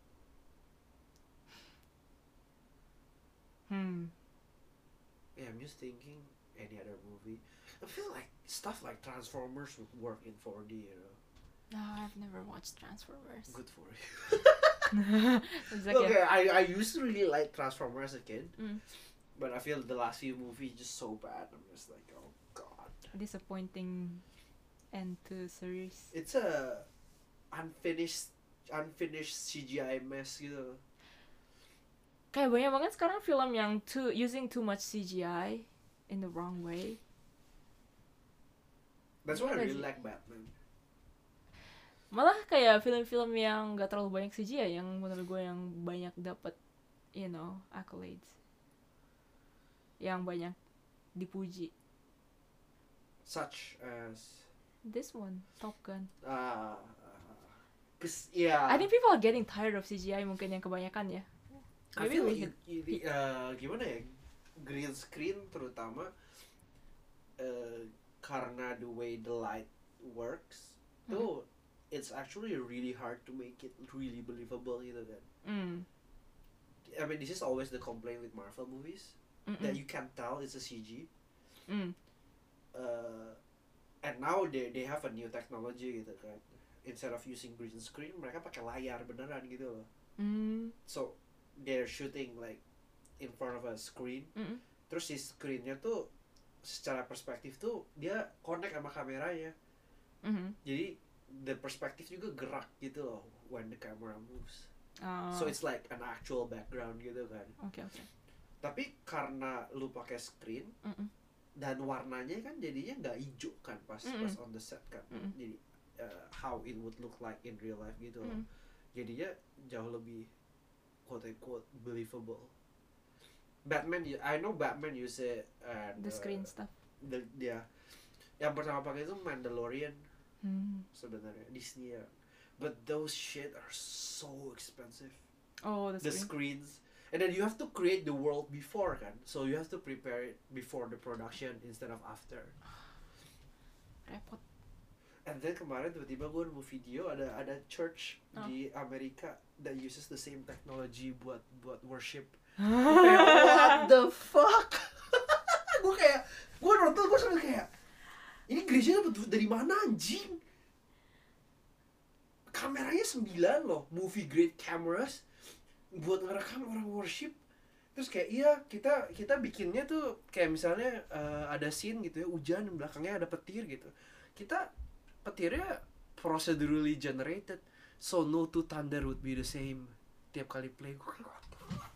Speaker 2: Hmm.
Speaker 1: Yeah, I'm just thinking any other movie. I feel like stuff like Transformers would work in four D, you know.
Speaker 2: No, I've never watched Transformers.
Speaker 1: Good for you.
Speaker 2: It's like
Speaker 1: Okay,
Speaker 2: a-
Speaker 1: I I used to really like Transformers as a kid,
Speaker 2: Mm.
Speaker 1: but I feel the last few movies just so bad. I'm just like, oh god.
Speaker 2: disappointing end to series.
Speaker 1: It's a unfinished unfinished C G I mess gitu.
Speaker 2: Kayak banyak banget sekarang film yang too using too much C G I in the wrong way.
Speaker 1: That's why I
Speaker 2: Iya
Speaker 1: really
Speaker 2: sih.
Speaker 1: like Batman.
Speaker 2: Malah kayak film-film yang gak terlalu banyak C G I yang menurut gue yang banyak dapat, you know, accolades. Yang banyak dipuji.
Speaker 1: Such as
Speaker 2: This one, Top Gun.
Speaker 1: uh, cause yeah.
Speaker 2: I think people are getting tired of C G I mungkin yang kebanyakan ya.
Speaker 1: I
Speaker 2: Maybe
Speaker 1: feel
Speaker 2: we
Speaker 1: like
Speaker 2: hit-
Speaker 1: i- i- uh, gimana ya, green screen terutama uh, karena the way the light works
Speaker 2: Hmm.
Speaker 1: tuh it's actually really hard to make it really believable gitu kan.
Speaker 2: Mm.
Speaker 1: I mean this is always the complaint with Marvel movies
Speaker 2: Mm-mm.
Speaker 1: that you can't tell it's a C G.
Speaker 2: Mm.
Speaker 1: Uh, and now they they have a new technology gitu kan. Instead of using green screen mereka pakai layar beneran gitu loh.
Speaker 2: Mm.
Speaker 1: So they're shooting like in front of a screen.
Speaker 2: Mm-mm.
Speaker 1: Terus si screennya tuh secara perspektif tuh dia connect sama kameranya.
Speaker 2: Mhm.
Speaker 1: Jadi the perspektif juga gerak gitu loh when the camera moves.
Speaker 2: Ah,
Speaker 1: So it's like an actual background gitu kan.
Speaker 2: oke oke.
Speaker 1: Tapi karena lu pakai screen
Speaker 2: Mm-mm.
Speaker 1: dan warnanya kan jadinya nggak hijau kan pas
Speaker 2: Mm-mm.
Speaker 1: pas on the set kan.
Speaker 2: Mm-mm.
Speaker 1: Jadi uh, how it would look like in real life gitu loh.
Speaker 2: Mm.
Speaker 1: Jadinya jauh lebih quote unquote believable. Batman, I know Batman use it and
Speaker 2: The screen
Speaker 1: uh,
Speaker 2: stuff.
Speaker 1: the, dia yang pertama pakai itu Mandalorian
Speaker 2: Hmm.
Speaker 1: sebenarnya Disney ya. But those shit are so expensive.
Speaker 2: Oh, the
Speaker 1: The
Speaker 2: screen.
Speaker 1: screens. And then you have to create the world before kan. So you have to prepare it before the production instead of after.
Speaker 2: Repot.
Speaker 1: And then kemarin tiba-tiba gue nemu video ada ada church
Speaker 2: Oh.
Speaker 1: di Amerika that uses the same technology buat buat worship. Kayak what the fuck? Gue kayak gue nonton gue sampai kayak ini gereja dapat duit dari mana anjing? Kameranya sembilan loh, movie grade cameras buat ngerekam orang worship. Terus kayak iya kita kita bikinnya tuh kayak misalnya uh, ada scene gitu ya hujan belakangnya ada petir gitu. Kita petirnya procedurally generated, so no two thunder would be the same tiap kali play. Gue kayak what the fuck?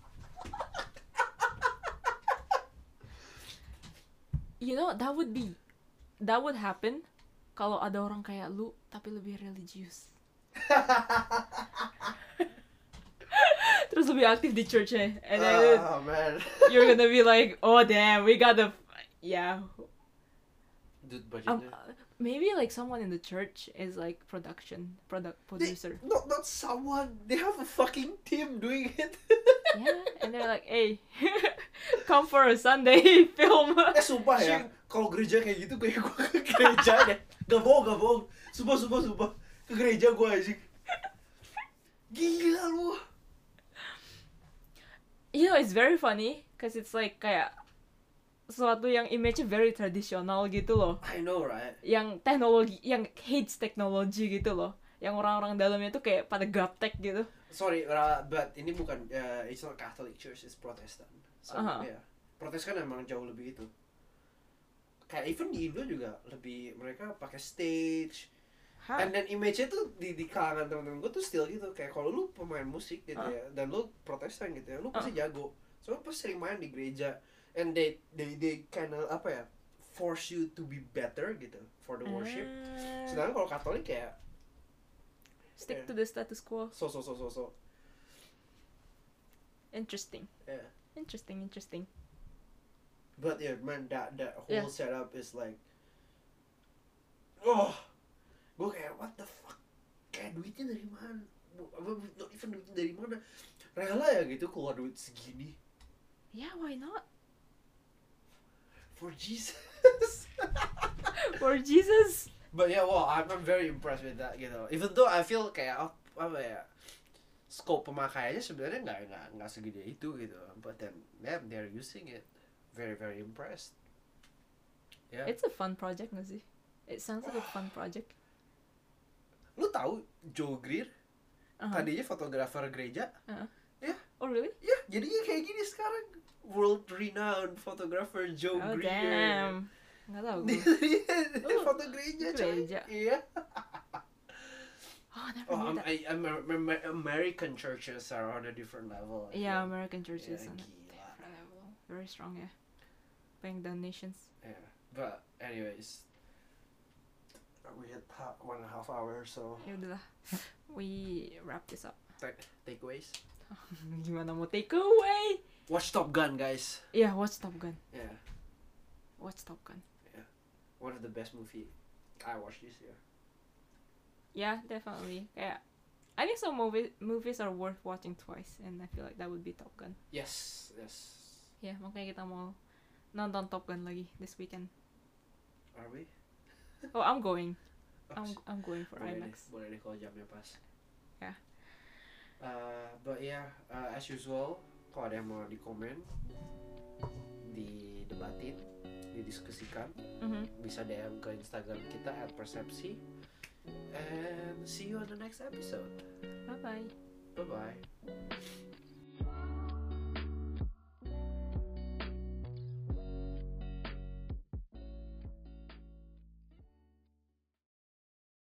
Speaker 2: You know, that would be that would happen kalau ada orang kayak lu tapi lebih religius. Terus lebih aktif di church-nya. And then
Speaker 1: Oh man.
Speaker 2: you're gonna be like, oh damn, we got the yeah.
Speaker 1: Dude,
Speaker 2: Um,
Speaker 1: budgetnya.
Speaker 2: uh, maybe like someone in the church is like production product
Speaker 1: They,
Speaker 2: producer.
Speaker 1: not not someone. They have a fucking team doing it.
Speaker 2: Yeah, and they're like, hey, come for a Sunday film.
Speaker 1: Eh sumpah ya, kalau gereja kayak gitu kayak gue ke gereja deh. Gak bohong, gak bohong. Sumpah, sumpah, sumpah. Ke gereja gue anjing. Gila lu.
Speaker 2: You know, it's very funny cause it's like kayak sesuatu yang image very tradisional gitu loh.
Speaker 1: I know right.
Speaker 2: Yang teknologi, yang hates teknologi gitu loh. Yang orang-orang dalamnya tuh kayak pada gaptek gitu.
Speaker 1: Sorry, uh, but ini bukan, uh, it's not Catholic Church, it's Protestant. So,
Speaker 2: Uh-huh.
Speaker 1: yeah. Protestan emang jauh lebih itu. Kayak even di Indo juga lebih, mereka pakai stage.
Speaker 2: Hah?
Speaker 1: And then image-nya tuh di, di kalangan temen-temen gue tuh still gitu. Kayak kalau lu pemain musik gitu
Speaker 2: Uh.
Speaker 1: ya, dan lu Protestan gitu ya, lu pasti jago. So lu pasti sering main di gereja. And they, they, they kinda, apa ya, force you to be better gitu for the worship.
Speaker 2: Ah.
Speaker 1: Sedangkan kalau Katolik kayak
Speaker 2: Stick
Speaker 1: Yeah.
Speaker 2: to the status quo.
Speaker 1: so so so so so.
Speaker 2: Interesting.
Speaker 1: Yeah.
Speaker 2: Interesting, interesting.
Speaker 1: But yeah, man, that that whole
Speaker 2: Yeah.
Speaker 1: setup is like, oh, gue kayak what the fuck, kayak duitnya dari mana? Bu- Apa not even duitnya dari mana? Rela ya gitu keluar duit segini
Speaker 2: Yeah, why not?
Speaker 1: for Jesus.
Speaker 2: For Jesus.
Speaker 1: But yeah, well, I'm, I'm very impressed with that gitu. Even though I feel kayak apa, apa ya, scope pemakaiannya sebenarnya nggak nggak nggak segede itu gitu. But then, yeah, they're using it. Very very impressed. Yeah.
Speaker 2: It's a fun project gak sih? It sounds like a fun project.
Speaker 1: Lu tahu Joe Greer?
Speaker 2: Uh-huh.
Speaker 1: Tadinya fotografer gereja.
Speaker 2: Uh-huh.
Speaker 1: Ya,
Speaker 2: Oh really?
Speaker 1: ya, jadinya kayak gini sekarang. World renowned photographer Joe
Speaker 2: Oh
Speaker 1: Greer.
Speaker 2: damn. Nggak tahu gue.
Speaker 1: Dia
Speaker 2: Oh,
Speaker 1: foto gereja, coy.
Speaker 2: gereja.
Speaker 1: Iya.
Speaker 2: Oh, I never
Speaker 1: Oh,
Speaker 2: knew
Speaker 1: um,
Speaker 2: that.
Speaker 1: I, Amer- Amer- American churches are on a different level. I
Speaker 2: Yeah,
Speaker 1: feel.
Speaker 2: American churches
Speaker 1: Yeah,
Speaker 2: on a
Speaker 1: gila.
Speaker 2: different level. Very strong ya. Paying donations.
Speaker 1: Yeah, but anyways, we had ha- one and a half hour, so
Speaker 2: Ya udahlah. We wrap this up.
Speaker 1: ta- takeaways.
Speaker 2: Gimana mau take away?
Speaker 1: Watch Top Gun, guys.
Speaker 2: Yeah, watch Top Gun.
Speaker 1: Yeah,
Speaker 2: Watch Top Gun.
Speaker 1: one of the best movie I watched this year.
Speaker 2: Yeah, definitely. Kayak I think some movie movies are worth watching twice, and I feel like that would be Top Gun.
Speaker 1: Yes, yes.
Speaker 2: Yeah, makanya kita mau nonton Top Gun lagi this weekend.
Speaker 1: Are we?
Speaker 2: Oh, I'm going.
Speaker 1: Oh,
Speaker 2: I'm I'm going for
Speaker 1: boleh
Speaker 2: IMAX.
Speaker 1: deh, boleh deh kalau jamnya pas.
Speaker 2: Yeah.
Speaker 1: Uh, but yeah, uh, as usual, kalau ada yang mau di komen, didebatin, didiskusikan,
Speaker 2: Mhm.
Speaker 1: bisa D M ke Instagram kita at persepsi. And see you on the next episode.
Speaker 2: Bye bye.
Speaker 1: Bye bye.